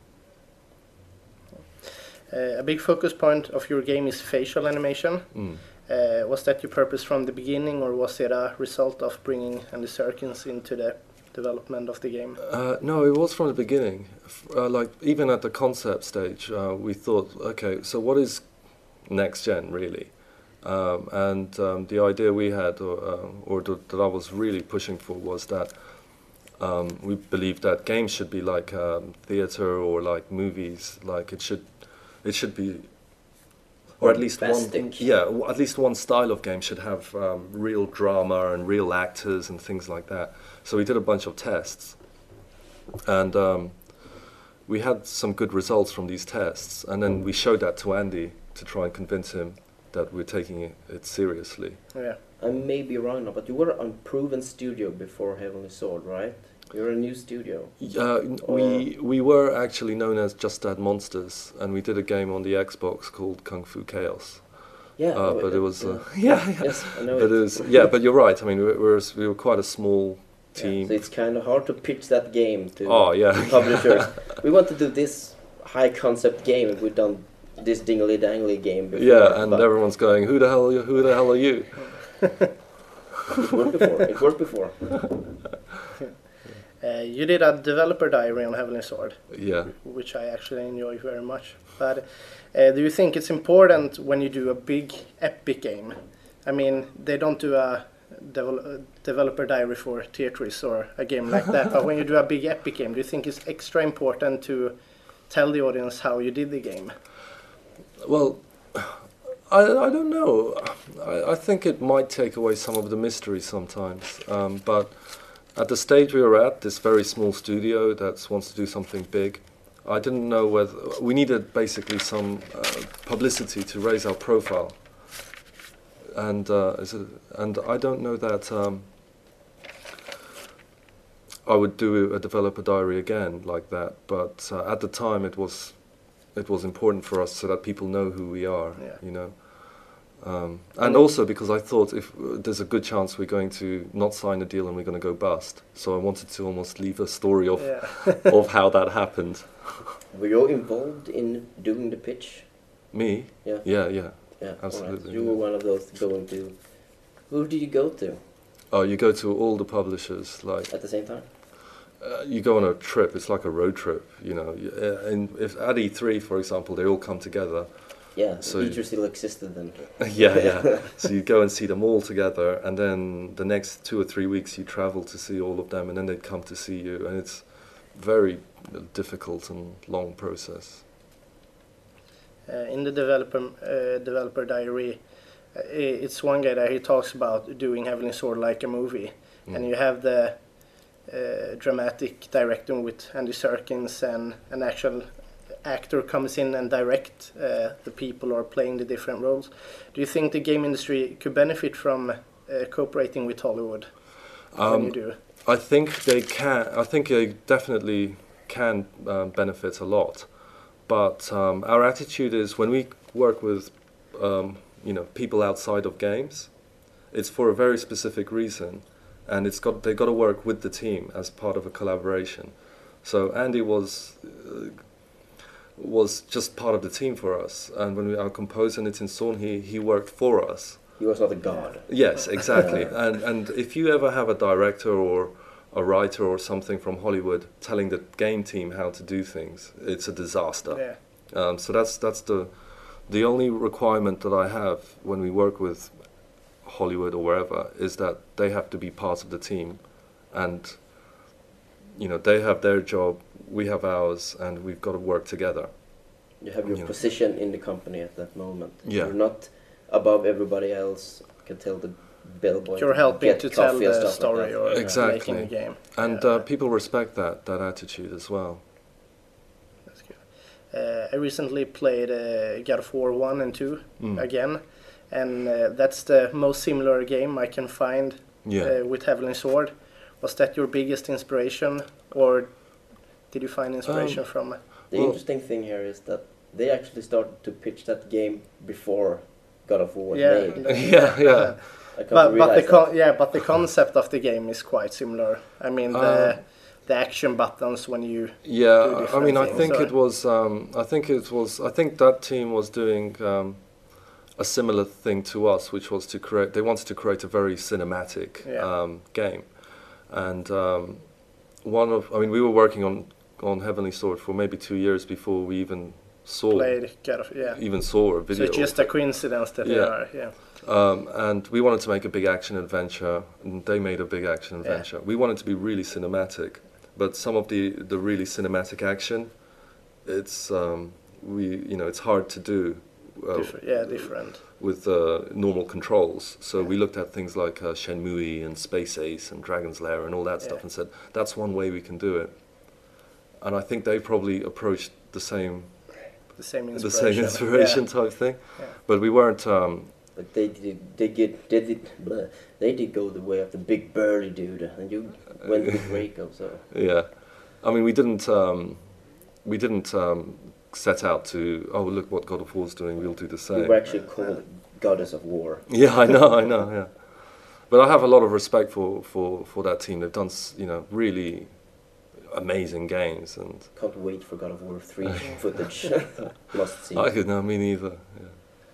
Uh, a big focus point of your game is facial animation. Mm. Uh, was that your purpose from the beginning, or was it a result of bringing Andy Serkins into the development of the game? Uh, no, it was from the beginning. F- Uh, like even at the concept stage, uh, we thought, okay, so what is next gen really? Um, and um, the idea we had, or, uh, or th- that I was really pushing for, was that um, we believed that games should be like um, theater or like movies. Like it should, it should be, or at least one, Bombastic. yeah, w- at least one style of game should have um, real drama and real actors and things like that. So we did a bunch of tests, and um, we had some good results from these tests. And then we showed that to Andy to try and convince him that we're taking it, it seriously. Yeah. I may be wrong now, but you were on Proven Studio before Heavenly Sword, right? You're a new studio. Uh, n- we we were actually known as Just Add Monsters, and we did a game on the Xbox called Kung Fu Chaos. Yeah, Uh, oh, but uh, it was uh, yeah. yeah, yeah. Yes, I know But it. it was yeah. But you're right. I mean, we were we were quite a small Yeah, team. so it's kind of hard to pitch that game to Oh yeah. to publishers. We want to do this high concept game, and we've done this dingly dangly game before. Yeah, and but everyone's going, who the hell? Are you, who the hell are you? it worked before. It worked before. Uh, you did a developer diary on Heavenly Sword, Yeah. which I actually enjoy very much. But uh, do you think it's important when you do a big epic game? I mean, they don't do a devel- developer diary for Tetris or a game like that, but when you do a big epic game, do you think it's extra important to tell the audience how you did the game? Well, I, I don't know. I, I think it might take away some of the mystery sometimes. Um, but at the stage we were at, this very small studio that wants to do something big, I didn't know whether we needed basically some uh, publicity to raise our profile. And uh, is it, and I don't know that um, I would do a developer diary again like that. But uh, at the time, it was it was important for us so that people know who we are. Yeah. You know. Um, and also because I thought if uh, there's a good chance we're going to not sign a deal and we're going to go bust, so I wanted to almost leave a story of Yeah. of how that happened. Were you involved in doing the pitch? Me? Yeah. Yeah, yeah. Yeah, all right. Absolutely, You yeah. were one of those going to. Who did you go to Oh, you go to all the publishers. Like at the same time? uh, you go on a trip. It's like a road trip. You know. You- uh, And if at E three, for example, they all come together. Yeah, So so you- each still existed then. yeah, yeah. So you go and see them all together, and then the next two or three weeks you travel to see all of them, and then they'd come to see you, and it's very difficult and long process. Uh, in the developer uh, developer diary, uh, i- it's one guy that he talks about doing Heavenly Sword like a movie, Mm. and you have the uh, dramatic directing with Andy Serkins, and an actual actor comes in and direct uh, the people who are playing the different roles. Do you think the game industry could benefit from uh, cooperating with Hollywood when you Um, do? I think they can. I think they definitely can um, benefit a lot, but um, our attitude is when we work with, um, you know, people outside of games, it's for a very specific reason, and it's got they got to work with the team as part of a collaboration. So Andy was uh, was just part of the team for us, and when we are composing it in Zorn, he he worked for us. He was not a god. Yes, exactly. and and if you ever have a director or a writer or something from Hollywood telling the game team how to do things, it's a disaster. Yeah. Um, so that's that's the the only requirement that I have when we work with Hollywood or wherever is that they have to be part of the team, and you know they have their job, we have ours, and we've got to work together. You have your You know. position in the company at that moment. Yeah. You're not above everybody else. You can tell the bellboy. You're helping get to tell coffee and the stuff like story that. or Yeah. Exactly. making a game. And Yeah. uh, people respect that that attitude as well. That's good. Uh, I recently played uh, God of War one and two Mm. again, and uh, that's the most similar game I can find Yeah. uh, with Heavenly Sword. Was that your biggest inspiration, or did you find inspiration Um, from? The Well- interesting thing here is that they actually started to pitch that game before God of War was Yeah, made. Yeah, yeah. I can't But but the realize con- that. yeah, but the concept of the game is quite similar. I mean the Um, the action buttons when you do Yeah, I different mean, I things, think or- it was. Um, I think it was. I think that team was doing um, a similar thing to us, which was to create. They wanted to create a very cinematic Yeah. um, game, and um, one of. I mean, we were working on on Heavenly Sword for maybe two years before we even saw played God of yeah. even saw a So video. it's just a coincidence that they Yeah. are yeah. Um, and we wanted to make a big action adventure, and they made a big action Yeah. adventure. We wanted to be really cinematic, but some of the, the really cinematic action, it's um, we you know it's hard to do uh, Different, yeah, different. with uh, normal controls. So Yeah. we looked at things like uh, Shenmue and Space Ace and Dragon's Lair and all that stuff, Yeah. and said that's one way we can do it. And I think they probably approached the same The same the inspiration. same inspiration Yeah. type thing, Yeah. but we weren't. Um, But they did, they get, they did, bleh, they did go the way of the big burly dude, and you went with Reiko. So Yeah, I mean, we didn't um, we didn't um, set out to oh look what God of War's doing, we'll do the we same. were actually called Goddess of War. Yeah, I know, I know, yeah. But I have a lot of respect for, for, for that team. They've done s- you know really amazing games, and Can't wait for God of War three footage. Must see. I could no, me neither. Yeah.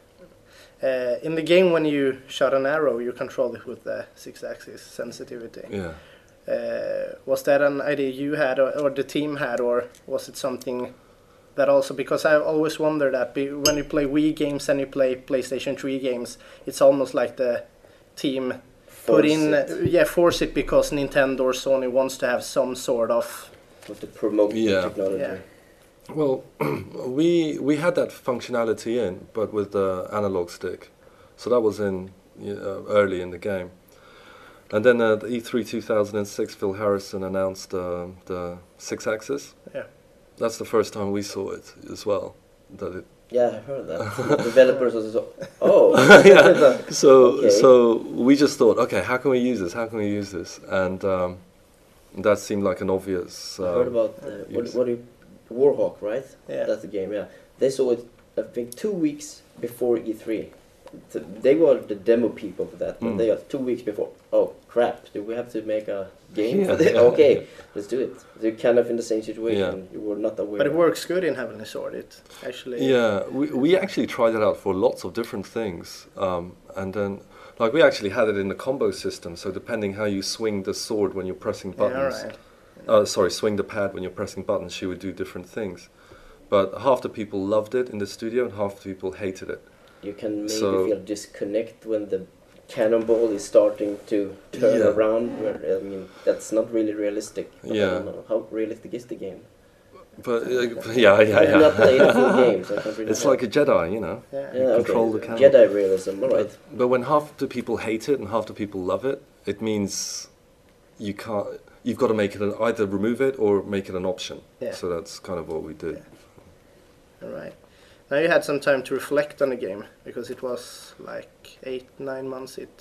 Uh, in the game, when you shot an arrow, you control it with the six-axis sensitivity. Yeah. Uh, was that an idea you had, or, or the team had, or was it something that also? Because I always wonder that be, when you play Wii games and you play PlayStation three games, it's almost like the team put Force in, it. uh, yeah, force it because Nintendo or Sony wants to have some sort of, Want to promote Yeah. the technology. Yeah. Well, we we had that functionality in, but with the analog stick, so that was in uh, early in the game. And then at E three two thousand six, Phil Harrison announced uh, the six-axis. Yeah. That's the first time we saw it as well. That it Yeah, I heard that. Developers also. Oh. yeah. So Okay. so we just thought, okay, how can we use this? How can we use this? And um, that seemed like an obvious. I heard Um, about uh, what, use. what do you, Warhawk, right? Yeah. That's the game. Yeah, they saw it. I think two weeks before E three. So they were the demo people for that. But Mm. they got two weeks before. Oh crap! Do we have to make a game Yeah, for this? yeah. Okay, let's do it. They're kind of in the same situation. Yeah. You were not aware. but it works good in Heavenly Sword. It actually, Yeah, we we actually tried it out for lots of different things, um, and then like we actually had it in the combo system. So depending how you swing the sword when you're pressing yeah, all buttons, right. uh, sorry, swing the pad when you're pressing buttons, she would do different things. But half the people loved it in the studio, and half the people hated it. You can maybe So- feel disconnect when the cannonball is starting to turn Yeah. around. Where I mean, that's not really realistic. But I Yeah. don't know. How realistic is the game? But uh, yeah, yeah, I've not played a full yeah. game, so I can't really It's tell. like a Jedi, you know. Yeah. Yeah, control okay. the cannon. Jedi realism, alright. But, but when half the people hate it and half the people love it, it means you can't. You've got to make it an, either remove it or make it an option. Yeah. So that's kind of what we did. All right. Now you had some time to reflect on the game because it was like eight, nine months it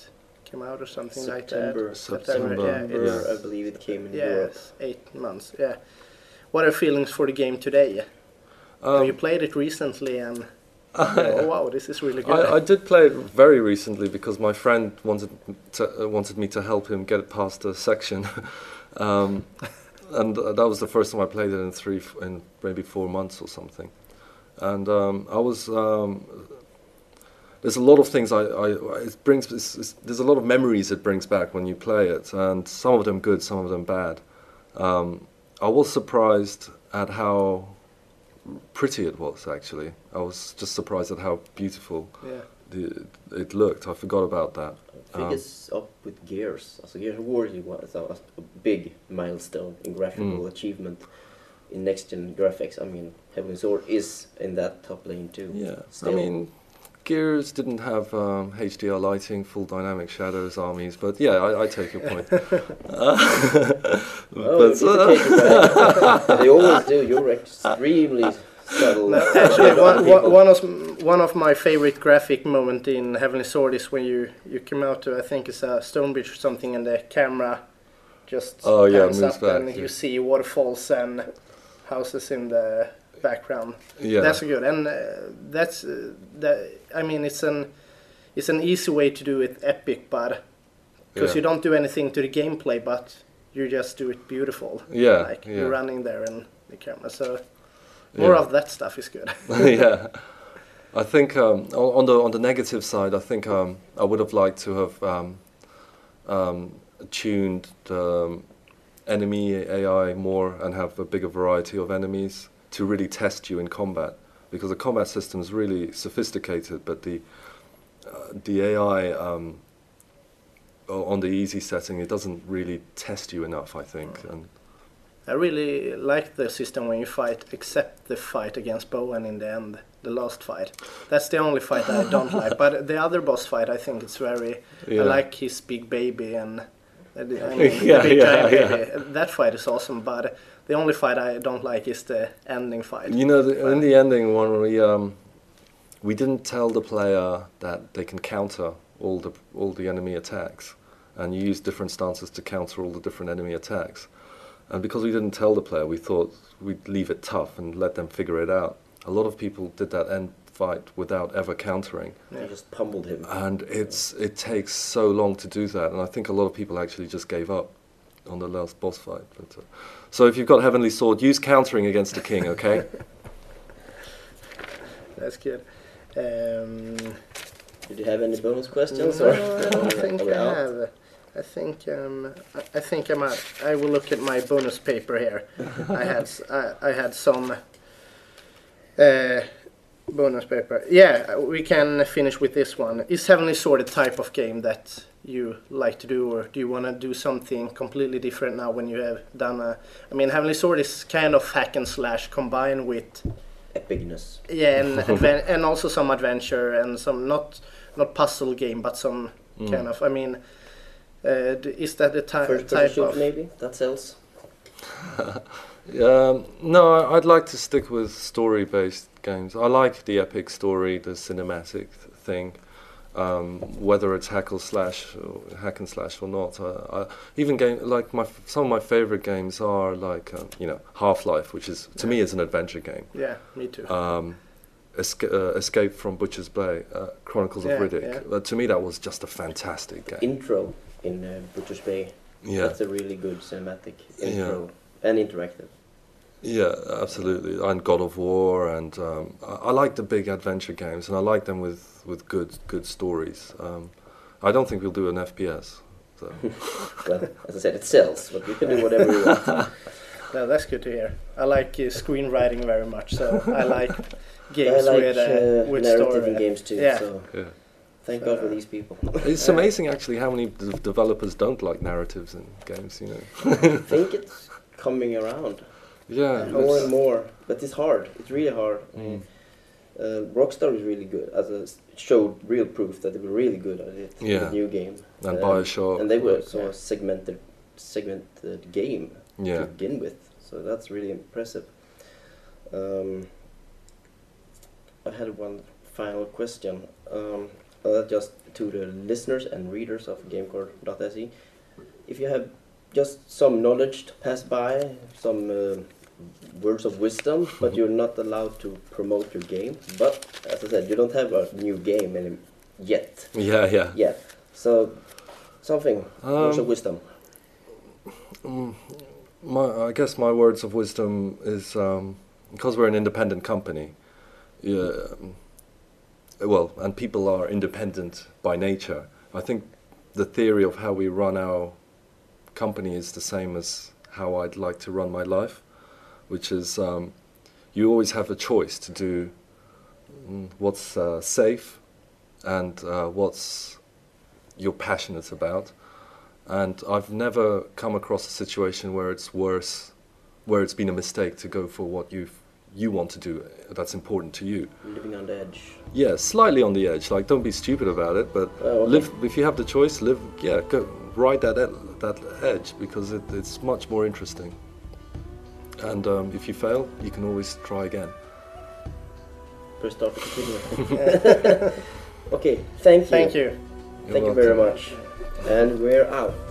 came out or something like September. that. September, yeah, September, it's, I believe it came in yeah, Europe. it's eight months. Yeah. What are feelings for the game today? Um, Have you played it recently and oh wow, this is really good. I, I did play it very recently because my friend wanted to, uh, wanted me to help him get past a section, um, and uh, that was the first time I played it in three, f- in maybe four months or something, and um, I was. Um, there's a lot of things I, I it brings. It's, it's, there's a lot of memories it brings back when you play it, and some of them good, some of them bad. Um, I was surprised at how pretty it was, actually. I was just surprised at how beautiful Yeah. the, it looked. I forgot about that. I think Um, it's up with Gears. Also, Gears of War was a, a big milestone in graphical Mm. achievement in next-gen graphics. I mean, Heavenly Sword is in that top lane too. Yeah, Still. I mean, Gears didn't have um, H D R lighting, full dynamic shadows, armies, but yeah, I, I take your point. Uh, Oh, but, it's a case of that. They always do. You're extremely subtle. No, actually, one, one, one of one of my favorite graphic moment in Heavenly Sword is when you you come out to, I think it's a stone bridge or something, and the camera just Oh, yeah, pans moves up back, and yeah. you see waterfalls and houses in the background. yeah, That's good, and uh, that's uh, that. I mean, it's an it's an easy way to do it epic, but because yeah. you don't do anything to the gameplay, but you just do it beautiful. Yeah, like yeah. you're running there and the camera. So more Yeah. of that stuff is good. yeah, I think um, o- on the on the negative side, I think um, I would have liked to have um, um, tuned the um, enemy A I more and have a bigger variety of enemies to really test you in combat, because the combat system is really sophisticated, but the uh, the A I um, o- on the easy setting, it doesn't really test you enough, I think. And I really like the system when you fight, except the fight against Bowen in the end, the last fight. That's the only fight I don't like. But the other boss fight, I think it's very. Yeah. I like his big baby and. uh, the- I mean, Yeah, the big yeah, giant yeah. baby. That fight is awesome, but the only fight I don't like is the ending fight. You know, the, in the ending one, we um, we didn't tell the player that they can counter all the all the enemy attacks, and you use different stances to counter all the different enemy attacks. And because we didn't tell the player, we thought we'd leave it tough and let them figure it out. A lot of people did that end fight without ever countering, They just pummeled him. and it's it takes so long to do that. And I think a lot of people actually just gave up on the last boss fight. But uh, so if you've got Heavenly Sword, use countering against the king, okay? That's good. Um, Did you have any bonus questions? no, or I don't think are we I out? have. I think um, I, I think I'm out. I will look at my bonus paper here. I had s- I, I had some uh, bonus paper. Yeah, we can finish with this one. Is Heavenly Sword a type of game that you like to do, or do you want to do something completely different now when you have done a? I mean, Heavenly Sword is kind of hack and slash combined with Epicness. yeah, and adven- and also some adventure and some not not puzzle game, but some Mm. kind of. I mean, uh, d- is that the ty- First person type shoot of? maybe? That sells. Um, no, I- I'd like to stick with story-based games. I like the epic story, the cinematic th- thing, um, whether it's hack or slash, or hack and slash or not. Uh, I, even game like my f- some of my favorite games are like um, you know Half-Life, which is to me is an adventure game. Yeah, me too. Um, Esca- uh, Escape from Butcher's Bay, uh, Chronicles Yeah, of Riddick. yeah. Uh, to me, that was just a fantastic game. Intro in uh, Butcher's Bay. Yeah. That's a really good cinematic Yeah. intro and interactive. Yeah, absolutely. And God of War, and um, I, I like the big adventure games, and I like them with, with good good stories. Um, I don't think we'll do an F P S. So. Well, as I said, it sells, but you can do whatever you want. No, that's good to hear. I like uh, screenwriting very much, so I like I games like with uh, uh, with narrative story. in games too. Yeah. So Yeah. thank So, God for uh, these people. It's amazing actually how many d- developers don't like narratives in games. You know. I think it's coming around Yeah. more it's- and more, but it's hard. It's really hard. Mm. Uh, Rockstar is really good. As a, showed real proof that they were really good at it. Yeah. With the new game. And Um, Bioshock. And they were so Yeah. a segmented, segmented game Yeah. to begin with. So that's really impressive. Um, I had one final question. Um, uh, just to the listeners and readers of GameCore dot S E, if you have just some knowledge to pass by, some uh, words of wisdom, but you're not allowed to promote your game. But as I said, you don't have a new game any yet. Yeah, yeah. Yeah. So something words Um, of wisdom. Mm, my, I guess my words of wisdom is um, because we're an independent company. Yeah, um, well, and people are independent by nature. I think the theory of how we run our company is the same as how I'd like to run my life, which is um, you always have a choice to do mm, what's uh, safe and uh, what's you're passionate about. And I've never come across a situation where it's worse, where it's been a mistake to go for what you you want to do that's important to you. Living on the edge. Yeah, slightly on the edge. Like, don't be stupid about it, but Oh, okay. live. If you have the choice, live. Yeah, go ride that ed- that edge because it, it's much more interesting. And um, if you fail, you can always try again. Press start to continue. Okay, thank you. Thank you. You're Thank you very welcome. much. And we're out.